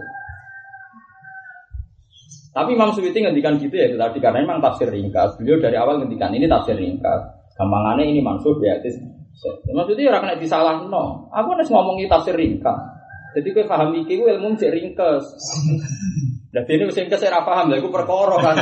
Tapi Imam Suyuti ngendikan gitu ya itu tadi karena memang tafsir ringkas. Beliau dari awal ngendikan ini tafsir ringkas. Gampangannya ini mansuh ya itu. Maksudnya orang kena disalah no. Aku harus ngomongi tafsir ringkas. Jadi kowe paham iki ku ilmu cek ringkes. Lah dene wis ringkes ora paham lha iku perkara kan.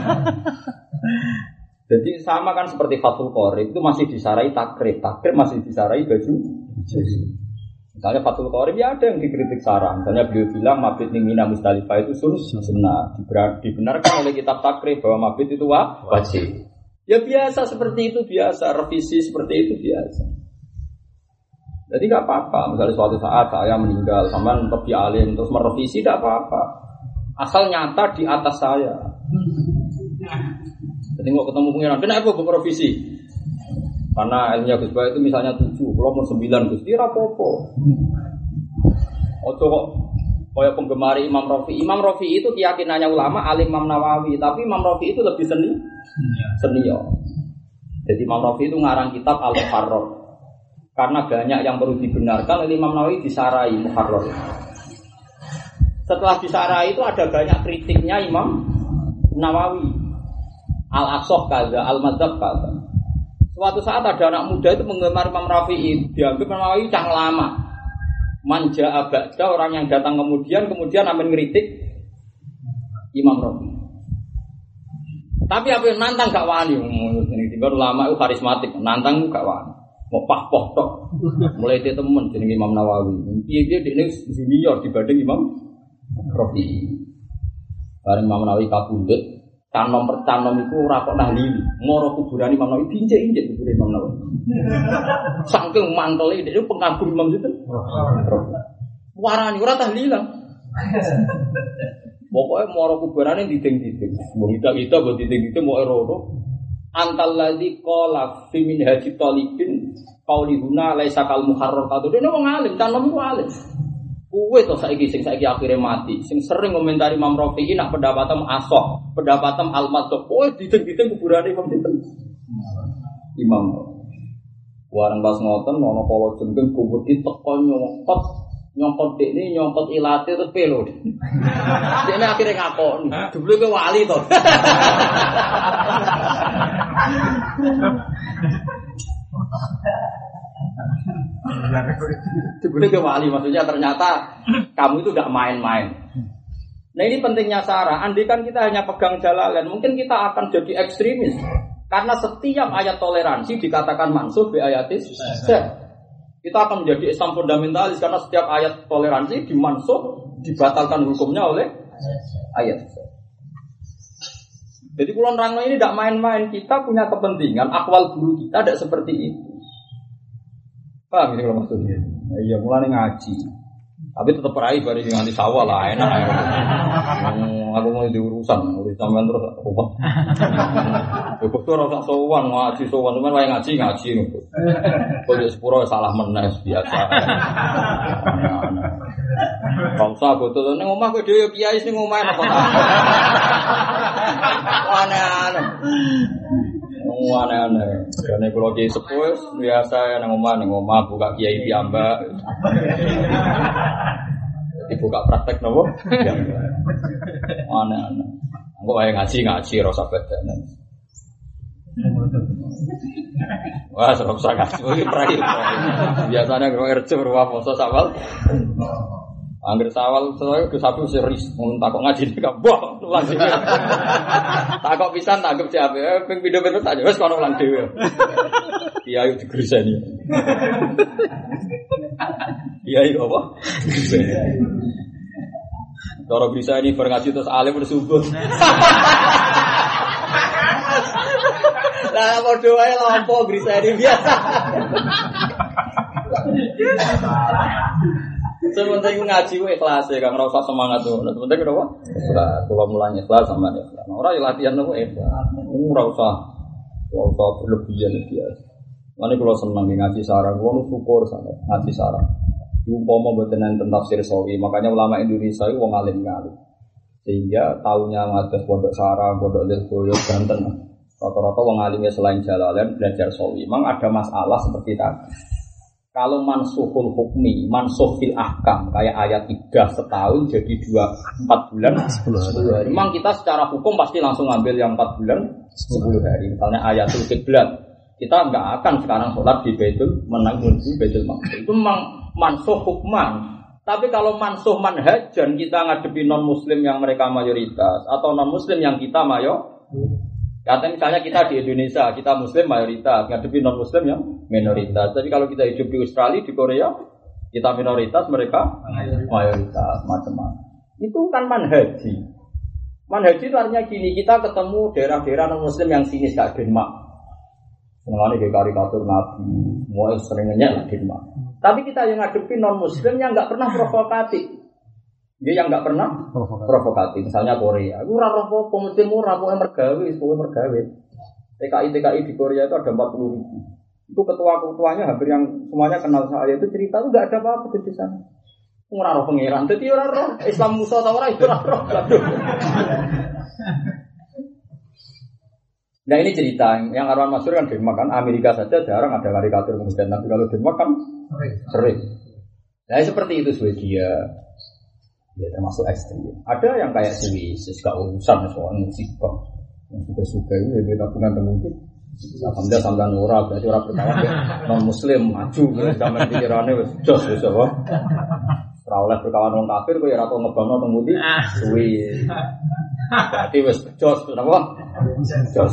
Jadi sama kan seperti Fathul Qorib itu masih disarai takrib, takrib masih disarai baju. Misalnya Fathul Qorib ya ada yang dikritik sarang. Misalnya beliau bilang mabit ning Mina Musdalifah itu sunnah, dibenarkan oleh kitab takrib bahwa mabit itu wajib. Ya biasa seperti itu biasa, revisi seperti itu biasa. Jadi tidak apa-apa, misalnya suatu saat saya meninggal, sama lebih alim, terus merevisi tidak apa-apa. Asal nyata di atas saya. Jadi nggak ketemu pengiran, kenapa gue merevisi? Karena ilmunya Gus Baik itu misalnya tujuh, kalau mau sembilan Gus, dia rapopo. Ojo kok, kayak penggemar Imam Rafi. Imam Rafi itu keyakinannya ulama, alim Imam Nawawi, tapi Imam Rafi itu lebih seni, senior. Jadi Imam Rafi itu ngarang kitab Al-Muharrar. Karena banyak yang perlu dibenarkan oleh Imam Nawawi disarai Muharrar. Setelah disarai itu ada banyak kritiknya Imam Nawawi. Al-Aqsah kaza, Al-Madzhab kaza. Suatu saat ada anak muda itu menggemar Imam Rafi'i, dianggap Imam Nawawi cang lama. Manja abada orang yang datang kemudian kemudian akan ngeritik Imam Rafi'i. Tapi apa yang nantang gak wani, ini tiba ulama itu karismatik, nantang gak wani. Mau pah-poh tok. Mulai itu temen jeneng Imam Nawawi. Dia dia junior dibanding Imam Rafi'i. Bareng Imam Nawawi kabundut, canom per canom itu ora kok nahlili. Ngoro kuburan Imam Nawawi diinjek-injek kuburan Imam Nawawi. Saking mantele dia pengagum Imam itu. Warani ora tahlilan. Pokoknya ngoro kuburane diding-diding. Mbok kita-kita mbok diding-diding mau ero. Antal ladzi qala fi minhajit talibin qaulihuna laisa kal muharrar kado dene wong alim canom iku alim kuwe to saiki sing saiki akhire mati sing sering komentari Imam Rafi'i nak pendapatem asok pendapatem al-madzhab kowe dideng-dideng kuburane Imam sinten Imam warang pas ngoten ana kala jengking kubur diteko nyongkot nyongkot dekne nyongkot ilate terus pelo dekne akhire ngakoni jebule kowe wali to Sebenarnya ke wali maksudnya ternyata kamu itu tidak main-main. Nah ini pentingnya Sarah. Andai kan kita hanya pegang Jalalain, mungkin kita akan jadi ekstremis. Karena setiap ayat toleransi dikatakan mansuh bi ayatis. Kita akan menjadi Islam fundamentalis karena setiap ayat toleransi dimansuh dibatalkan hukumnya oleh ayat. Jadi kulon rangno ini tidak main-main. Kita punya kepentingan. Akwal guru kita tidak seperti itu. Paham ini kalau maksudnya? Nah, iya mulai ngaji. Tapi tetap peraih bari nganti sawah lah enak. Hmm, aku mau diurusan, urus sampean terus obat. Ya kok ora usah sowan ngaji sowan, cuman wae ngaji ngaji ngono. Kok yo sepuro salah menes biasa. Kang sa botol ning omah kowe dhewe kiai sing omah apa ta? Aneh-aneh. Aneh-aneh. Dene kula kiai sepuh biasa nang omah ning omah buka kiai piyambak. Dibuka praktek nopo? Aneh-aneh. Engko wae ngaji-ngaji ora usah bedanan. Wah, serap sangat. Iki prai. Biasane karo erjo ruwah poso sawal. Angger sawal saya ke sapi serius mun takok ngaji nek boh ulang dhewe. Takok pisan tanggep jabe ping pindho-pindho tak wis kono ulang dhewe. Iya ayo digreseni. Iya iya apa? Cara bisa ini berngaji terus alim bersubuh. Lah padha wae lampo bisa ini biasa. Sementing ngaji ku ikhlas ya, Kang, ora usah semangat tuh. Sementing kenapa? Ikhlas. Kula mulai ikhlas sama ikhlas. Ora ya latihan nopo ikhlas. Ini ora usah ora usah berlebihan biasa. Mane kula seneng ngaji sarang, kula syukur sangat ngaji sarang. Umpama mboten enten tafsir sawi, makanya ulama Indonesia itu wong alim kali. Sehingga taunya ngados pondok sarang, pondok Lirboyo Banten. Rata-rata wong alimnya selain Jalalain belajar sawi. Memang ada masalah seperti tadi. Kalau mansuhul hukmi, mansuh fil ahkam, kayak ayat tiga setahun jadi dua empat bulan sepuluh hari. Memang kita secara hukum pasti langsung ambil yang empat bulan sepuluh hari. Misalnya ayatul qiblat, kita nggak akan sekarang sholat di Baitul menang di Baitul Maqdis. Itu memang mansuh hukman. Tapi kalau mansuh manhajan, kita ngadepi non muslim yang mereka mayoritas atau non muslim yang kita mayor. Kata misalnya kita di Indonesia, kita muslim mayoritas, ngadepi non muslim yang minoritas. Tapi kalau kita hidup di Australia, di Korea, kita minoritas, mereka mayoritas, macam-macam. Itu kan manhaji. Manhaji itu artinya gini, kita ketemu daerah-daerah non muslim yang sinis kayak Denmark. Mengenai karikatur Nabi, mulai seringnya lah Denmark. Tapi kita yang ngadepi non muslim yang nggak pernah provokatif. Dia yang nggak pernah provokatif. provokatif, misalnya Korea. Aku raro apa, muslim murah, pokoknya mergawe, pokoknya mergawe. T K I T K I di Korea itu ada empat puluh ribu. Itu ketua-ketuanya hampir yang semuanya kenal saya itu cerita itu nggak ada apa-apa di sana. Murah pengiran, jadi orang Islam Musa atau orang itu orang. Nah ini cerita yang Arwan Masyur kan Denmark kan, Amerika saja jarang ada karikatur kemudian, tapi kalau Denmark kan sering. Nah seperti itu Swedia. Ya termasuk ekstrim. Ada yang kayak Swiss, gak urusan soal musibah. Yang suka-suka itu ya tabungan mungkin. Alhamdulillah sampai ora berarti ora berkawan non muslim maju zaman pikirane wis jos wis apa. Ora oleh berkawan wong kafir kok ya ora tau ngebangno teng ngendi. Swiss. Berarti wis jos apa? Jos.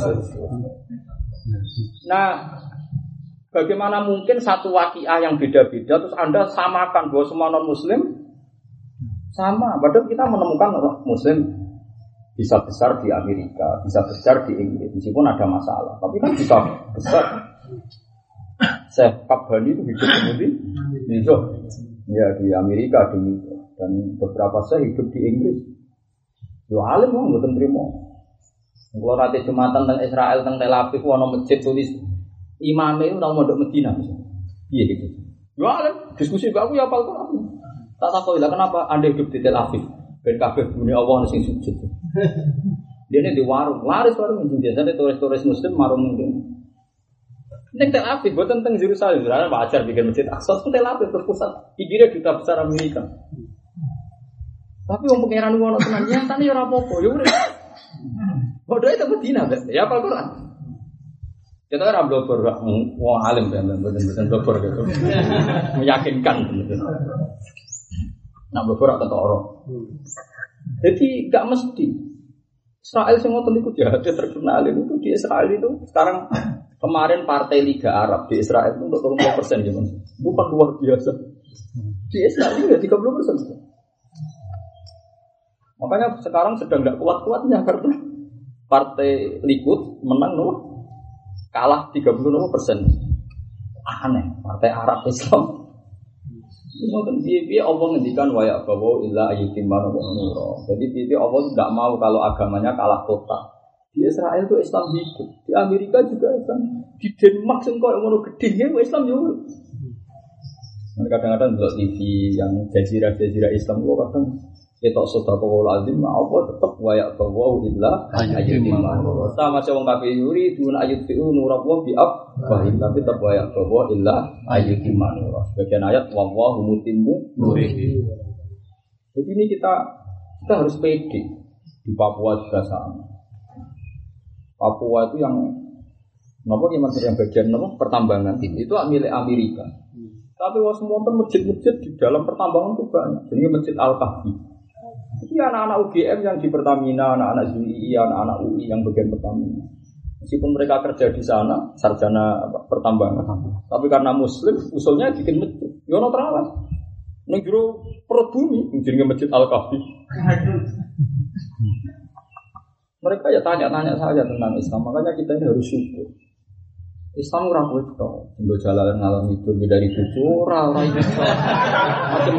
Nah, bagaimana mungkin satu waqiah yang beda-beda terus Anda samakan bahwa semua non muslim sama, padahal kita menemukan orang muslim bisa besar di Amerika, bisa besar di Inggris, meskipun ada masalah, tapi kan bisa besar. Syekh Qabbani itu hidup di New York, ya di Amerika, di New York, dan beberapa saya hidup di Inggris. Yo alim mau nggak terima. Kalau nanti jumatan tentang Israel, tentang Tel Aviv, wono masjid tulis imamnya itu nama mondok Medina, iya gitu. Yo alim diskusi aku ya apal Quran. Tak tahu lah kenapa Anda hidup di Tel Aviv ben kabeh bune Allah sing sujud. Dia ini di warung, laris warung ini biasanya turis-turis muslim marung mungkin. Nek Tel Aviv boten teng Yerusalem, Yerusalem wajar bikin masjid Aqsa Tel Aviv terpusat. Pinggirnya duta besar Amerika. Tapi wong pangeran ngono tenan nyatane ora apa-apa, ya urip. Bodho itu Medina, ya apa Quran. Kita kan blogger wong alim ben ben blogger gitu. Meyakinkan gitu. Nak bergerak ke orang. Jadi gak mesti. Israel semua tentu jahat terkenal itu di Israel itu sekarang kemarin partai Liga Arab di Israel itu untuk tiga puluh persen gimana? Bukan luar biasa. Di Israel itu tiga puluh persen. Makanya sekarang sedang gak kuat-kuatnya karena partai Likud menang loh, kalah tiga puluh persen. Aneh, partai Arab Islam. Mungkin dia Allah ngendikan wayak bahwa illa ayyutimman wa jadi dia Allah tidak mau kalau agamanya kalah total. Di Israel itu Islam hidup, di Amerika juga Islam, di Denmark sengkok yang mau gedenya Islam juga. Kadang-kadang di T V yang jazirah-jazirah Islam itu kadang kita sudah kawal azim, apa tetap wayak bahwa illa ayyutimman. Sama macam orang kafir yuri dun ayyutiu nurabwa bi'af, tapi tetap wayak bahwa illa ayyutimman. Bagian ayat wallahu mutimmu nurihi. Jadi ini kita kita harus pede. Di Papua juga sama. Papua itu yang napa yang yang bagian napa pertambangan itu milik Amerika. Tapi was monten masjid-masjid di dalam pertambangan itu banyak. Jadi Masjid Al-Kahfi. Jadi anak-anak U G M yang di Pertamina, anak-anak U I, anak-anak U I yang bagian Pertamina. Meskipun mereka kerja di sana, sarjana pertambangan, tapi karena Muslim, usulnya bikin masjid. Yono terawat, negro perut bumi, jadi Masjid Al-Kahfi. Mereka ya tanya-tanya saja tentang Islam, makanya kita ini harus syukur. Islam ora kuwi tok, nggo jalan ngalor itu dari bojo ora ora iso. Macam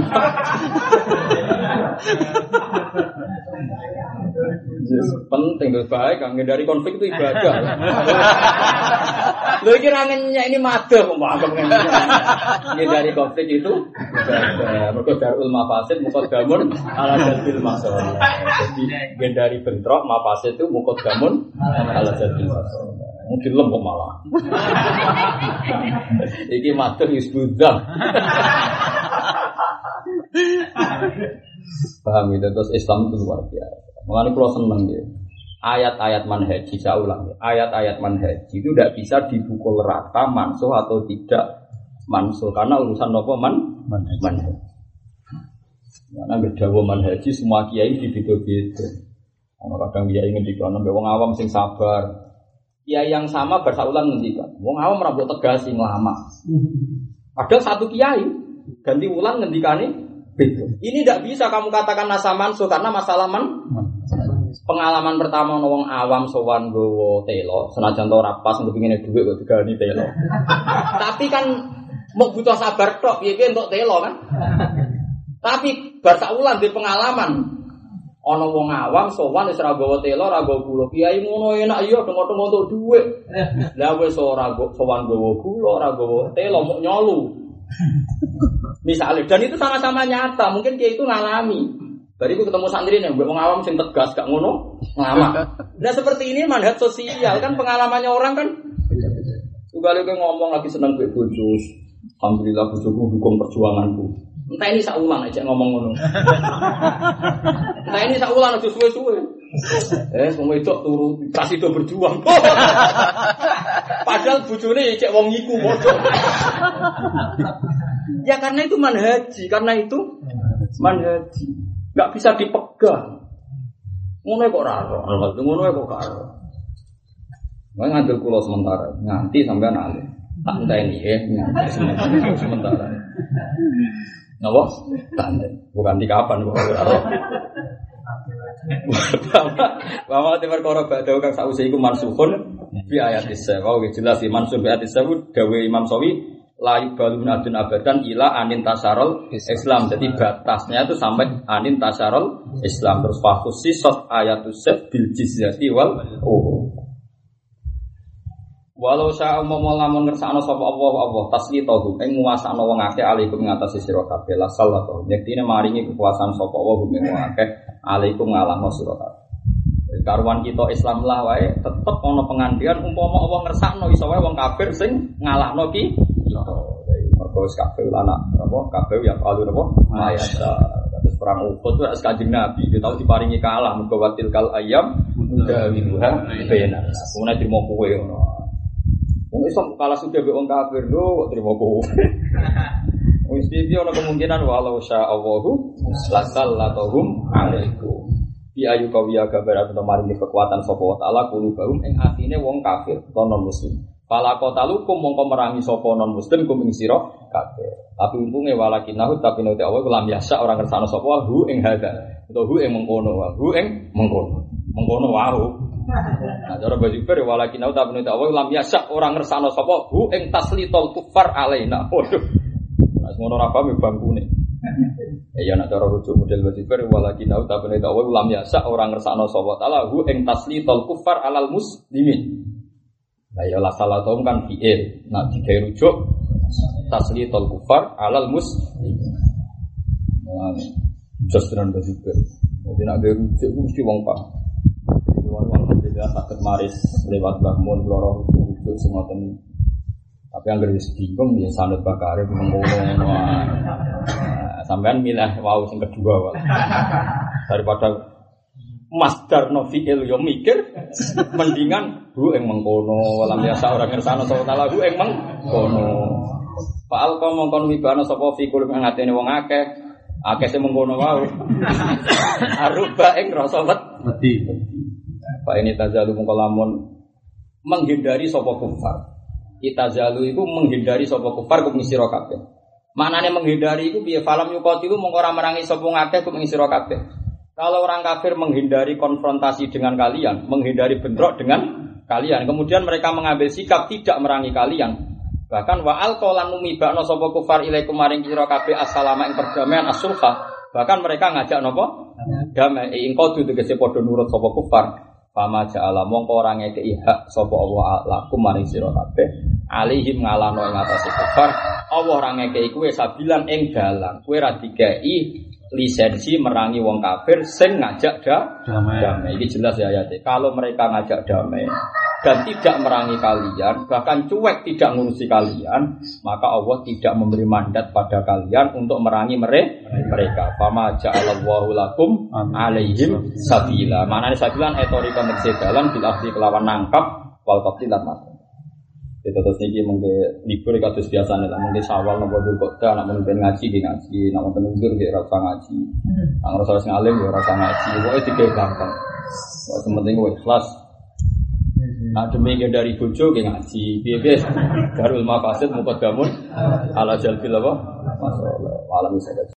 yes, penting lho baik kan dari konflik itu ibadah. Lho iki ra ini madah kok anggap ngene. Dari konflik itu ibadah. Mergo darul mafasid muqaddamun ala jalbil masalih. Jadi dari bentrok mafasid itu muqaddamun ala jalbil masalih. Mungkin lembek malah. Iki matur isbudzam. Paham itu terus Islam itu luar biasa. Makanya kalau seneng ya. Ayat-ayat manhaji saya ulang ya. Ayat-ayat manhaji itu tidak bisa dipukul rata mansuh atau tidak mansuh karena urusan apa man manhaji. Karena berdawa manhaji semua kiai dibeda-beda. Ono kadang kiai ngendikane mbek wong awam sing sabar. Kiai yang sama bersaulan ngendikan. Wong awam ora mbok tegasi nglama. Padahal satu kiai ganti ulang ngendikane beda. Ini tidak bisa kamu katakan nasa mansuh karena masalah man. Pengalaman pertama wong awam sowan gowo telo, senajan to ora pas kepingine dhuwit kok digani telo. Tapi kan mau butuh sabar tok piye-piye entuk telo kan. Tapi bar saulan di pengalaman ana wong awam sowan wis ora gawa telo, ora gawa gula. Kiai ngono enak iya tengok-tengok entuk dhuwit. Lah wis ora sowan gawa gula, ora gawa telo mok nyolu. Misalnya, dan itu sama-sama nyata. Mungkin dia itu ngalami. Bariku ketemu santri nih, wong awam sing tegas gak ngono, lama. Nah seperti ini manhaj sosial kan pengalamannya orang kan. Juga lagi ngomong lagi seneng mbek bojo. Alhamdulillah bojoku dukung perjuanganku. Entah ini saulang aja ngomong ngono. Entah ini saulang aja suwe-suwe. Eh, wong wedok turu prasido berjuang. Padahal bojone cek wong iku bojo. Ya karena itu manhaji, karena itu manhaji. Enggak bisa dipegang. Ngono kok ora ora, ngono kok ora. Wong ngandel kula sementara, nganti sampean alih. Tak enteni eh nganti sementara. sementara. Napa? Tak enteni. Bukan di kapan kok ora. Bahwa timur koro badau kang sause iku mansukhun bi ayatis sawa. Wis jelas iki mansuh bi ayatis sawa dawe Imam Sawi la yubalun adun abadan ila anin tasarul Islam. Jadi batasnya itu sampai anin tasarul Islam. Terus fahusi sot ayatus sef bil jizyati wal oh. Walau sya umma lamun ngersakno sapa Allah Allah taslitahu ing nguasakno wong akeh alaikum ngatasi sira kabeh la sallallahu. Yektine maringi kekuasaan sapa Allah ing wong akeh alaikum ngalahno sira kabeh. Karuan kita Islam lah wae tetep ana pengandian umpama Allah ngersakno iso wae wong kafir sing ngalahno ki kita. Mergo wis kabeh anak apa kabeh ya alur apa mayasa. Terus perang Uhud wis Kanjeng Nabi dia tahu diparingi kalah mergo watil kal ayam dawiluha benar. Kuwi trimo kowe ngono. Wong Islam kalah sudah be wong kafir lho kok trimo kowe. Wis iki ana kemungkinan walau sya Allahu lasallatuhum alaikum. Bi ayu kawiya kabar atau maringi kekuatan sapa wa taala kulo baum ing atine wong kafir utawa non muslim. Fala qatalukum mongko merangi sapa non muslim kum ing sira kabeh. Tapi untunge walakinahu tapi nek Allah lam yasa orang kersane sapa hu ing hada. Utawa hu ing mengkono wa hu ing mengkono. Mengkono wae. Nah cara bajipir walakinahu tapi nek Allah lam yasa orang kersane sapa hu ing taslitul kufar alaina. Waduh. Mas ngono ra paham bangkune. Ya nek cara rujuk model bajipir walakinahu tapi nek Allah lam yasa orang kersane sapa taala hu ing taslitul kufar alal muslimin. Nah ya la salatum kan fi'il. Nah digawe rujuk taslitul kufar alal muslim. Nah, justran begitu. Jadi nak gawe rujuk mesti wong paham. Wong alhamdulillah sakit maris lewat bangun loro rujuk sing ngoten. Tapi anggere wis bingung ya sanad bakare ngono. Sampean milih wau sing kedua wae. Daripada masdar no fi'il yo mikir mendingan hu ing mengkono walam biasa orang ngersano sapa taala hu ing mengkono fa'al kau mongkon wibana sapa fi kulum ing atene wong akeh akeh sing mengkono wae aruba ing rasa wedi fa ini tazalu mongko lamun menghindari sapa kufar itazalu iku menghindari sapa kufar kum sira kabeh maknane menghindari iku piye falam yuqatilu mongko ora merangi sapa akeh kum sira kabeh. Kalau orang kafir menghindari konfrontasi dengan kalian, menghindari bentrok dengan kalian, kemudian mereka mengambil sikap tidak merangi kalian. Bahkan wa alqalan mumibakno sapa kufar ilaikum maring sira kabeh assalama ing perdamaian as-sulha. Bahkan mereka ngajak napa? Damai ing kodu tegese padha nurut sapa kufar. Fama ja'ala mongko ora ngekeki hak sapa Allah lakum maring sira kabeh. Alihim ngalano ing atase kufar. Allah ora ngekeki kowe sabilan ing dalan. Kowe ra dikeki lisensi merangi wong kafir sing ngajak da, damai. damai. Ini jelas ya ayatnya. Kalau mereka ngajak damai dan tidak merangi kalian, bahkan cuek tidak ngurusi kalian, maka Allah tidak memberi mandat pada kalian untuk merangi mereka. Fama ja'alallahu lakum alaihim sabila. Manane sabilan etorika tegese dalan bil akhdi kelawan nangkap wal qatilan mati. Itu terus niki mengke libur kados biasane lah mengke sawal napa kota nak mungkin ngaji di ngaji, nak mungkin nunggur di rasa ngaji. Nak rasa wis ngalim ya rasa ngaji. Pokoke dike gampang. Wah sementing kowe ikhlas. Nah demi dari bojo ke ngaji. Piye-piye darul mafasid muqaddamun ala jalbil apa? Masyaallah. Alam